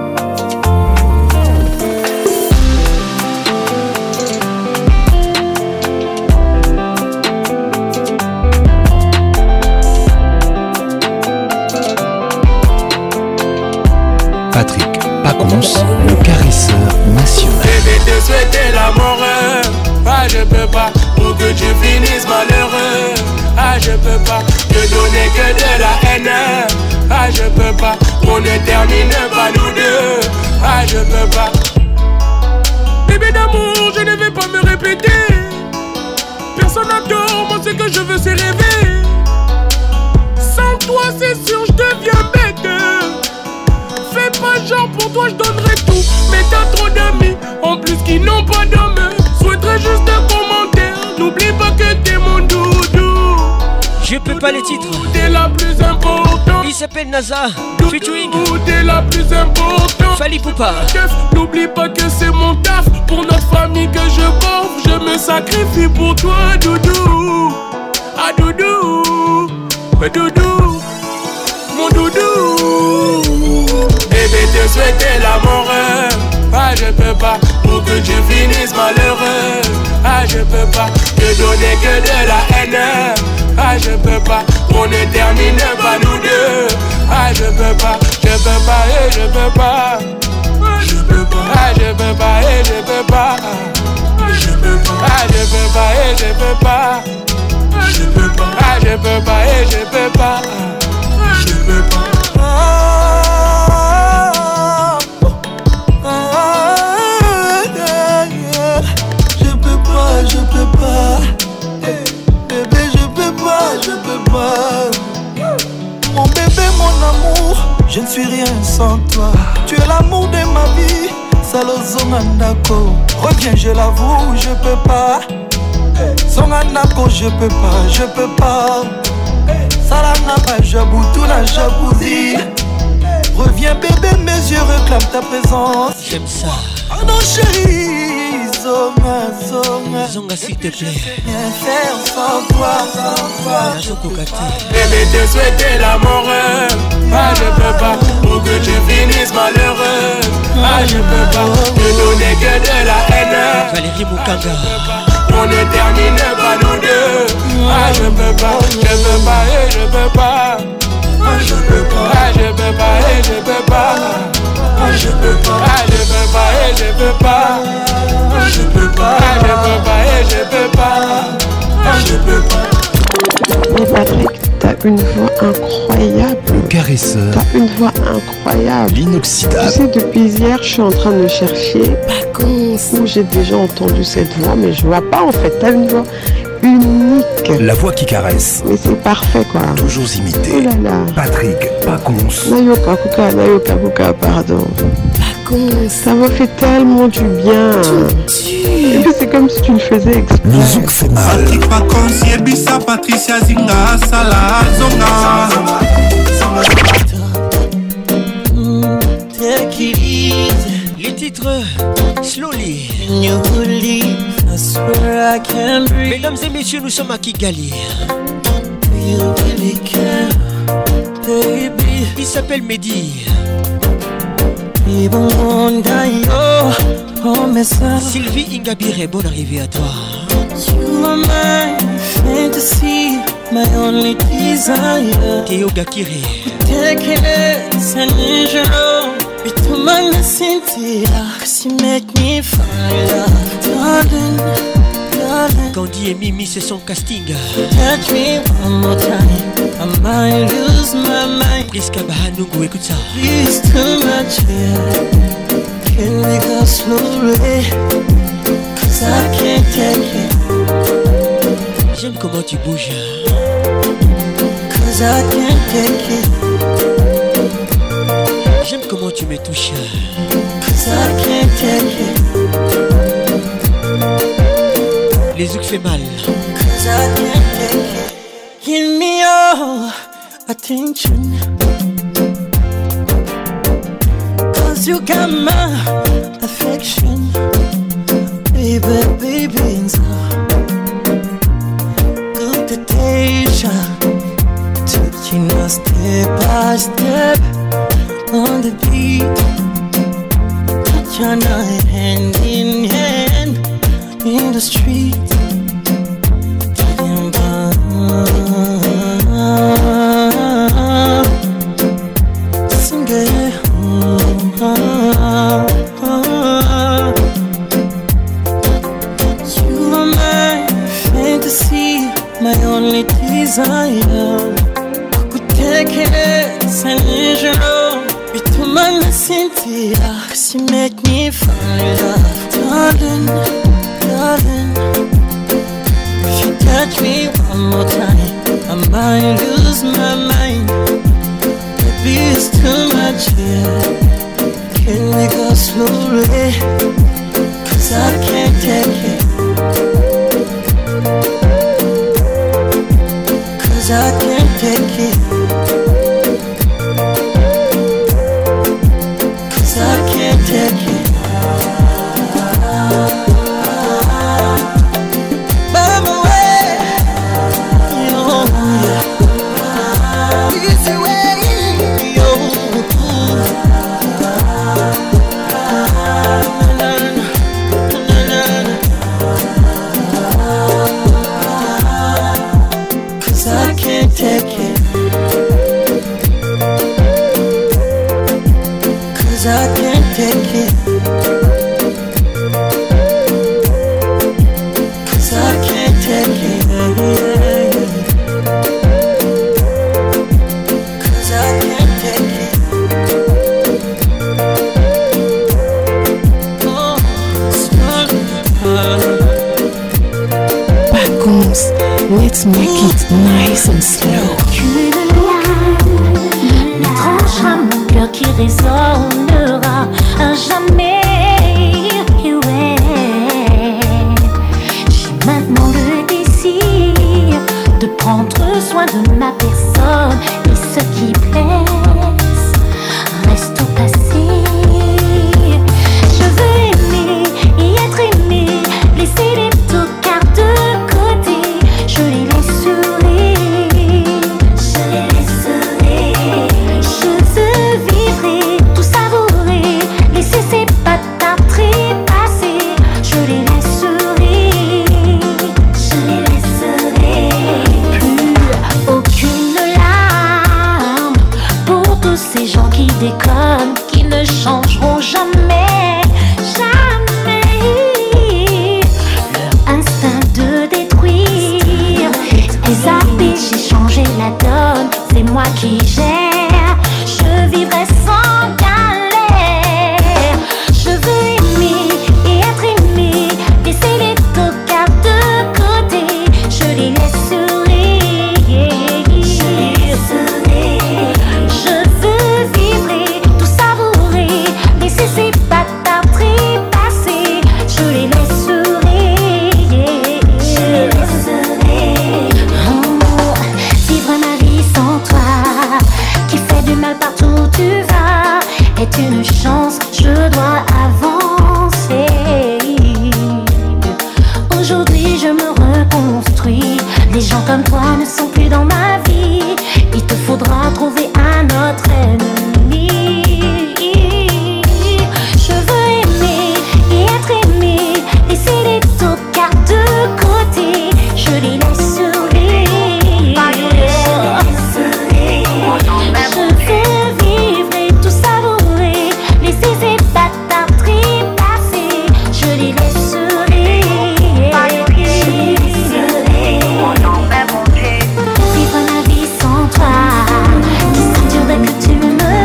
A: Patrick Pacons, le caresseur national.
V: Bébé te souhaiter la mort, ah je peux pas, pour que tu finisses malheureux. Ah je peux pas, te donner que de la haine. Ah je peux pas, on ne termine pas nous deux. Ah je peux pas. Bébé d'amour, je ne vais pas me répéter. Personne n'a tort, moi ce que je veux c'est rêver. Sans toi c'est sûr je deviens bête. Fais pas genre pour toi je donnerai tout. Mais t'as trop d'amis en plus qui n'ont pas d'homme. Souhaiterais juste un commentaire. N'oublie pas que t'es mon doudou.
F: Je peux pas les titres.
V: T'es la plus importante.
F: Il s'appelle NASA featuring.
V: T'es la plus importante.
F: Fali Poupa.
V: N'oublie pas que c'est mon taf. Pour notre famille que je porte. Je me sacrifie pour toi doudou. Ah doudou. Mais doudou. Mon doudou. Bébé te souhaiter la mort. Ah je peux pas, pour que tu finisses malheureux. Ah je peux pas, te donner que de la haine. Ah je peux pas, on ne termine pas nous deux. Ah je peux pas, je peux pas et je peux pas. Je peux pas, ah je peux pas et je peux pas. Je peux pas, ah je peux pas et je peux pas. Je peux pas, ah je peux pas et je peux pas. Je peux pas.
S: Je peux pas, bébé je peux pas, je peux pas. Mon bébé, mon amour, je ne suis rien sans toi. Tu es l'amour de ma vie, Salozongandako. Reviens, je l'avoue, je peux pas. Zongandako, je peux pas, je peux pas. Salangapa, jaboutou na jabouzi. Reviens bébé, mes yeux réclament ta présence.
F: J'aime ça.
S: Oh non chérie, zonga, zonga.
F: Zonga s'il te plaît.
S: Rien faire sans toi, sans toi.
V: Bébé te souhaiter la mort. Ah je peux pas, pour que tu finisses malheureux. Ah je peux pas, te donner que de la haine.
F: Valérie Mukanga.
V: On ne termine pas nous deux. Ah je peux pas, je peux pas et je peux pas. Ah je peux pas, ah je peux pas et je peux pas. Ah je peux pas, ah je peux pas et je peux pas. Ah je peux pas, ah je peux pas et je peux pas. Ah je peux pas.
L: Mais Patrick, t'as une voix incroyable.
A: Le caresseur.
L: T'as une voix incroyable.
A: L'inoxydable.
L: Tu sais, depuis hier, je suis en train de chercher Pacons, où j'ai déjà entendu cette voix, mais je vois pas en fait. T'as une voix unique.
A: La voix qui caresse.
L: Mais c'est parfait quoi.
A: Toujours imité.
L: Oh là là.
A: Patrick Pacons.
L: Nayoka Kuka, Nayoka Kuka, pardon. Pacons. Ça m'a fait tellement du bien. Et puis c'est comme si tu le faisais exprès.
A: Le zouk fait mal.
W: Patrick Pacons, Yebisa, Patricia Zinga, Salah, Zonga.
F: Take it easy. Les titres Slowly. I swear I can breathe. Mesdames et messieurs, nous sommes à Kigali. You really care, baby. Il s'appelle Mehdi. Sylvie Ingabire, bonne arrivée à toi.
R: You are my fantasy, my only desire.
F: Théo Gakire.
R: Taking it, Sanjiro. Bituma na Cynthia, cause you make me fire. Darling, darling.
F: Candy et Mimi, c'est son casting.
R: Touch me one more time, I might lose my mind.
F: Priska Bahanungu, écoute ça.
R: Please too much here. Can we go slowly? Cause I can't take it.
F: J'aime comment tu bouges.
R: Cause I can't take it.
F: J'aime comment tu me touches.
R: Cause I can't take it.
F: Les zouk fait mal.
R: Cause I can't take it. Give me your attention. Cause you got my affection, baby, baby, inside. Good temptation, taking us step by step on the beat. Touch your night hand in hand in the street. Sing it. You are my fantasy, my only desire. Kukutekereza nijoro bituma nasinzira. 'Cause you make me fall in love, darling, darling. If you touch me one more time, I might lose my mind. Baby, it's too much here. Can we go slowly? 'Cause I can't take it. 'Cause I can't take it. 'Cause I can't take it. Take it. 'Cause I can't take it. 'Cause I can't take it. 'Cause I can't take it. Oh,
L: Paconce, let's make it nice and slow.
I: Aucune lame ne tranchera mon cœur qui résonnera à jamais. Et ouais, j'ai maintenant le désir de prendre soin de ma personne. Et ce qui blesse reste au passé. Je veux aimer et être aimé, laisser les tocards de côté. Je les laisserai. Déconnent, qui ne changeront jamais, jamais. Leur instinct de détruire, les habits, j'ai changé la donne. C'est moi qui gère, je vivrai sans galère. Je veux aimer et être aimé, laisser les tocards de côté. Je les laisserai. Je les laisserai. Je veux vivre, tout savourer, laisser ces bâtards trépasser. Je les laisserai. Je les laisserai. Oh, vivre ma vie sans toi, qui fait du mal partout où tu vas, est une chance, je dois avancer. Aujourd'hui je me reconstruis. Les gens comme toi ne sont plus dans ma vie. Il te faudra trouver un autre ennemi. Je veux aimer et être aimé, laisser les tocards de côté. Je les laisserai. Je veux vivre et tout savourer, laisser ces bâtards trépasser. Je les laisserai. Vivre ma vie sans toi, qui s'endure que tu me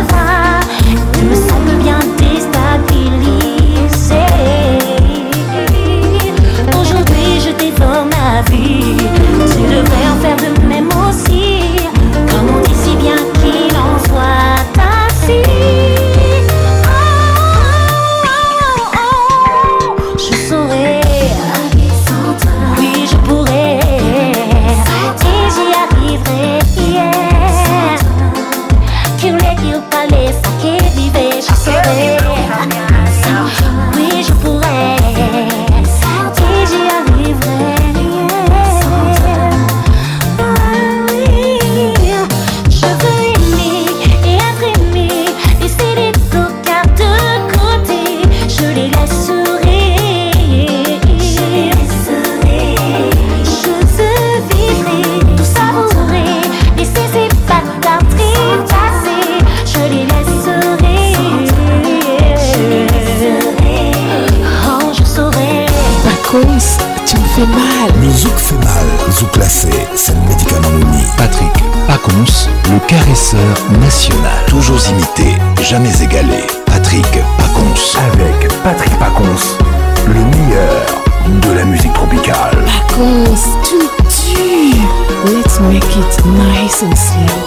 L: fait mal.
A: Le zouk fait mal. Zouk classé, c'est le médicament uni.
K: Patrick Pacons, le caresseur national.
A: Toujours imité, jamais égalé. Patrick Pacons.
K: Avec Patrick Pacons, le meilleur de la musique tropicale.
L: Pacons, tu me tues. Let's make it nice and slow.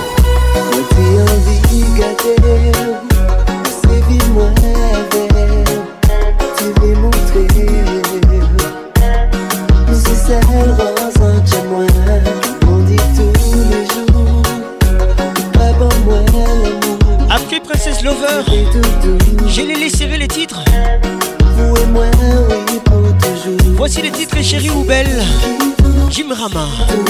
F: Après Princess Lover, j'ai les laissé les titres. Voici les titres Chérie ou Belle, Jim Rama.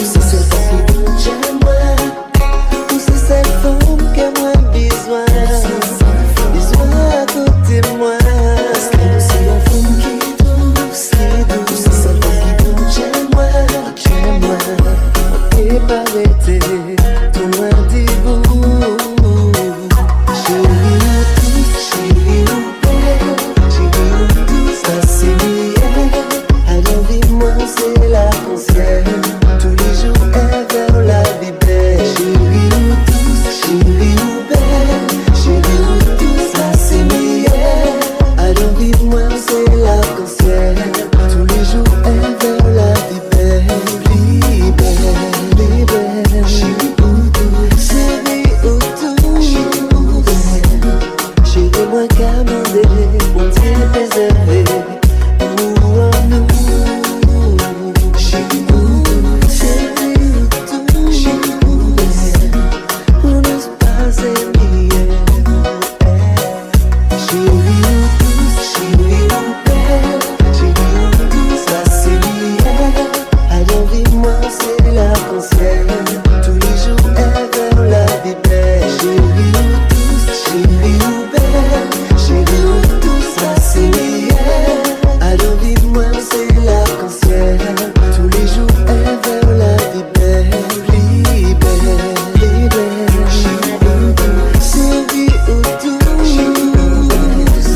M: Cette femme que moi besoin, besoin à côté de moi. Parce que c'est la femme qui est douce, qui est douce. C'est cette femme qui douce, j'aime-moi, j'aime-moi. On n'est pas arrêté, tout loin des bouts. Chérie ou douce, chérie ou belle, chérie ou douce, ça c'est mieux. Alors dis-moi, c'est la concerne. Tous les jours, elle vers la vie belle. Chérie ou chérie ou belle, chérie ou douce, ça c'est meilleur. Alors vive-moi, c'est l'arc-en-ciel. Tous les jours, elle vers la vie belle. Libère, libère, chérie ou douce, chérie ou douce, chérie ou belle. Chérie, moi qu'à demander, mon Dieu préservé. Nous en nous, chérie ou douce, chérie ou douce, chérie ou belle. On n'ose pas s'aimer. Chérie ou douce, chérie ou belle, chérie ou douce, ça c'est meilleur. Alors vive-moi, c'est l'arc-en-ciel. Tous les jours, elle vers la vie belle. Chérie ou douce, chérie ou belle, chérie ou douce, ça c'est meilleur. Alors vive-moi, c'est l'arc-en-ciel. Tous les jours, elle vers la vie belle. Libère, libère, chérie ou douce, chérie ou douce, chérie ou douce.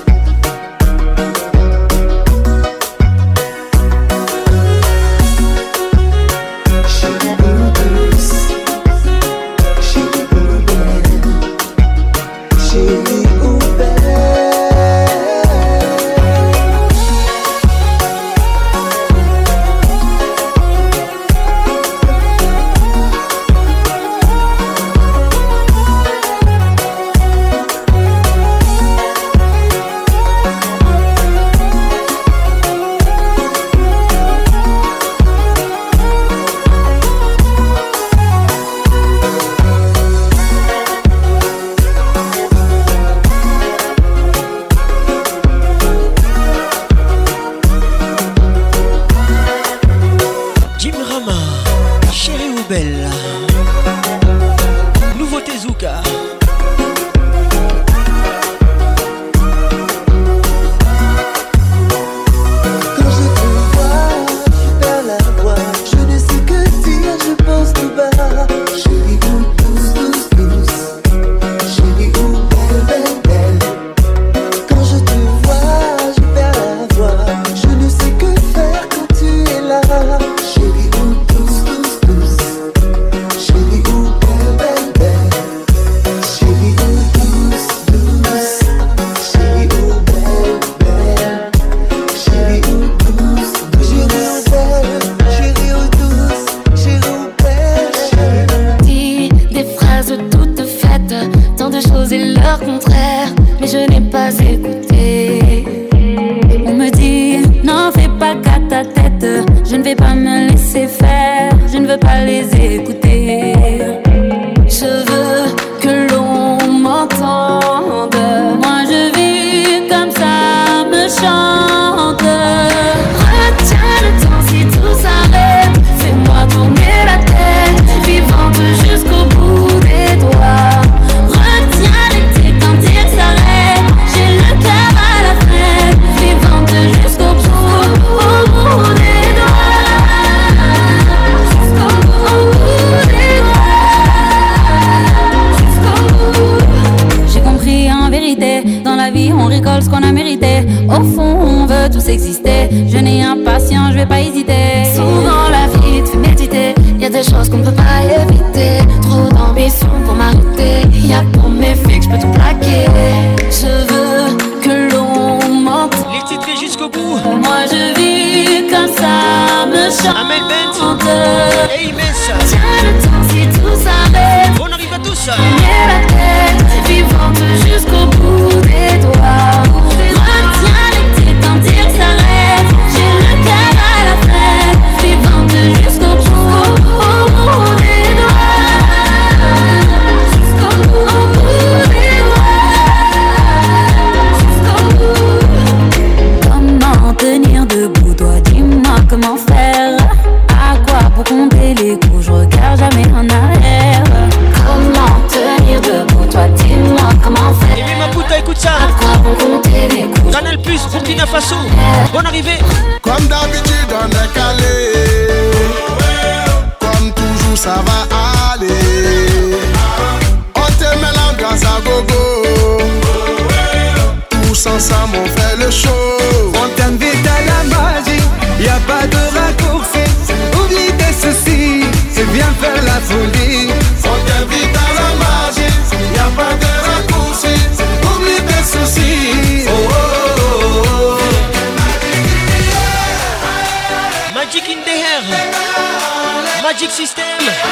M: Chérie ou douce, chérie ou belle, chérie ou belle.
F: Jim Rama, Chérie ou Belle. Nouveauté Zouka.
M: Quand je te vois, je perds la voix. Je ne sais que dire, je pense tout bas. Chérie ou douce, douce, douce. Chérie ou belle, belle, belle. Quand je te vois, je perds la voix. Je ne sais que faire quand tu es là. Chérie ou douce, douce, douce. Chérie ou belle, belle, belle. Chérie ou douce, douce. Chérie ou belle, belle. Chérie ou douce, douce. Chérie ou douce, chérie ou belle, chérie.
N: Dis des phrases toutes faites, tant de choses et leur contraire, mais je n'ai pas écouté. On me dit, n'en fais pas qu'à ta tête, je ne vais pas me laisser faire, je ne veux pas les écouter. Je veux que l'on m'entende, moi je vis comme ça me chante. Retiens le temps si tout s'arrête, fais-moi tourner la tête, vivante jusqu'au bout des doigts. Retiens l'été quand il s'arrête, j'ai le cœur
B: la vie, on rigole ce qu'on a mérité. Au fond, on veut tous exister. Jeune et impatient, je vais pas hésiter. Souvent la vie te fait méditer. Y'a des choses qu'on peut pas éviter. Trop d'ambition pour m'arrêter. Y'a pour mes filles que je peux tout plaquer. Je veux que l'on m'entende.
F: Les titres jusqu'au bout.
B: Moi je vis comme ça, me chante.
F: Amel Bent et Immense.
B: Tiens le temps si tout s'arrête.
F: On arrive à tous.
B: Mets la tête, vivante jusqu'au bout des doigts. Retiens les titres quand ils s'arrêtent. J'ai le cœur à la fête. Vivante jusqu'au bout, au bout des doigts. Jusqu'au bout, au bout des doigts. Jusqu'au bout. Comment tenir debout, toi dis-moi comment faire. À quoi pour compter les coups, je regarde jamais en arrière. Comment tenir debout, toi dis-moi comment faire.
F: Et ma putain, écoute ça.
B: À quoi pour compter les coups.
F: Canal Plus, Burkina Faso. Bonne arrivée.
H: Comme d'habitude on est calé. Comme toujours ça va aller. On te met l'ambiance à gogo. Tous ensemble on fait le show.
O: On t'invite à la magie, y a pas de raccourci. Oublie tes soucis et viens faire la folie.
H: On t'invite à la magie, y a pas de raccourci. Oublie tes soucis. Oh, oh, oh, oh.
F: Magic in the air. Magic System.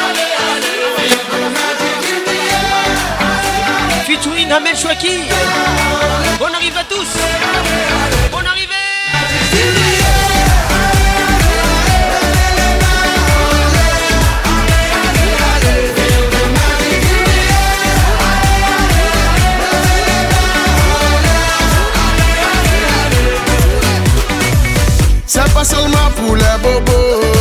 F: Featuring Amel Chouaki. On arrive à tous. On arrive.
H: C'est pas seulement pour les bobos.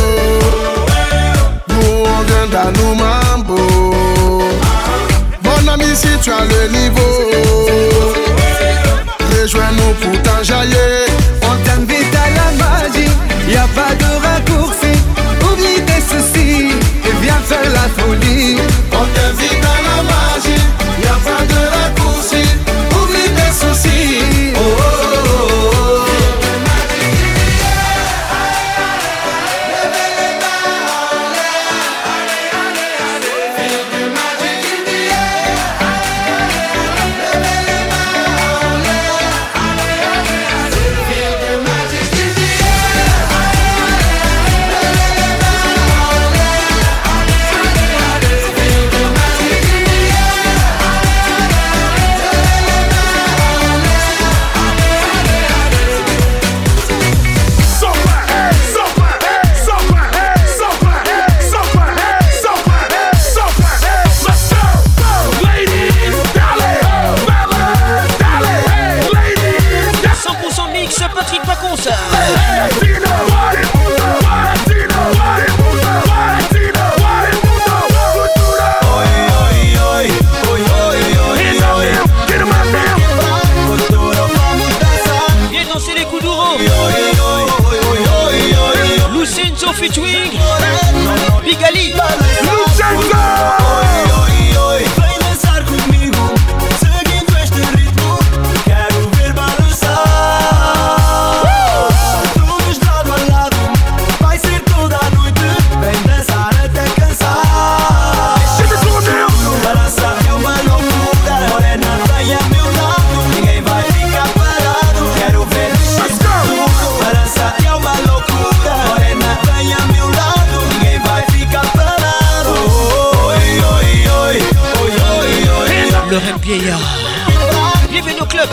H: Nous on vient dans nos mambo. Mon ami si tu as le niveau, rejoins-nous pour t'enjailler.
O: On t'invite à la magie, y a pas de raccourci. Oublie tes soucis et viens faire la folie.
H: On t'invite à la magie, y a pas de raccourci. Oublie tes soucis. Oh, oh, oh, oh.
F: Featuring Big Ali. Le rêve vieillard. Bienvenue au club.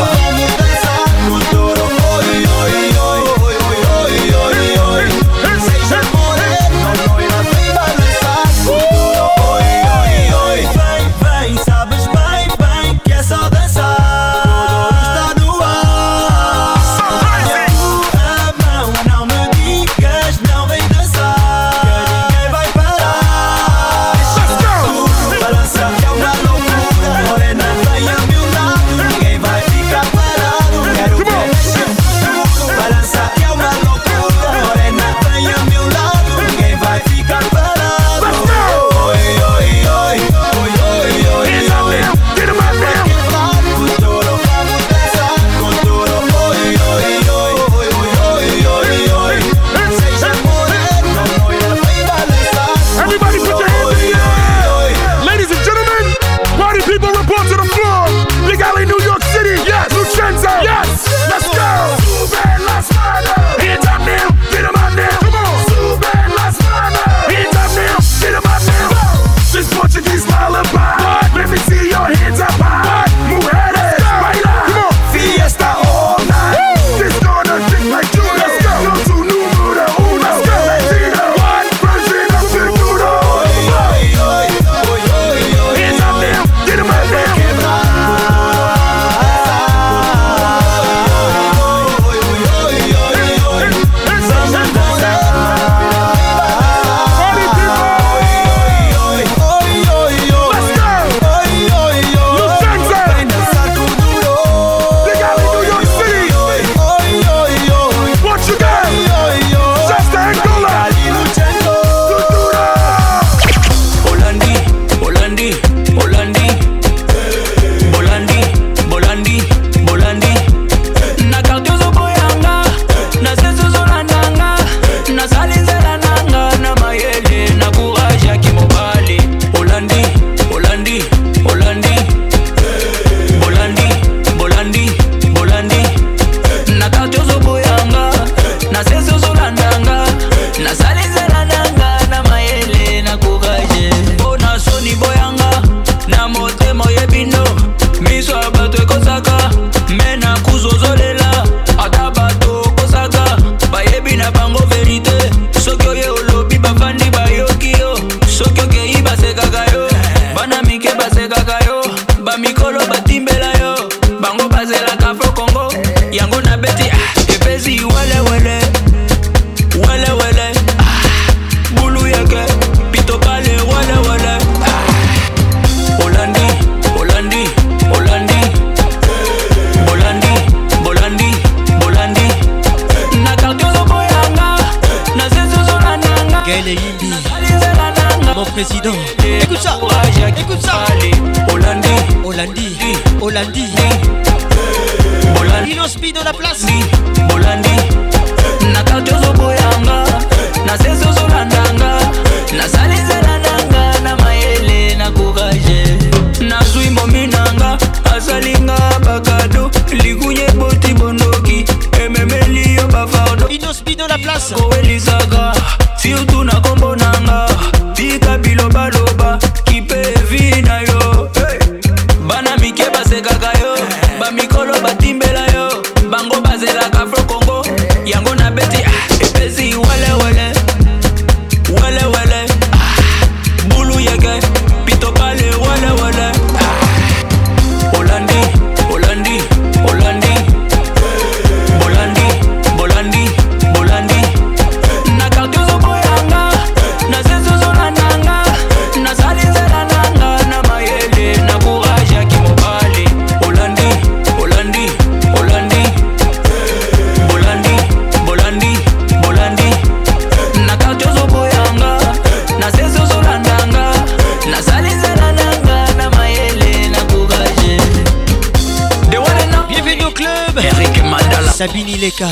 P: Afro Congo yango na beti epesi wele wele wele wele bulu yake pito pale wele wele Holandi Holandi Holandi Bolandi Bolandi Bolandi na kartiozo boyanga na zezo nanga
F: Gaël Yimbi mon président. Écoute ça, écoute ça.
P: Hollandi,
F: Hollandi, Hollandi. Dino Speed dans la place.
P: Hollandi. Na kartozo boyanga, na sezo zolandanga, na salize landanga, na maele na courage. Na zui mominanga, asalinga bakado, ligunye boti bondoki, ememeli yo bafardo.
F: Dino Speed dans la place.
P: Koelisaga, surtout na kombo nanga. Tika biloba loba kipe vina yo hey. Bana mike basekaka yo ba mikolo batimbela yo bango bazela ka Afro Congo yango na beti ah, epesi wele wele wele wele ah, bulu yeke pito pale wele wele ah. Hollandi Hollandi Hollandi Bolandi Bolandi Bolandi na kartiozo boyanga na zezo
F: Sabine Ileka.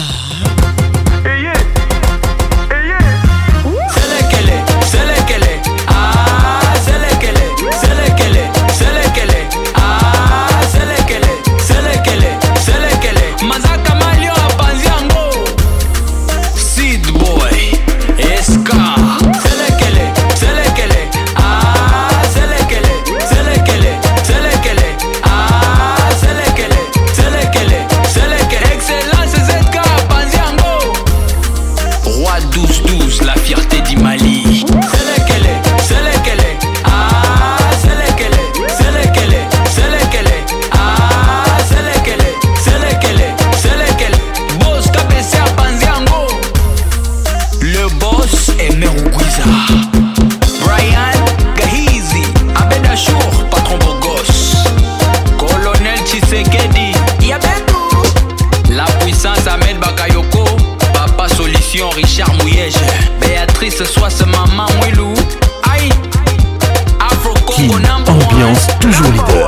P: Richard Mouyege, Béatrice Soisse, Maman Willou, Aïe, Afro Congo number one.
K: Ambiance toujours leader.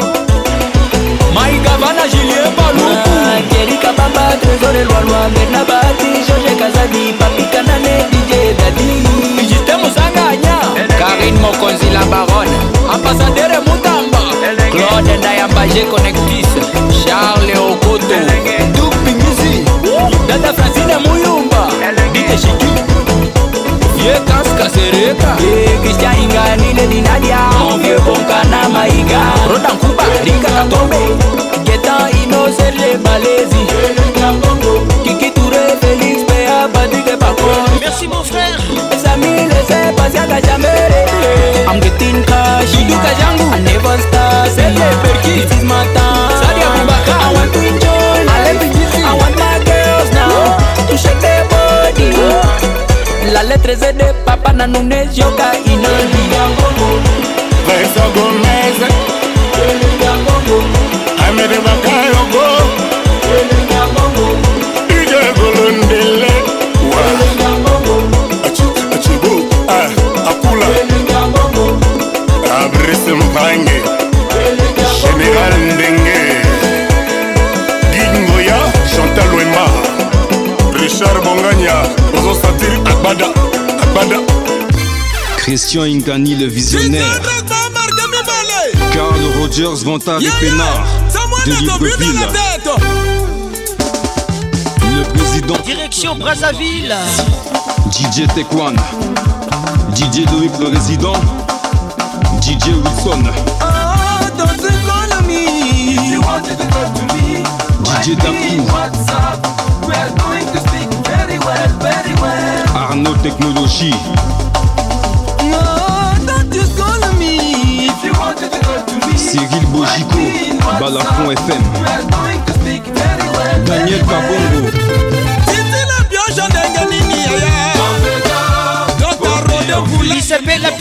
P: Maïga Vana Julien Balou, Kerika Baba, Trésor et Loa Bernabati, Georges Kazadi, Papi Kanane, D J Dadi, Justin Moussanganya, Karine Mokonzi la Baronne, Ambassadeur Moutamba, Claude Ndayamba G Connectis, Charles Okoto, Dupi Musi, Dada Francine Mouyumba, Dite Chiki, Ye Kaska Sereka, Ye Christian Ingani Lady Nadia, Mon vieux Bonkana Maïga, Rodan Kuba, Rika Katombe, Getan Innocent Les Malaisie, Kiki Touré, Félix Péa, Patrick Pacon.
F: Merci mon frère.
P: Mes amis, laissez passer à Gajamere. I'm getting cash, you do Kajangu. I never start, c'est les perkis, this is my time. Sadia Bubaka, I want to enjoy life. I want my girls now to shake their body. La lettre Z de Papa Nanounes, Yoka Inandi.
E: Vanessa Gomez, Amede Bakayoko, Ige Golondele, Achibu, Apula, Abrice Mpange, Général Ndengue, Guingoya, Chantal Wema, Richard Bongagna, Ozo Satir, Akbada, Akbada.
T: Christian Ingani le visionnaire, Carl Rogers, Vantard et Pénard de Libreville, le président
F: Direction Brazzaville,
T: D J Tekwan, D J Loïc le résident, D J Wilson, D J Dakou, Arnaud Technologie, Cyril Bojico, Balafon F M,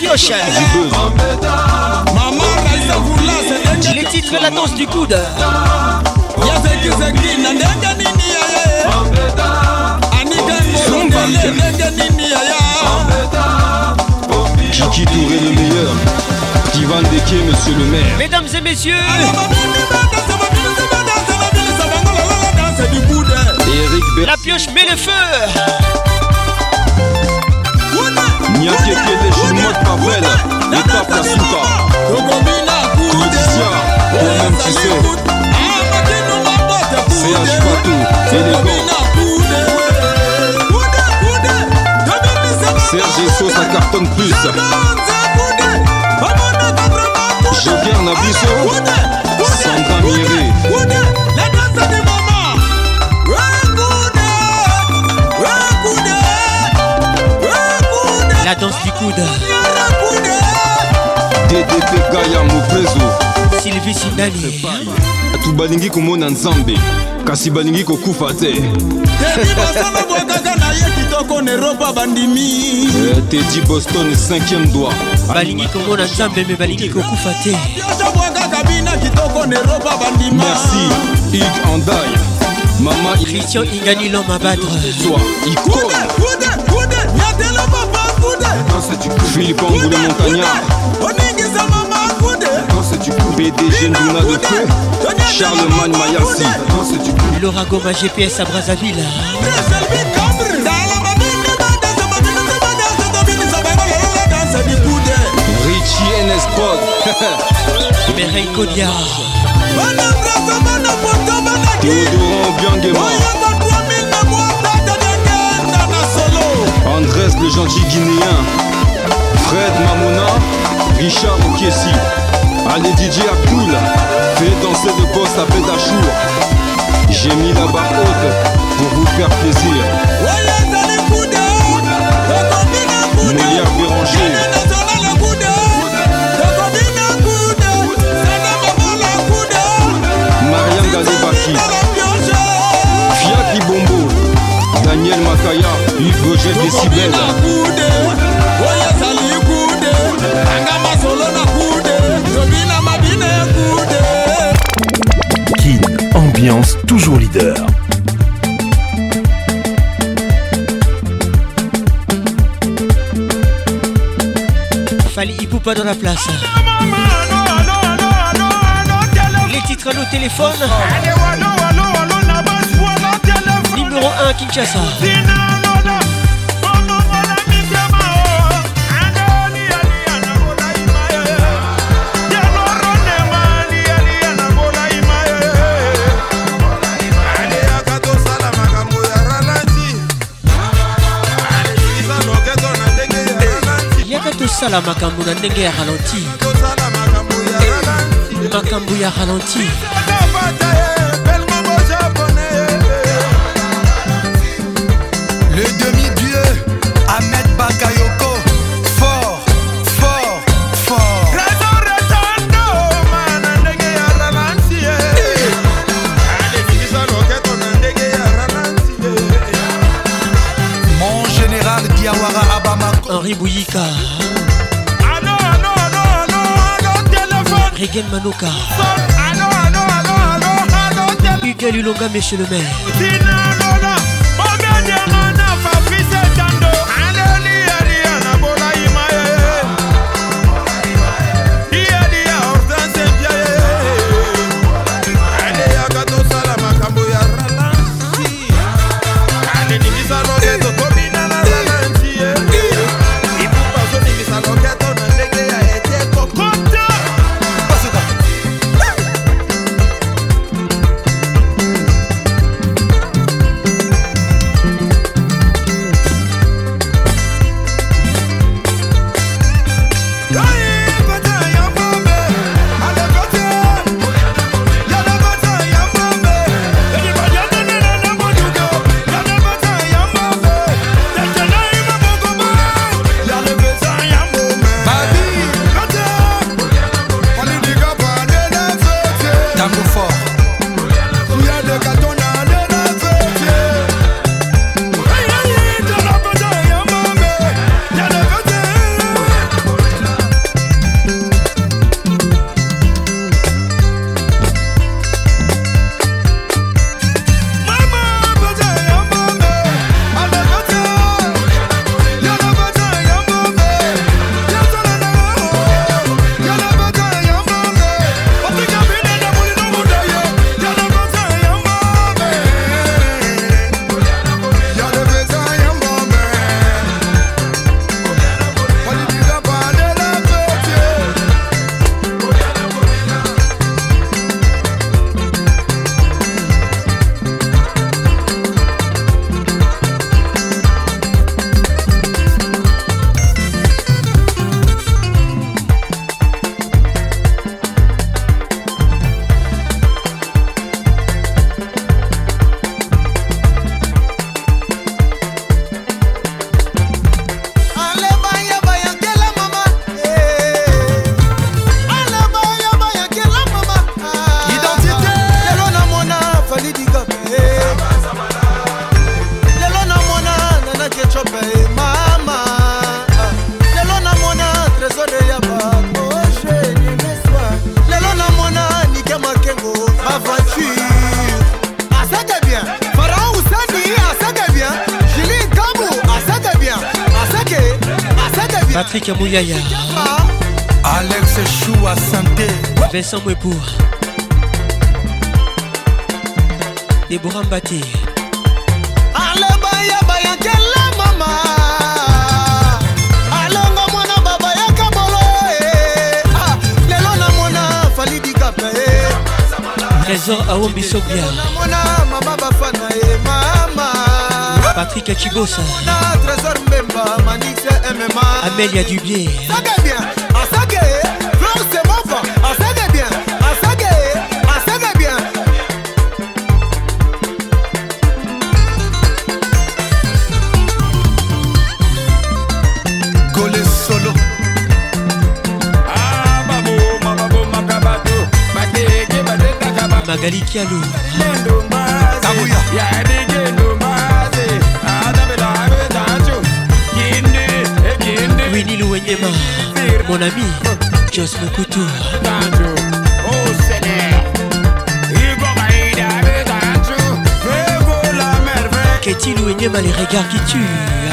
F: pioche.
O: Maman Raïsa Voula, c'est
F: les titres de la danse du coude.
O: Yazeki Zeki, Nandega Nini Yaya. Anika Ngolo, Nandega Nini Yaya.
T: Kiki Touré le meilleur. Ivan Deke, monsieur le maire.
F: Mesdames et messieurs,
T: Eric Ber...
F: la pioche met le feu.
T: Niake Kete, Chinois de Pavel. L'étape la Souka. Laetitia, toi-même tu sais. C H Patou, élégant. Serge Esso, ça cartonne plus. Joker Nabiso, Sandra Miré.
F: La danse du coude.
T: D D P Gaya Moprezo.
F: Sylvie Sindani.
T: Tu balingi komona nzambe kasi balingi kokufa te. Teddy Boston cinquième doigt.
F: Balingi komona nzambe mais balingi kokufa te.
T: Merci Ig Andai. Maman
F: Christian Ingani l'homme à battre.
T: Toi icône. Philippe Angoulé Montagnard. P D G Nduna de Feu. Charlemagne Mayassi.
F: Laura Goma G P S à Brazzaville.
T: Richie N S Prod.
F: Mireille Kodia.
T: Théodorant Biangema. Andrés le gentil guinéen. Fred Mamona. Richard Okiesi. Allez D J Abdul. Fais danser le boss à Pédachour. J'ai mis la barre haute pour vous faire plaisir. Molière Béranger. Marianne Galebaki. Fiaki Bombo. Daniel Makaya. Yves Roger Décibel.
K: Kin, ambiance toujours leader.
F: Fali Ipoupa dans la place. Les titres au téléphone. Numéro un Kinshasa. Sala makambo na ndenge ya ralenti. Makambo ya ralenti.
G: Le demi-dieu Ahmed Bakayoko. Fort, fort, fort. Mon général Diawara Abamako.
F: Henri Bouyika. Regen Manoka. Hugues Lulonga, monsieur le maire. Patrick Amouyaya,
G: Alex Chou à Santé,
F: Vincent Mwepour, Déborah Mbaté,
H: Ale baya baya kela mama Alonga mwana baba ya kabolo eh ah lelo na mwana falidi kape eh
F: Trésor Aombi Sobia,
H: mwana mama bafana eh mama
F: Patrick Chibosa,
H: na Trésor Mbemba Manix M M A
F: Amélia Dubier,
H: Saga bien Asaga Flore c'est bon fa Asaga bien Asaga Asaga bien
G: Golé solo.
P: Ah babo mababo makabato bateke bateta kaba
F: Magali Kialou,
P: Kabuya ya dege no maze adabela betancho kinde e kinde
F: Winnie Louenyema, mon ami, Jos Mokutu,
P: tancho oh sene Igo gaida betancho Fego la merveille
F: Ketty Louenyema, les regards qui tuent.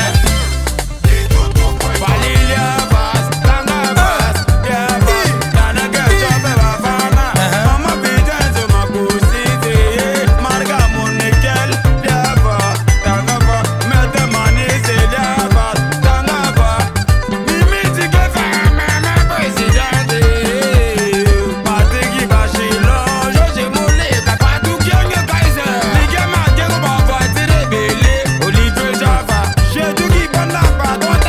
P: Valilia Bass, Tanga Bass, yeah Bass, Tana Gacha Beba Fana, Mama Bijanzo Makusite, Marga Monikel, yeah Bass, Tanga Bass, Mete Manise, yeah Bass, Tanga Bass, Mimiti Kefa, Mama Presidente, Patiki Bashilo, Joje Moule, Kakatu Kyonge Kaiser, Nige Magego Baba Tire Bele, Olive Java, Sheduki Banda Padota,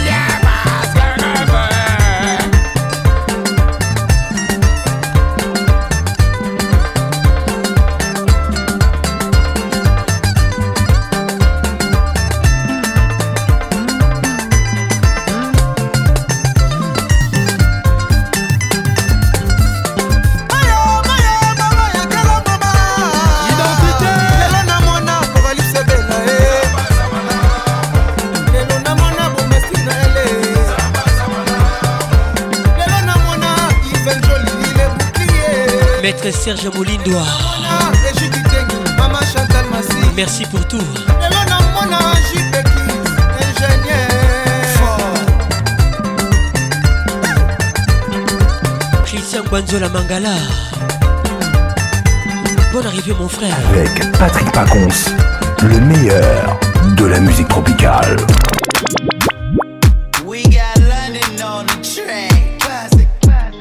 F: Maître Serge Molindois, merci pour tout. Christian Banzola Mangala, bonne arrivée mon frère.
K: Avec Patrick Pacons, le meilleur de la musique tropicale.
O: We got London on the track. Classic.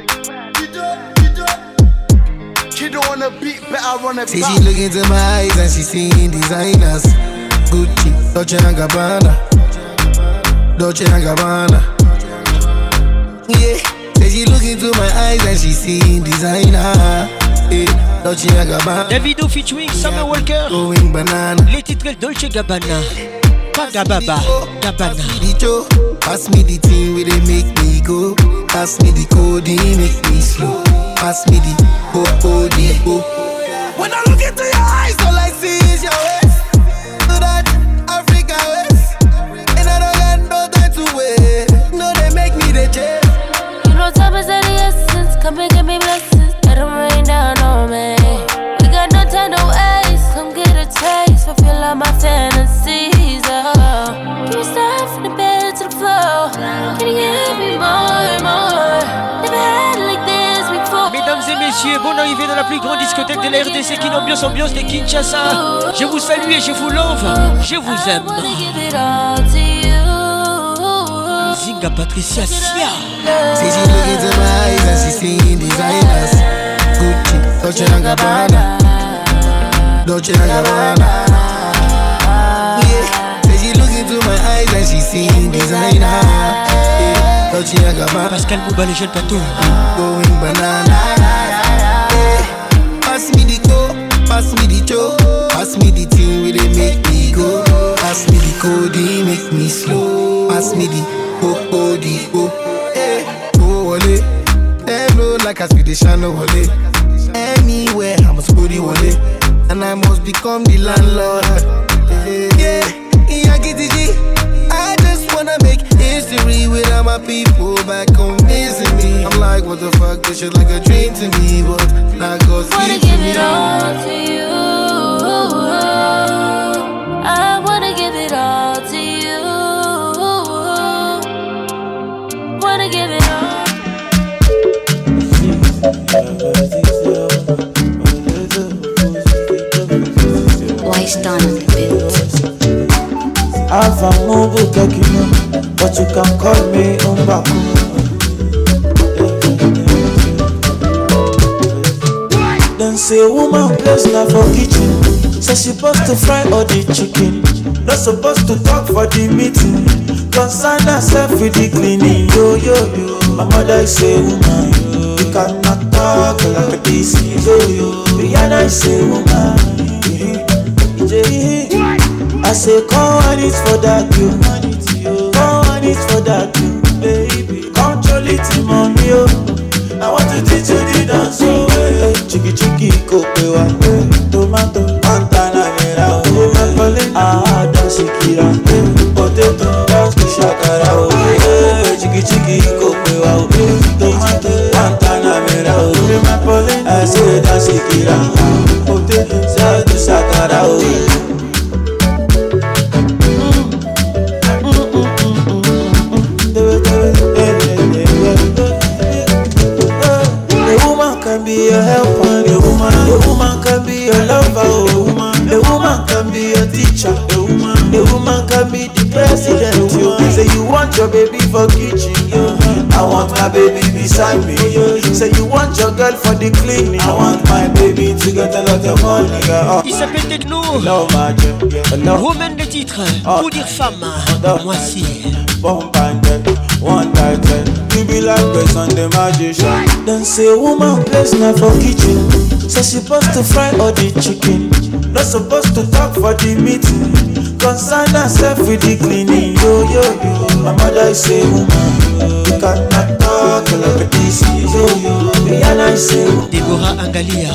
O: She don't wanna beat, but I wanna
H: See she look into my eyes and she seeing designers Gucci, Dolce and Gabbana Dolce and Gabbana Yeah, say she look into my eyes and she seeing designer yeah, Dolce and Gabbana
F: Davido featuring Summer Walker,
H: Going banana
F: les titres Dolce Gabbana, pas Gababa, Gabbana.
H: Pass me the thing where they make me go. Pass me the code, make me slow. Pass me the O O D O. When I look into your eyes, all I see is your waist. So that Africa waist, and I don't got no time to wait. No, they make me the chase.
B: You know time is of the essence. Come and give me blessings. Let them rain down on me. We got no time to waste. Come get a taste. Fulfill all my fantasies. Oh, give me stuff from the bed to the floor. Can you give me more, more? Never had it like this before.
F: Mesdames et messieurs, bonne arrivée dans la plus grande discothèque de la R D C, Kin Ambiance, ambiance de Kinshasa. Je vous salue et je vous love. Je vous aime. Zinga Patricia Sia.
H: See she look into my eyes and she seeing designers. Gucci, Dolce and Gabbana, Dolce and Gabbana. Yeah, say she look into my eyes and she seeing designer. Yeah, Dolce and Gabbana.
F: Pascal Mouba, le jeune plateau.
H: Going banana. Yeah, pass me the co, pass me the cho, pass me the thing where they make me go. Pass me the code, make me slow. Pass me the O O D O. Hey, oh wale, them know like I speak the channel wale. Anywhere I must go the wale, and I must become the landlord. Yeah, yeah, G T G. I just wanna make history with all my people back home missing me. I'm like, what the fuck, this shit like a dream to me, but not cause
B: Wanna give it all to you. I wanna give it all to you.
N: Tristan on the beat.
J: Ava Mobu Kakino, but you can call me Umbaku. Then say woman place now for kitchen. So she supposed to fry all the chicken. Not supposed to talk for the meeting. Concern herself with the cleaning. Yo yo yo. My mother is a woman. You cannot talk like this. Yo yo. Rihanna is a woman. I say come on it for that you. Come on it for that you, baby. Control it mommy yo. I want to teach you the dance. Oh, hey, chiki chiki kopewa, hey, tomato, montana mera, oh, hey, ah, dance kira, hey, potato, dance shakara, oh, hey, chiki chiki kopewa, hey, tomato, montana mera, oh, I say dance kira, potato, dance shakara, oh. Be a helper, a woman. A woman can be a lover, a woman. A woman can be a teacher, a woman. A woman can be the president. You say you want your baby for kitchen, yo. I want my baby beside me, yo. Say you want your girl for the cleaning. I want my baby to get a lot of money, yo.
F: Il s'appelle Techno.
J: No magic,
F: Woman le titre, pour dire femme. Moi si.
J: Bomb banded, one title. You be like a Sunday magician. Then say woman place now for kitchen. So she supposed to fry all the chicken. Not supposed to talk for the meeting. Concern herself with the cleaning. Yo yo yo. My mother is a woman. You cannot talk like this. Yo yo. Rihanna is a woman.
F: Deborah Angalia.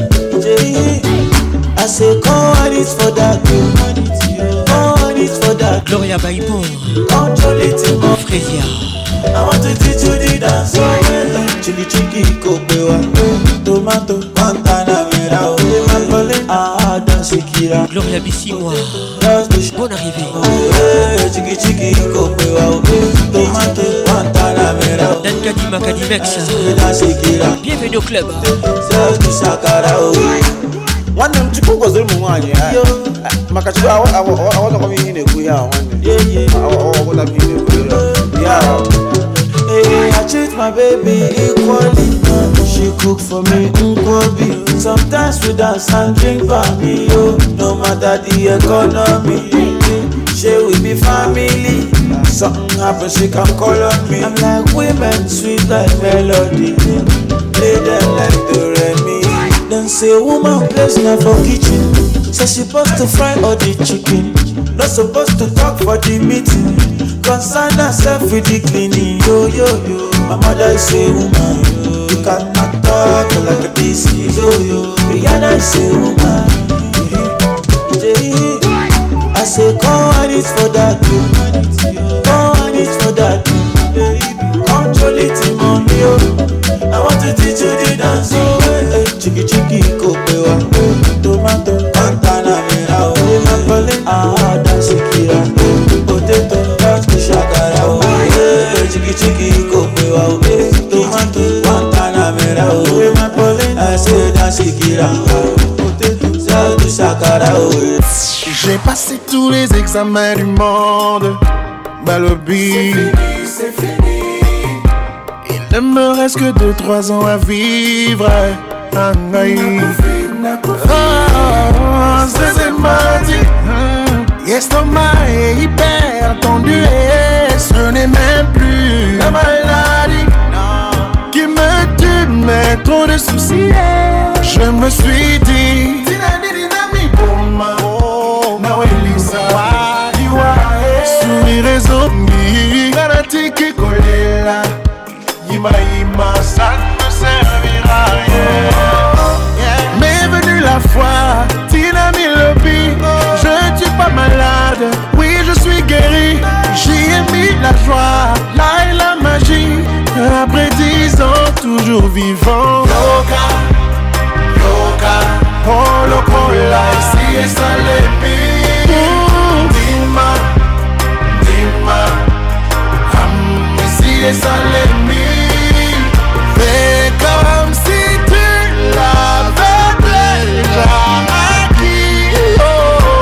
J: I say come on it for that you. Come on it for that.
F: Gloria Baibo.
J: Control it more.
F: Frezia.
J: I want to teach you the dance. Chili chiki kopewa, tomato, montana mera, ah dance kira.
F: Gloria Bissimois. Bonne arrivée.
J: Chiki chiki kopewa, tomato, montana mera.
F: Dan Kadima Kadimex.
J: Dance kira.
F: Bienvenue au club.
J: Dance shakara.
Q: One of them chicken was the one. Makachu, I want to come in a good one.
J: Yeah, yeah.
Q: I want to be in a good
J: yeah. Hey, I treat my baby equally. She cook for me nkwobi. Sometimes we dance and drink me, yo. No matter the economy. She will be family. Something happens, she can call on me. I'm like women, sweet like melody. Play them like the Remy. Then say woman place now for kitchen. So she supposed to fry all the chicken. Not supposed to talk for the meeting. Concern herself with the cleaning. Yo yo yo. My mother is a woman. You cannot talk like this. Yo yo. Rihanna is a woman. I say come on it for that. Come on it for that. Control it mommy yo. I want to teach you the dance. Chiki chiki kopewa, tomato, montana mera, ah dance kira, potato, dance shakara, chiki chiki kopewa, tomato, montana mera, I say dance kira, potato, dance shakara.
W: J'ai passé tous les examens du monde, Balobi.
H: C'est fini.
W: Il ne me reste que deux trois ans à vivre. Anaï, ah, c'est mardi. L'estomac est hyper tendu et ce n'est même plus la maladie qui me tue, mais trop de soucis. Je me suis dit, sur les réseaux, Garantique Kolela, Yima Yima, ça ne servira à rien. M'est venue la foi, Tina Milobi, je ne suis pas malade, oui je suis guéri. J'y ai mis la joie, là et la magie, après dix ans toujours vivant. Loca, loca, oh locola, ici et ça les pire. Dima, dima, hum, ici et ça les pire. Fais comme si tu l'avais déjà acquis. Oh.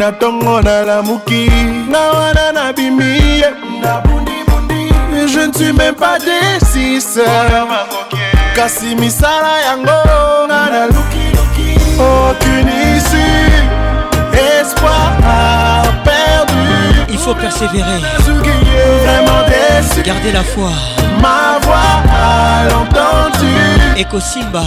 E: na tongo na lamuki na wana na bimi na bundi bundi. Je ne suis même pas des six kasi misala yango na na luki luki. Aucune issue, espoir perdu.
F: Il faut persévérer,
E: vraiment déçu.
F: Gardez la foi.
E: Ma voix à l'entendu.
F: Eko Simba.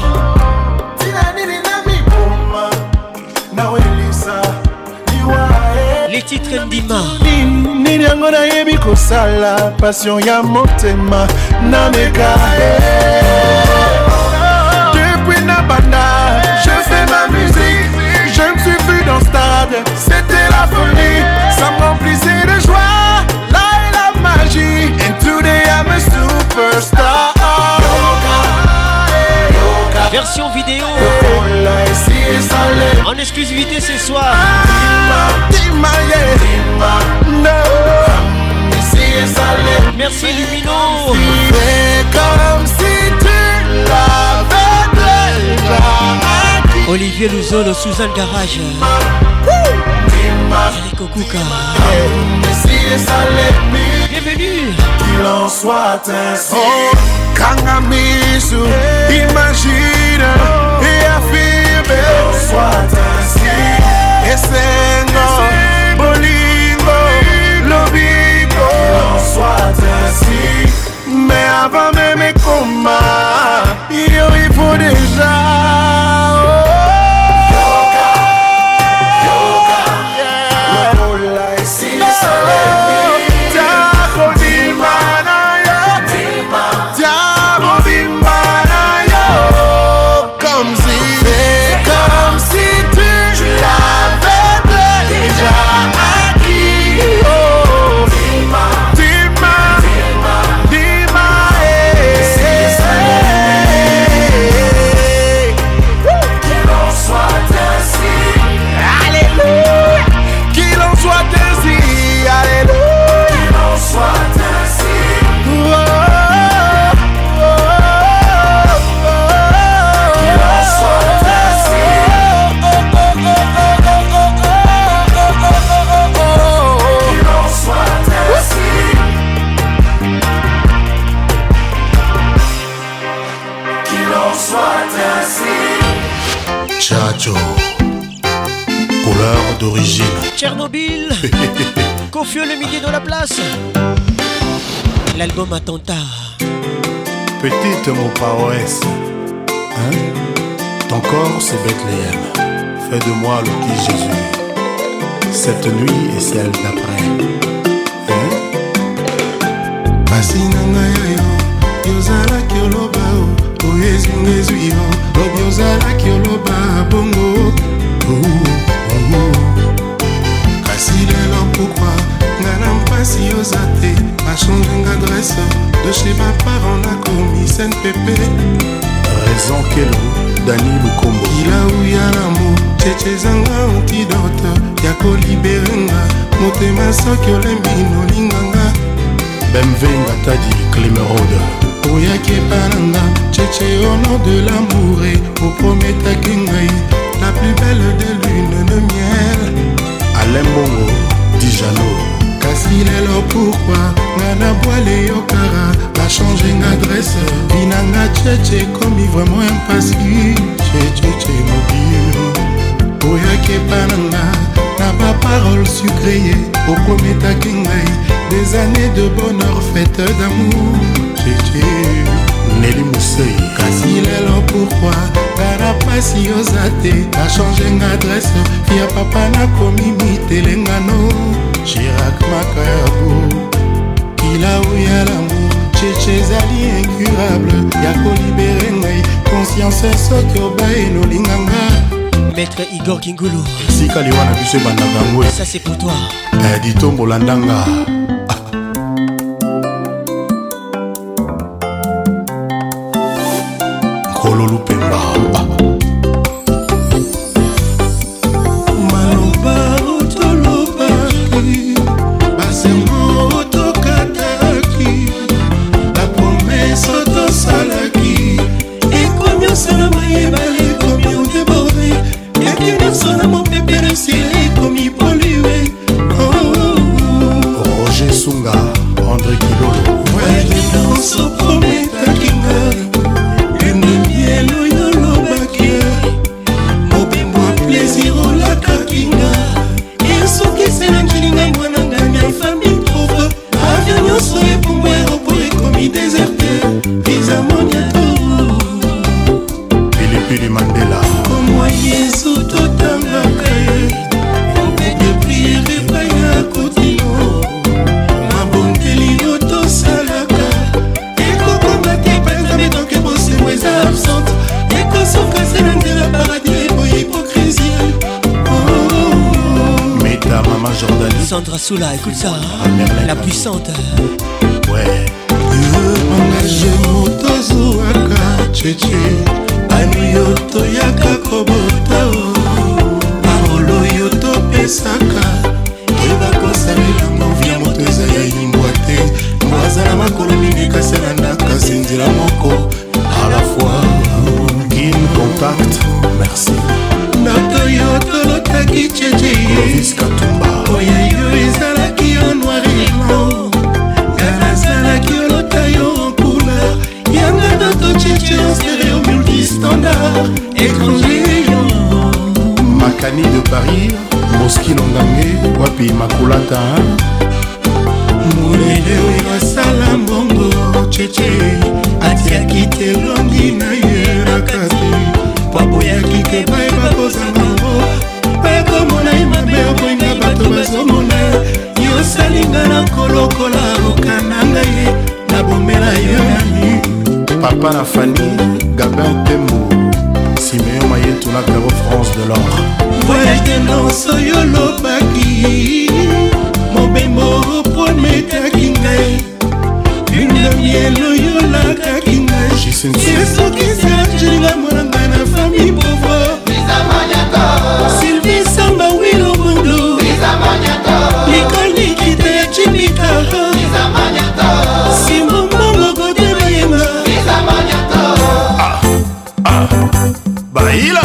F: Les titres Ndima.
E: Nini yango na yebi kosala passion ya motema na mekae. Depuis Nabanda, je fais ma musique. Je me suis vu dans le stade, c'était la folie. Ça me remplissait de joie, là est la magie. And today I'm a superstar.
F: Version vidéo en exclusivité ce soir. Merci Lumino.
E: C'est comme si tu l'avais déjà.
F: Olivier Louzolo, Suzanne Garage, Eric Okuka. Bienvenue.
E: Qu'il en soit ainsi. Oh, Kangamisu, imagine et affirme. Qu'il en soit ainsi. Essengo, Bolingo, Lobingo. Qu'il en soit ainsi. Mais avant même mes combats, il faut déjà.
W: Chacho, couleur d'origine.
F: Tchernobyl. Confio le milieu de la place. L'album Attentat.
W: Petite mon paroisse, hein? Ton corps c'est Bethléem. Fais de moi le qui Jésus. Cette nuit et celle d'après. Hein?
E: Basinanga yo, yozala kioloba o, oyezi ngezwi yo, lobi yozala kioloba bongo. Kasi lelo pourquoi ngana mpasi yozate, a changé d'adresse de chez ma parent na komi Saint Pépé.
W: Raison Kelo, Dani Lukombo.
E: Kila uya l'amour, cheche zanga antidote, yako liberenga, motema soki olembi nolinganga.
W: Bemvenga Tadi Clémerode.
E: Oyaki epananga, cheche au nom de l'amour et au prometaki ngai, la plus belle des lunes de miel.
W: Alain Bongo, Dijano.
E: Kasi lelo pourquoi ngana boile yokara, a changé d'adresse, binanga cheche comme vraiment impassi, cheche mobile. Oyaki epananga, na ba parole sucrée, au prometaki ngai, des années de bonheur faites d'amour. Cheche
W: Nelly Moussei.
E: Kasi lelo pourquoi ngana pasi yozate, a changé d'adresse, fia papa na komi mitelengano. Chirac Makayabo, il a ouïa l'amour, cheche zali incurable, yako libéré ngai, conscience soki obaye no linganga.
F: Maître Igor Kingulu.
W: Sika liwana biso bandangangwe.
F: Ça c'est pour toi.
W: Eh, Dito Molandanga. Kololu Pemba.
F: Sandra Soula, écoute ça, hein? La puissante.
W: Ouais. Engagé motozo aka cheche ani yoto yaka kobota parolo yoto pesaka eba kosalela movia moto eza ya yimbwa te mwazala makolo mingi kasela ndaka sinzira moko à la fois in contact merci nato yoto lotaki cheche Clovis Katumba oya yo ezalaki yo noir et blanc yanazalaki yo lota yo en couleur yanga doto cheche en stéréo multistandard étranger yo Makani de Paris Moski Longange wapi makulata mulele wekasala mbongo cheche atiaki te longi na yeraka te paboyaki te bayeba kozangango bayakomona ye mabe okoinga bato bazomona yosalinga na kolokola okananga ye nabomela yo nani papa na Fanny Gabin Tembo Siméon Mayetou na Perro France de l'or voyage de noces yo lobaki mobembo prometaki ngai une miel oyo lakaki ngai esokisa jilinga mwana ngai na famille pauvre Sylvie Samba Wilo Mundu Likoli Kite ya Chimikara Simon Mbongo Gode Bayema Ah, ah, Baila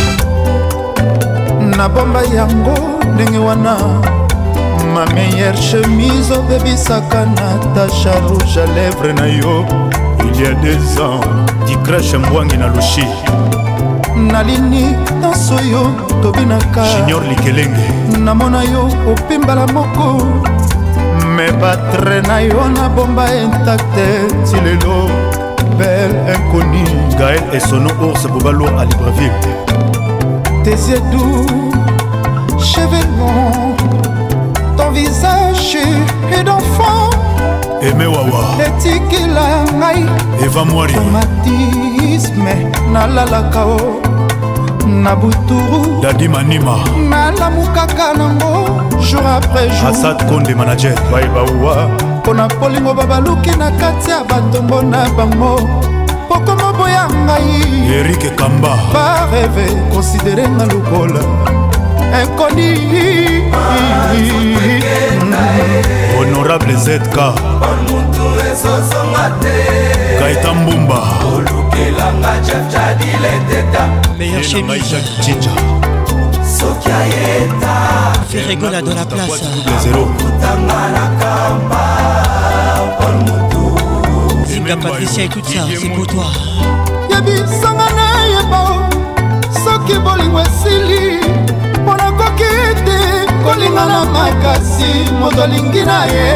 C: Na bomba yango ndenge wana ma meilleure chemise obebisaka Natacha rouge à lèvres na yo il y a des ans di crèche mbwangi na lushi nalini danso yo tobinaka
W: Junior Likelenge
C: namona yo opimbala moko me batre na yo na bomba intacte tilelo belle inconnue
W: Gaël et Sono Ours Bobalo à Libreville
C: tes yeux doux cheveux longs ton visage est d'enfant
W: Aimé Wawa
C: etikila ngai
W: Eva Mwari
C: traumatisme nalalaka o na buturu
W: Dadi Manima
C: nalamukaka nango jour après jour
W: Assad Konde manager
C: baibawa mpona polingo babaluki na kati ya batombo na bango pokoma boya ngai
W: Eric Kamba
C: bareve konsidere nga lokola inconi
W: Honorable Z K Kaita Mbumba
F: meilleur chemise
W: Chicha
F: Ferregola dans la place
W: Zéro
F: Zinga Patricia, écoute ça, c'est pour toi.
C: yebisanga na yeba soki bolingo esili mpona koki te kolingana makasi moto alingi na ye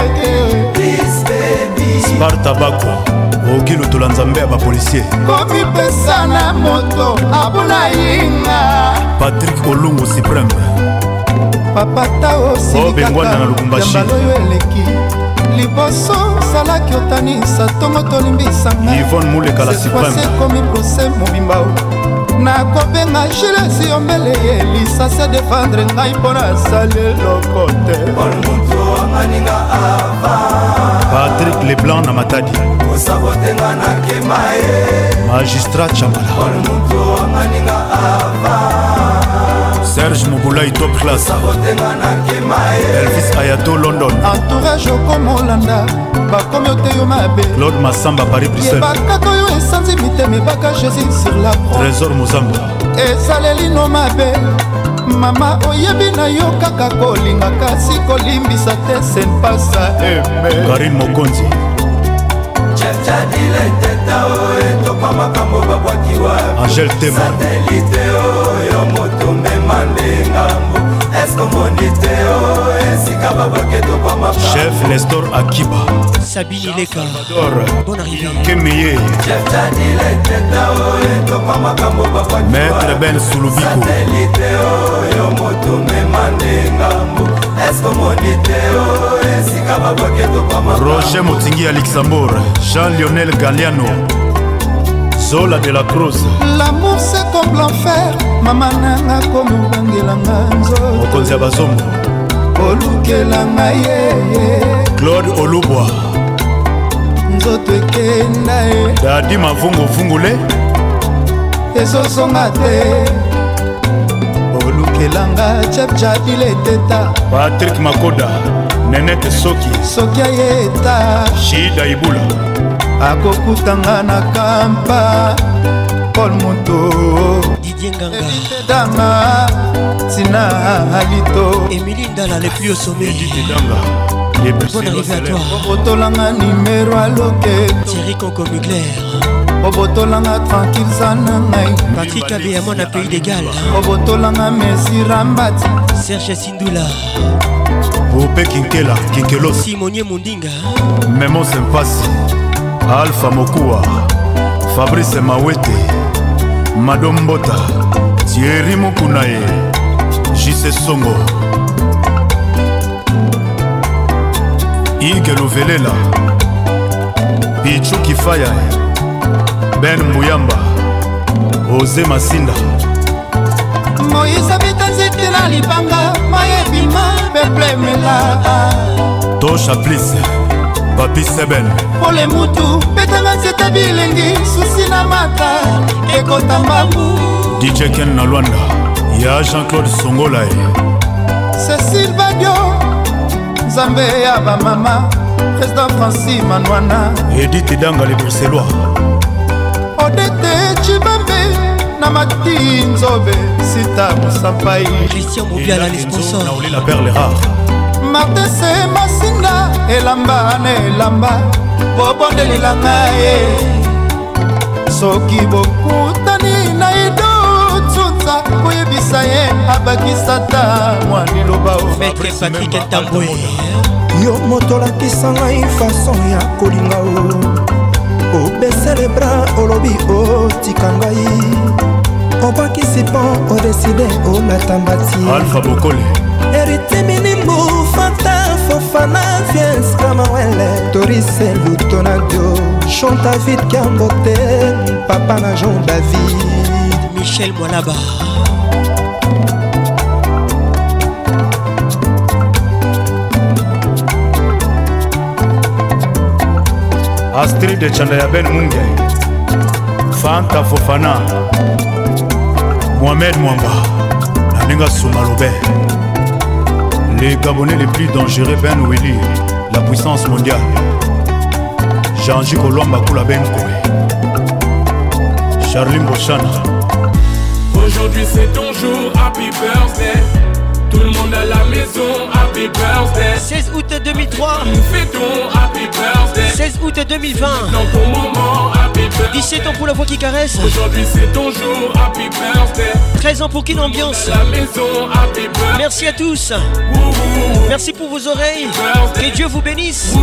C: te
W: Sparta Bako okilo tola nzambe ya bapolisier
C: komipesa na moto abuna yinga
W: Patrick Olungu Supreme
C: papata
W: Bengwana na Lubumbashi
C: osilikaka oyo eleki liboso salaki otanisa ntongo tolimbisanga
W: Yvonne Muleka la Supreme
C: ekomi prose mobimba nakobenga Jules yombele ye lisase defendre ngai mpo nasali eloko te
W: Patrick Leblanc na Matadi Magistrat Chamala Serge Mouboulaï top class Elvis Ayato London
C: entourage okomolanda bakomi oteyo mabe
W: Claude Massamba Paris Bruxelles
C: yebakaka oyo esanzi mitema ebaka Jésus sur la croix
W: Trésor Mozamba
C: esaleli no mabe mama oyebi na yo kaka kolinga kasi kolimbisa te senpasa eme
W: Karine Mokonzi Angèle Tema Chef Nestor Akiba
F: Sabine Ileka bonne arrivée
W: Kemeye Maître Ben Soulubiko Roger Motingi à Luxembourg Jean-Lionel Galliano Zola de la Cruz
C: l'amour c'est comme l'enfer mama nanga komi obangelanga nzoto
W: mokonzi ya bazombo
C: olukela ngai
W: Claude Olubwa
C: nzoto ekenda e
W: Dadi Mavungu Vungule
C: ezosonga te olukelanga chef jadile teta
W: Patrick Makoda Nenete Soki
C: soki ayeta
W: Shida Ibula
C: akokutanga na kampa Paul Moto
F: Didier Nganga
C: Dama Tina Alito
F: Émilie Ndala les plus au sommet
W: Didier Danga
F: Bonne arrivée à toi
C: Obotolanga numéro à loquet
F: Thierry Conco Mugler
C: Obotolanga tranquille sana ngai
F: Patrick Abeyamon à Pays d'égal
C: Obotolanga Messi Rambati
F: Serge Sindula
W: Bope Kinkela Kinkelos
F: Simonier Mundinga
W: Memo Sempasi Alpha Mokua Fabrice Mawete Madombota Thierry Mukunae Jise Songo Ige Lovelela Pichu Kifaya Ben Muyamba Ose Masinda
C: Moïse habita nzete na libanga mayebima beplemela
W: Tosha Please Papi Seben
C: Pole mutu betanga nzete bilengi susi na mata ekota mbambu
W: D J Ken na Luanda Ya Jean-Claude Songolae
C: Cécile Badio Nzambe ya bamama Président Francis Manwana
W: Edith Danga les Bruxellois
C: Odete Chibambe Namati Nzobe Sita Moussapai
F: Christian Moubiala les sponsors
W: Naouli la perle rare
C: Martin Se Masinda Elamba ne elamba Bobonde lilanga e Soki bokutani na ido Tsunza Koyebisa ye Abakisata Mwani loba o
F: Maître Patrick Ntamboué
D: Yo moto lakisa ngai façon ya kolinga o obese le bras olobi otika ngai obakisi pon odeside olatambati
W: Alpha Bokole
D: Erite minimbu Fanta Fofana Fies Kamawele Torise Lutonadio Chanta vite Kambote Papa na Jean David
F: Michel Mwalaba
W: Astrid de Chandaya Ben Munge Fanta Fofana Mohamed Mwamba Naninga Soumalobe Les Gabonais les plus dangereux Ben Willy La puissance mondiale Jean-J Kolomba Kula Ben Koé Charlie Mbochana.
V: Aujourd'hui c'est ton jour, happy birthday. Tout le monde à la maison, happy birthday.
F: seize août deux mille trois.
V: Nous fêtons, happy birthday.
F: seize août deux mille vingt.
V: Dans ton moment, happy birthday.
F: dix-sept ans pour la voix qui caresse.
V: Aujourd'hui c'est ton jour, happy birthday.
F: treize ans pour Kin Ambiance.
V: À la maison, happy birthday.
F: Merci à tous. Merci pour vos oreilles. Que Dieu vous bénisse.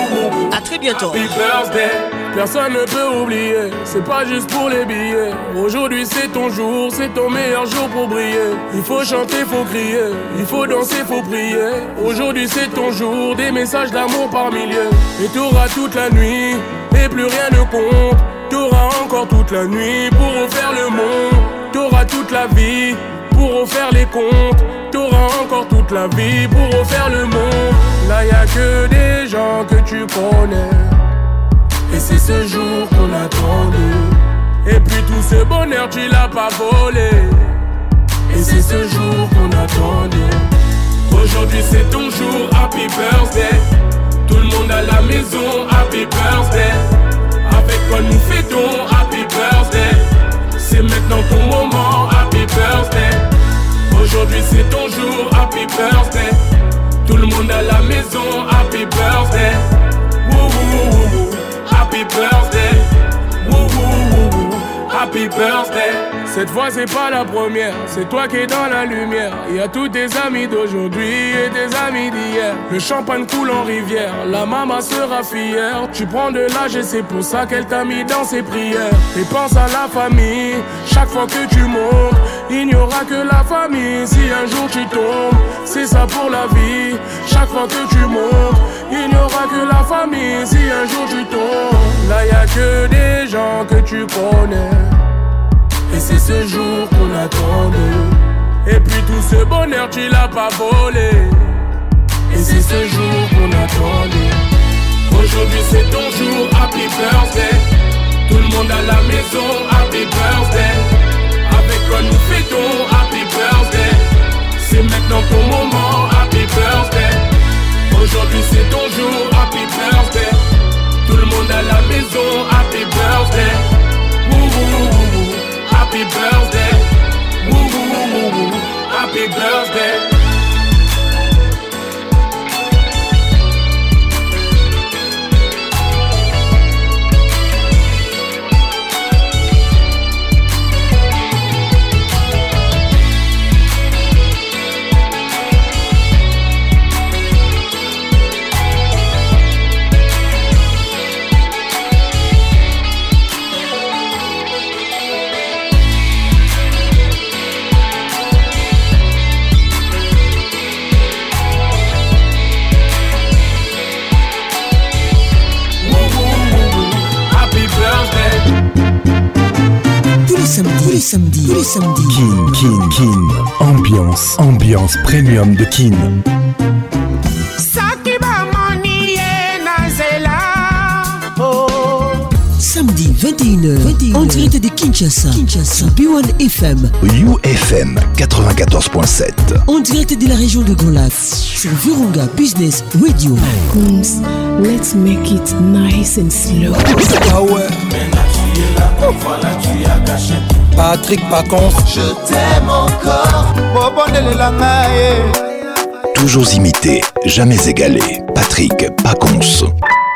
F: A très bientôt.
V: Happy birthday. Personne ne peut oublier, c'est pas juste pour les billets. Aujourd'hui c'est ton jour, c'est ton meilleur jour pour briller. Il faut chanter, faut crier, il faut danser, faut prier. Aujourd'hui c'est ton jour, des messages d'amour par milliers. Et t'auras toute la nuit, et plus rien ne compte. T'auras encore toute la nuit pour refaire le monde. T'auras toute la vie pour refaire les comptes. T'auras encore toute la vie pour refaire le monde. Là y'a que des gens que tu connais. Et c'est ce jour qu'on attendait. Et puis tout ce bonheur tu l'as pas volé. Et c'est ce jour qu'on attendait. Aujourd'hui c'est ton jour, happy birthday. Tout le monde à la maison, happy birthday. Avec toi nous fêtons, happy birthday. C'est maintenant ton moment, happy birthday. Aujourd'hui c'est ton jour, happy birthday. Tout le monde à la maison, happy birthday. Woo woo woo woo. Happy birthday, woo woo woo woo. Happy birthday. Cette fois c'est pas la première, c'est toi qui es dans la lumière. Il y a tous tes amis d'aujourd'hui et tes amis d'hier. Le champagne coule en rivière, la maman sera fière. Tu prends de l'âge et c'est pour ça qu'elle t'a mis dans ses prières. Et pense à la famille, chaque fois que tu montes. Il n'y aura que la famille si un jour tu tombes. C'est ça pour la vie, chaque fois que tu montes. Il n'y aura que la famille si un jour tu tombes. Là y a que des gens que tu connais. Et c'est ce jour qu'on attendait. Et puis tout ce bonheur tu l'as pas volé. Et c'est ce jour qu'on attendait. Aujourd'hui c'est ton jour, happy birthday. Tout le monde à la maison, happy birthday. Avec quoi nous fêtons, happy birthday. C'est maintenant ton moment, happy birthday. Aujourd'hui c'est ton jour, happy birthday. Tout le monde à la maison, happy birthday. Woo woo woo woo, happy birthday. Woo woo woo woo, happy birthday.
A: Tous les samedis, tous les samedis. Kin, Kin, Kin. Ambiance, ambiance premium de Kin.
R: Samedi vingt et une heures, vingt et une heures, en direct de Kinshasa, Kinshasa, B un F M,
A: U F M quatre-vingt-quatorze point sept.
R: En direct de la région de Grand Lac, sur Virunga Business Radio.
L: Pacons, let's make it nice and slow.
Q: Ah ouais. Voilà, tu as caché. Patrick Pacons, je t'aime encore.
A: Toujours imité, jamais égalé. Patrick Pacons.